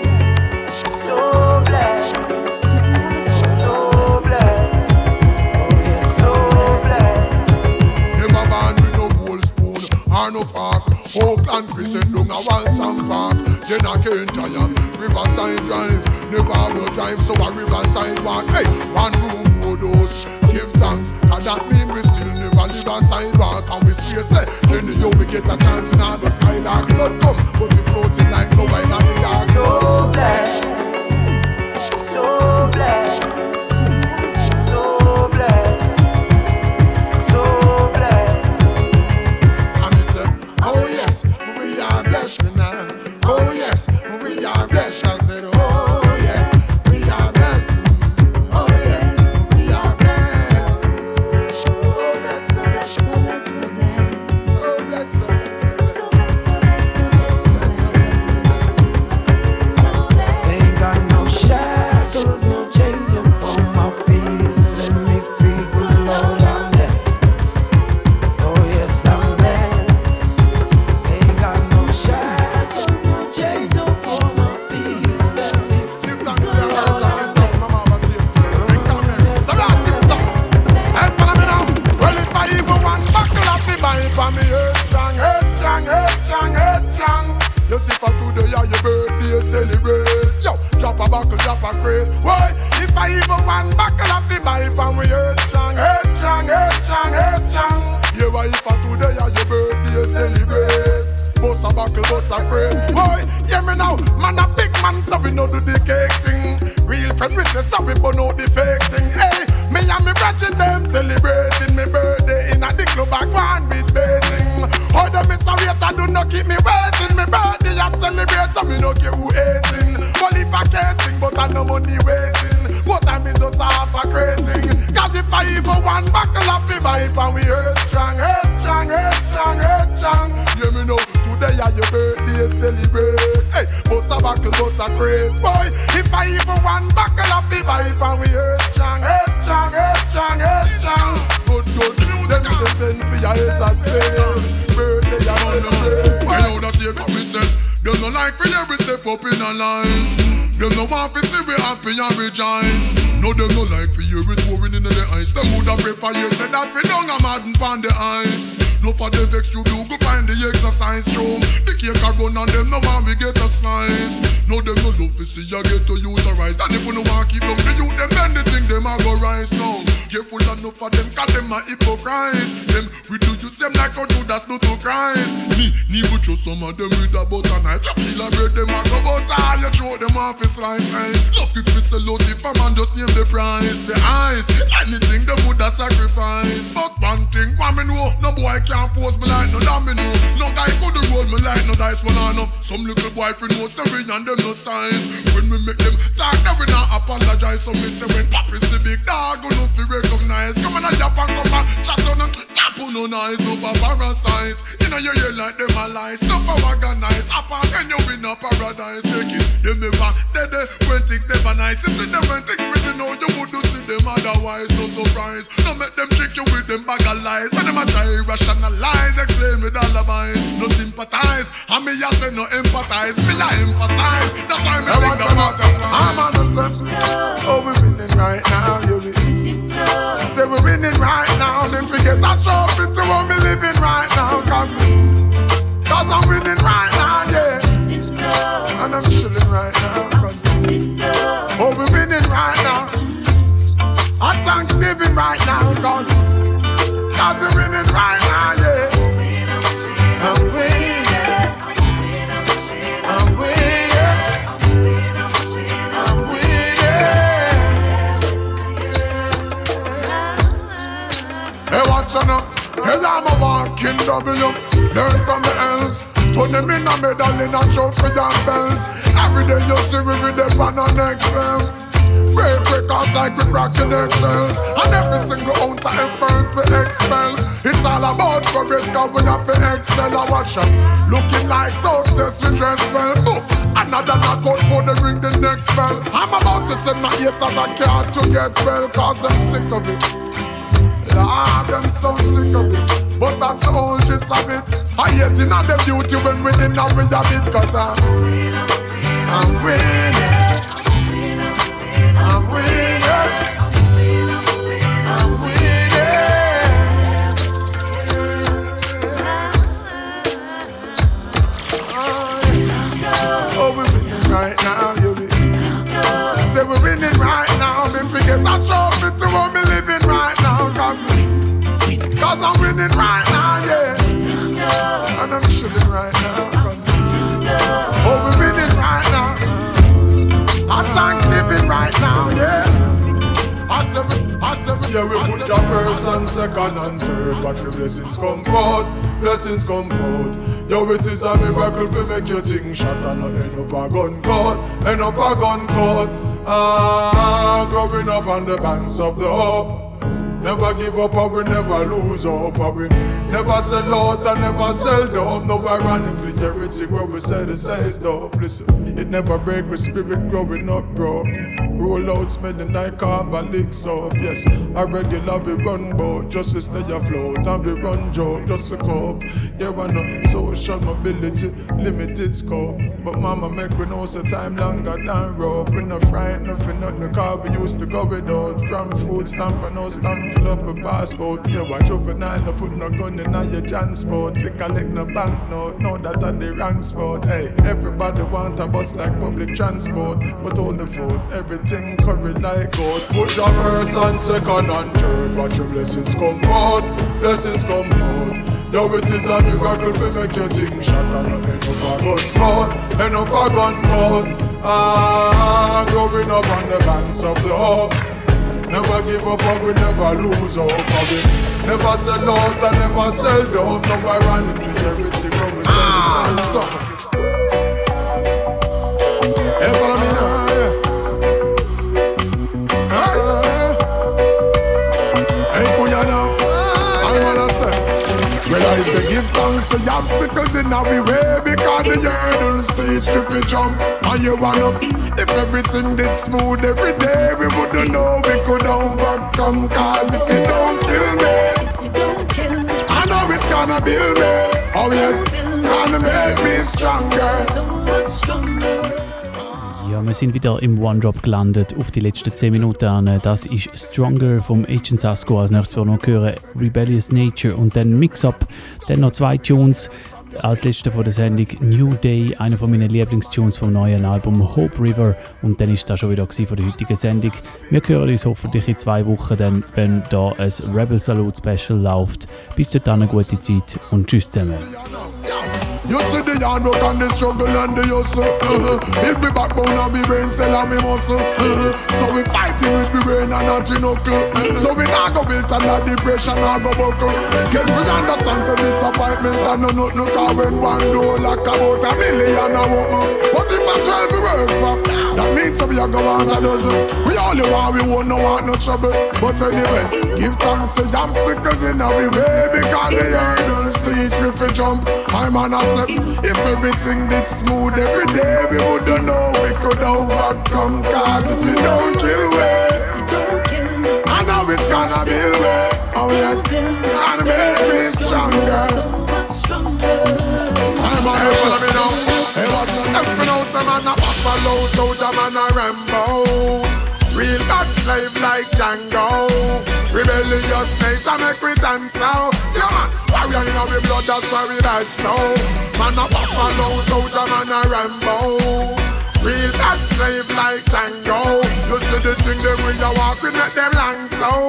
so blessed. No park, Oakland prison, down a Walton Park. Then I can't try Riverside Drive. Never have no drive, so a Riverside walk. Hey, one room, board house. Give thanks, and that mean we still never live a sidewalk. And we swear, say, then the yo we get a chance in the skylark. Blood come, but we floating like no wine on the dark. So blessed, so blessed. Oh yes, we are blessed. I said, oh yes, we are blessed. Oh yes, we are blessed. So blessed, so blessed, so blessed, so blessed, so blessed, so blessed, so blessed, so blessed, so blessed, so blessed. Ain't got no shackles, no chains upon my feet. You set me free, good Lord, I'm blessed. Oh yes, I'm blessed. Ain't got no shackles. Chains upon my feet, you set me free. Give thanks to the American, give thanks to my mama, see it. Bring down there. The last tip song. Hey, follow me now. Well, if I even want buckle up the bind for me, head strong, head strong, head strong, head strong. You see for today, yeah, your birthday celebrate. Yo, drop a buckle, drop a crate. Why? If I even want buckle up the bind for me, head strong, head strong, head strong, head strong. Yeah, why if for today, yeah, your birthday celebrate. Bust a buckle, bust a crate. Boy, hear me now, man a big man, so we know do the cake thing. Real friend, we say sorry, but no the fake thing. Hey, me and me brethren them celebrating me birthday in a the club back one with baiting. How the miss a waiter do not keep me waiting. Me birthday I celebrate, so me no care who hating. Well if I can't sing, but I no money wasting. What time is just half a crating. Cause if I even one buckle of the vibe and we head strong, head strong, head strong, head strong. Hear me now. Today are your birthday celebrate. Hey, bust a back buckle bust a crate. Boy, if I even one buckle of the pipe and we head strong, head strong, head strong, head strong. Good, good. Them say send for your ace a spade. Birthday and celebrate. I know that you come me said. Them no like for every step up in a line. Them no want to see we happy and rejoice. No, them no like for hear it pouring into the ice. Them woulda prefer you say that we don't a madden pon the ice. No for the vex you do go find the exercise room. The cake a run and them no want we get a slice. No, them no love to see you get to use a rise. And if you no want keep them the youth, them then the thing them a go rise now. Careful enough for them, cause them a hypocrite. Them we do you same like how Judas do to Christ. Me, me would show some of them with a butter knife. You feel a bread them a go butter. You throw them off a slice. Hey. Love it we sell out if a man just name the price. The eyes, anything them would a sacrifice. But one thing, one me know, no boy can't pose me like no domino. No guy could roll me like no dice when I know. Some little boy fi know say we and them no size. When we make them talk, then we not apologize. So me say when Papi see big dog, go no fi recognize. Come on a yap and come and chat on and tap on no nice over parasite. You know you hear like them a lie. Stuff a organize. Apart and you win a paradise. Take it, them never dead when things never nice. You see them when things pretty know you would do see them otherwise. No surprise. No make them trick you with them bag of lies. When them a try rationalize, explain with alibis. No sympathize. And me a say no empathize. Me a emphasize. That's why me sing the part of I'm on the sun. Oh, we're winning right now, you winning. Say we're winning right now. Then forget that trophy to what we living right now. Cause, cause I'm winning right now, yeah. And I'm chilling right now. Cause, oh, we're winning right now. At Thanksgiving right now. Cause, cause we're winning right now, yeah. I'm winning. I'm winning. Hey, watch on up. Hey, I'm a walking W. Learn from the else. Turn them in a medal in a trophy and belts. Every day you see we with them on our next level. Break records like we cracking eggshells. And every single ounce of effort we expel. It's all about progress cause we have to excel. I watch up. Looking like success we dress well. Boop. Another knockout for the ring the next spell. I'm about to send my haters a card to get well. Cause I'm sick of it. Ah, them so sick of it, but that's the whole gist of it. I hate in all the beauty when we in and we have it. Cause I'm, I'm winning, I'm winning, I'm winning. Oh, we're winning right now, you winning. Say we're winning right now. Then forget that trophy to what we living right now. Cause, cause I'm winning right now, yeah. And I'm chilling right now. Cause, oh, we're winning right now. At Thanksgiving right now, yeah. I said, I said, yeah, we put your first and second and third. Watch your blessings come forth, blessings come forth. Yo, it is a miracle to make your thing shot and not end up a gun court, end up a gun court. Ah, growing up on the banks of the hope. Never give up and we never lose hope. And we never sell out and never sell dope. No ironically, everything where we say the same stuff. Listen, it never break with spirit growing up, bro. Roll out smelling like carbolic soap. Yes, I regular we run boat just to stay afloat. And we run joke just to cope. Yeah, I know social mobility, limited scope. But mama make we know so time longer than rope. We no frightened nothing, nothing, cause we used to go without. From food stamp and no stamp, fill up a passport. Yeah, watch juvenile, no put no gun in your transport. We collect no banknote, know that at the wrong spot. Hey, everybody want a bus like public transport. But all the food, everything curry like gold. Put your first and second and third. Watch your blessings come forth, blessings come forth. Yo, it is a miracle to make your thing shot and not end up a gun court, end up a gun court. Ah, growing up on the banks of the hope. Never give up and we never lose hope. And we never sell out and never sell dope. No ironically, everything when we sell ah, the same. Hey, follow me now, yeah. Hey, hey, Kuya now. I'm gonna say, well, I say give thanks say obstacles in our way because the hurdles teach if we jump and you run up. If everything did smooth every day, we wouldn't know we could overcome. Cause if you don't kill me, you don't kill me, I know it's gonna build me. Oh yes, gonna make me stronger. so much stronger. Ja, wir sind wieder im One-Drop gelandet auf die letzten zehn Minuten an. Das ist Stronger vom Agent Sasko. Als nächstes wir noch hören Rebellious Nature und dann Mix-Up. Dann noch zwei Tunes. Als letzte von der Sendung New Day, einer von meinen Lieblingstunes vom neuen Album Hope River. Und dann ist das schon wieder von der heutigen Sendung. Wir hören uns hoffentlich in zwei Wochen, dann, wenn da ein Rebel Salute Special läuft. Bis dahin eine gute Zeit und tschüss zusammen. You see the hard work and the struggle and the hustle. Uh-huh. Build me backbone and me brain cell and me muscle. Uh-huh. So we fighting with me brain and not we knuckle. Uh-huh. So we not go build under depression or go buckle. Get we understand the disappointment and no nothing no cause when one door like about a million a woman. But if I twelve we work for, that means we a go on a dozen. We only want we won't no want no trouble. But anyway, give thanks to the obstacles in our way because the hurdles to each if we jump. I'm on a if everything did smooth every day, we wouldn't know we could overcome. Cause if we don't kill me, I know it's gonna build me. Oh yes, gonna make me stronger. I'm a follow me now. Hey, watch out, them for now, some man a buffalo, soldier man a Rambo. Real bad slave like Django. Rebellious nature make we dance out. Yeah man, warrior in our blood, that's why we bad so. Man a buffalo, soldier man a Rambo. Real bad slave like Django. You see the thing them when you walk, we make them long so.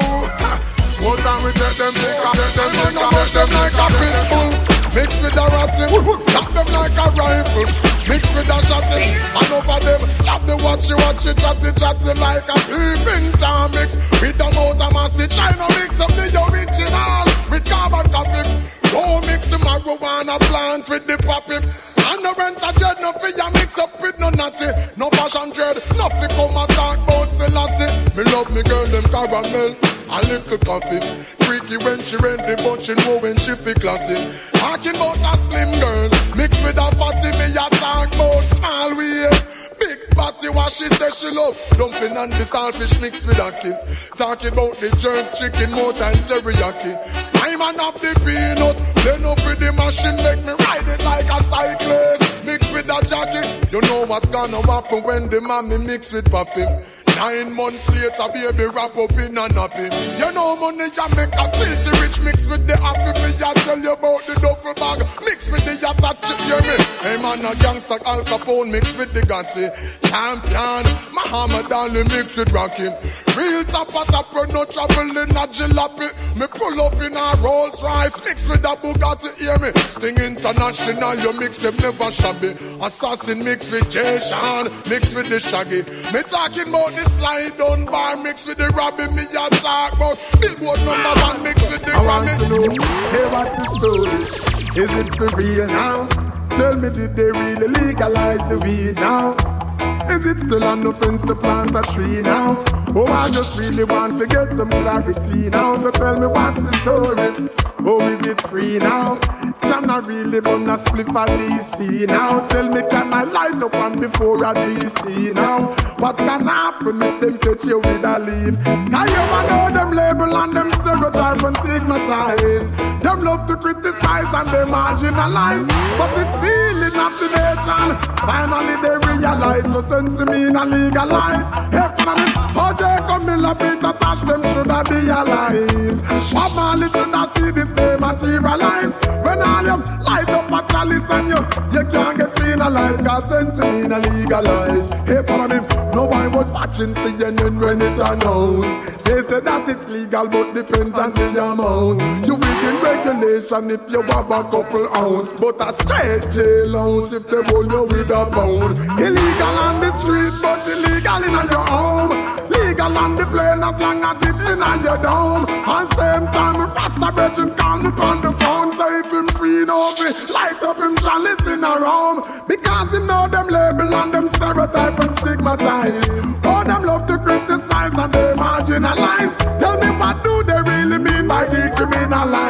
What time we take them pick up, take them pick up, make them like a pit bull. Mix with a ratty, tap them like a rifle. Mix with a shotty, and over them love the watchy watchy chatty chatty like a peeping Tom mix. With a mouth of massy, try to mix up the original with carbon copy. Don't mix the marijuana plant with the poppy. And no rent a dread, no fear mix up with no natty. No fashion dread, nothing come and talk about Selassie. Me love me girl, them caramel, a little coffee. Freaky when she ready, but she know when she feel classy. Talking about a slim girl, mixed with a fatty, me a talk about small waist. Big fatty, what she say she love. Dumpling and the saltfish mixed with a kid. Talking about the jerk chicken, more than teriyaki. I'm an up the peanut, then up with the machine, make me ride it like a cyclist. Mixed with a jacket, you know what's gonna happen when the mommy mix with papi. Nine months later, baby wrap up in a nappy. You know money ya make a filthy rich mix with the happy. Me ya tell you about the duffel bag mix with the yatta, hear me? Hey man, a gangster Al Capone mix with the Gotti. Champion, Muhammad Ali mix with Rocky. Real top at top, no trouble in a jalopy. Me pull up in a Rolls Royce mix with a Bugatti, hear me? Sting International, you mix them never shabby. Assassin mix with Jay Sean, mix with the Shaggy. Me talking about the slide down bar mix with the Robbie. Me a talk about Billboard number one mix with the I want Robbie. to know, hey, what's the story? Is it for real now? Tell me, did they really legalize the weed now? Is it still an offense to plant a tree now? Oh, I just really want to get some clarity now. So tell me, what's the story? Oh, is it free now? Can I really burn a spliff at D C now? Tell me, can I light up on before a D C now? What's gonna happen if them catch you with a leaf? Now you know them label and them stereotype and stigmatize. Them love to criticize and they marginalize. But it's stealing of the nation. Finally they realize, so sense me and legalize. Hey, O J Camilla, Peter Tosh, them shoulda be alive. Bob Marley shoulda see this day materialize. When all you light up a chalice and you, you can't get penalized. Cause sense me and legalize. Hey, follow me. No one was watching C N N when it announced. They say that it's legal but depends on the amount. You within regulation if you have a couple ounce. But a straight jailhouse if they hold you with a pound. Illegal on the street but illegal in your home. Legal on the plane as long as it's in your dome. And same time Rasta Brethren call me on the phone. Say if him free no be light up him chalice in a room. Because him know them label and them stereotype and stigmatize. Oh, them love to criticize and they marginalize. Tell me what do they really mean by decriminalize?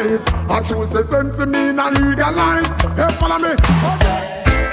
legalize. I choose a sense of me not legalize. Hey, follow me. Okay.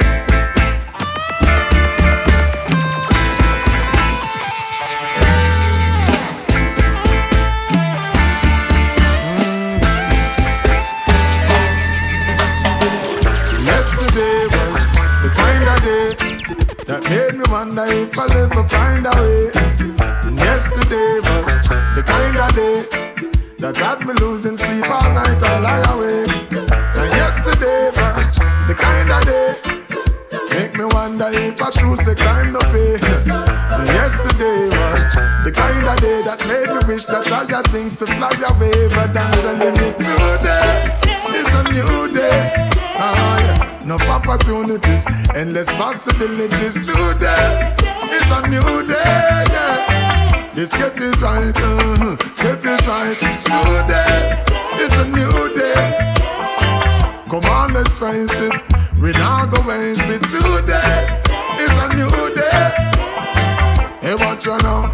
Yesterday was the kind of day that made me wonder if I'll ever find a way. And yesterday was the kind of day that had me losing sleep all night I lie awake. And yesterday was the kind of day make me wonder if I choose a crime to pay. And yesterday was the kind of day that made me wish that I had wings to fly away. But I'm telling you today is a new day. Ah, yes. Enough opportunities, endless possibilities. Today is a new day, yes. Let's get it right, uh, set it right. Today is a new day. Come on, let's face it, we now go waste it. Today is a new day. Hey, what you know?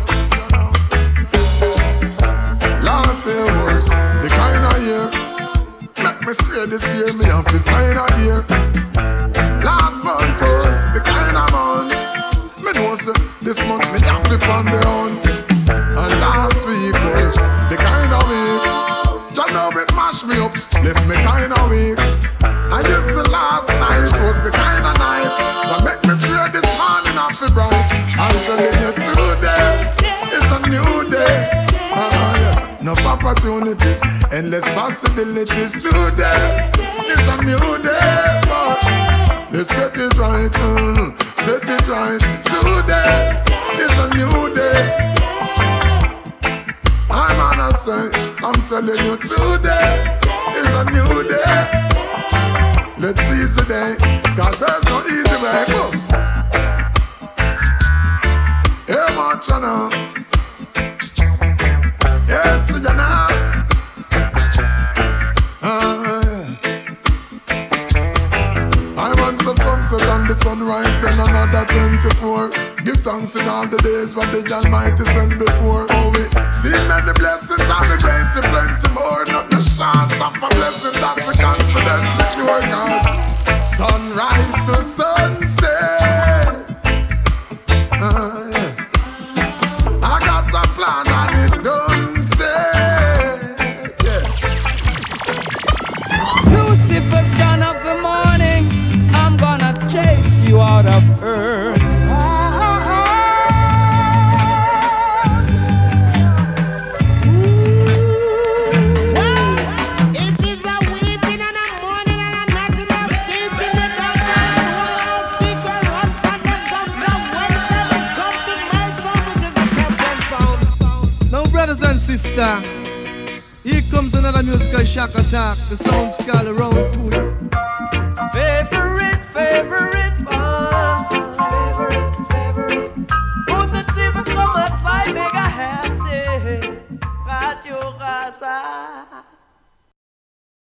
Last year was the kind of year. Make me swear this year me have to find a year. Last month was the kind of month. Me know so this month me have to find the hunt. And last week was the kind of week. Just know it mash me up, left me kind of weak. And just the last night was the kind of night that make me swear this morning have to bright. I'm telling you today is a new day. Ah, yes. Enough opportunities, endless possibilities. Today is a new day. But let's get it right, uh, set it right. Today is a new day. I'm on a say, I'm telling you today is a new day. Let's seize the day, cause there's no easy way. Boom. Hey, much you know. Yes, you know. Ah, yeah. I want the sunset and the sunrise, then another twenty-four. Give thanks in all the days what the Almighty sent before. Oh, we see many blessings and we grace and plenty more. Not the chance of a blessing that's the confidence secure. Cause sunrise to sunset. Ah, yeah. I got a plan and it don't say. Yeah. Lucifer, son of the morning, I'm gonna chase you out of earth. It is a weeping and a mourning and a knocking of deep in the dark side. People run back and come down when they come to my soul, which is the captain sound. Now, brothers and sisters, here comes another musical shock attack. The sound scale around to you. Favorite, favorite one. Favorite, favorite. hundertsieben Komma zwei Megahertz. Radio Rasa.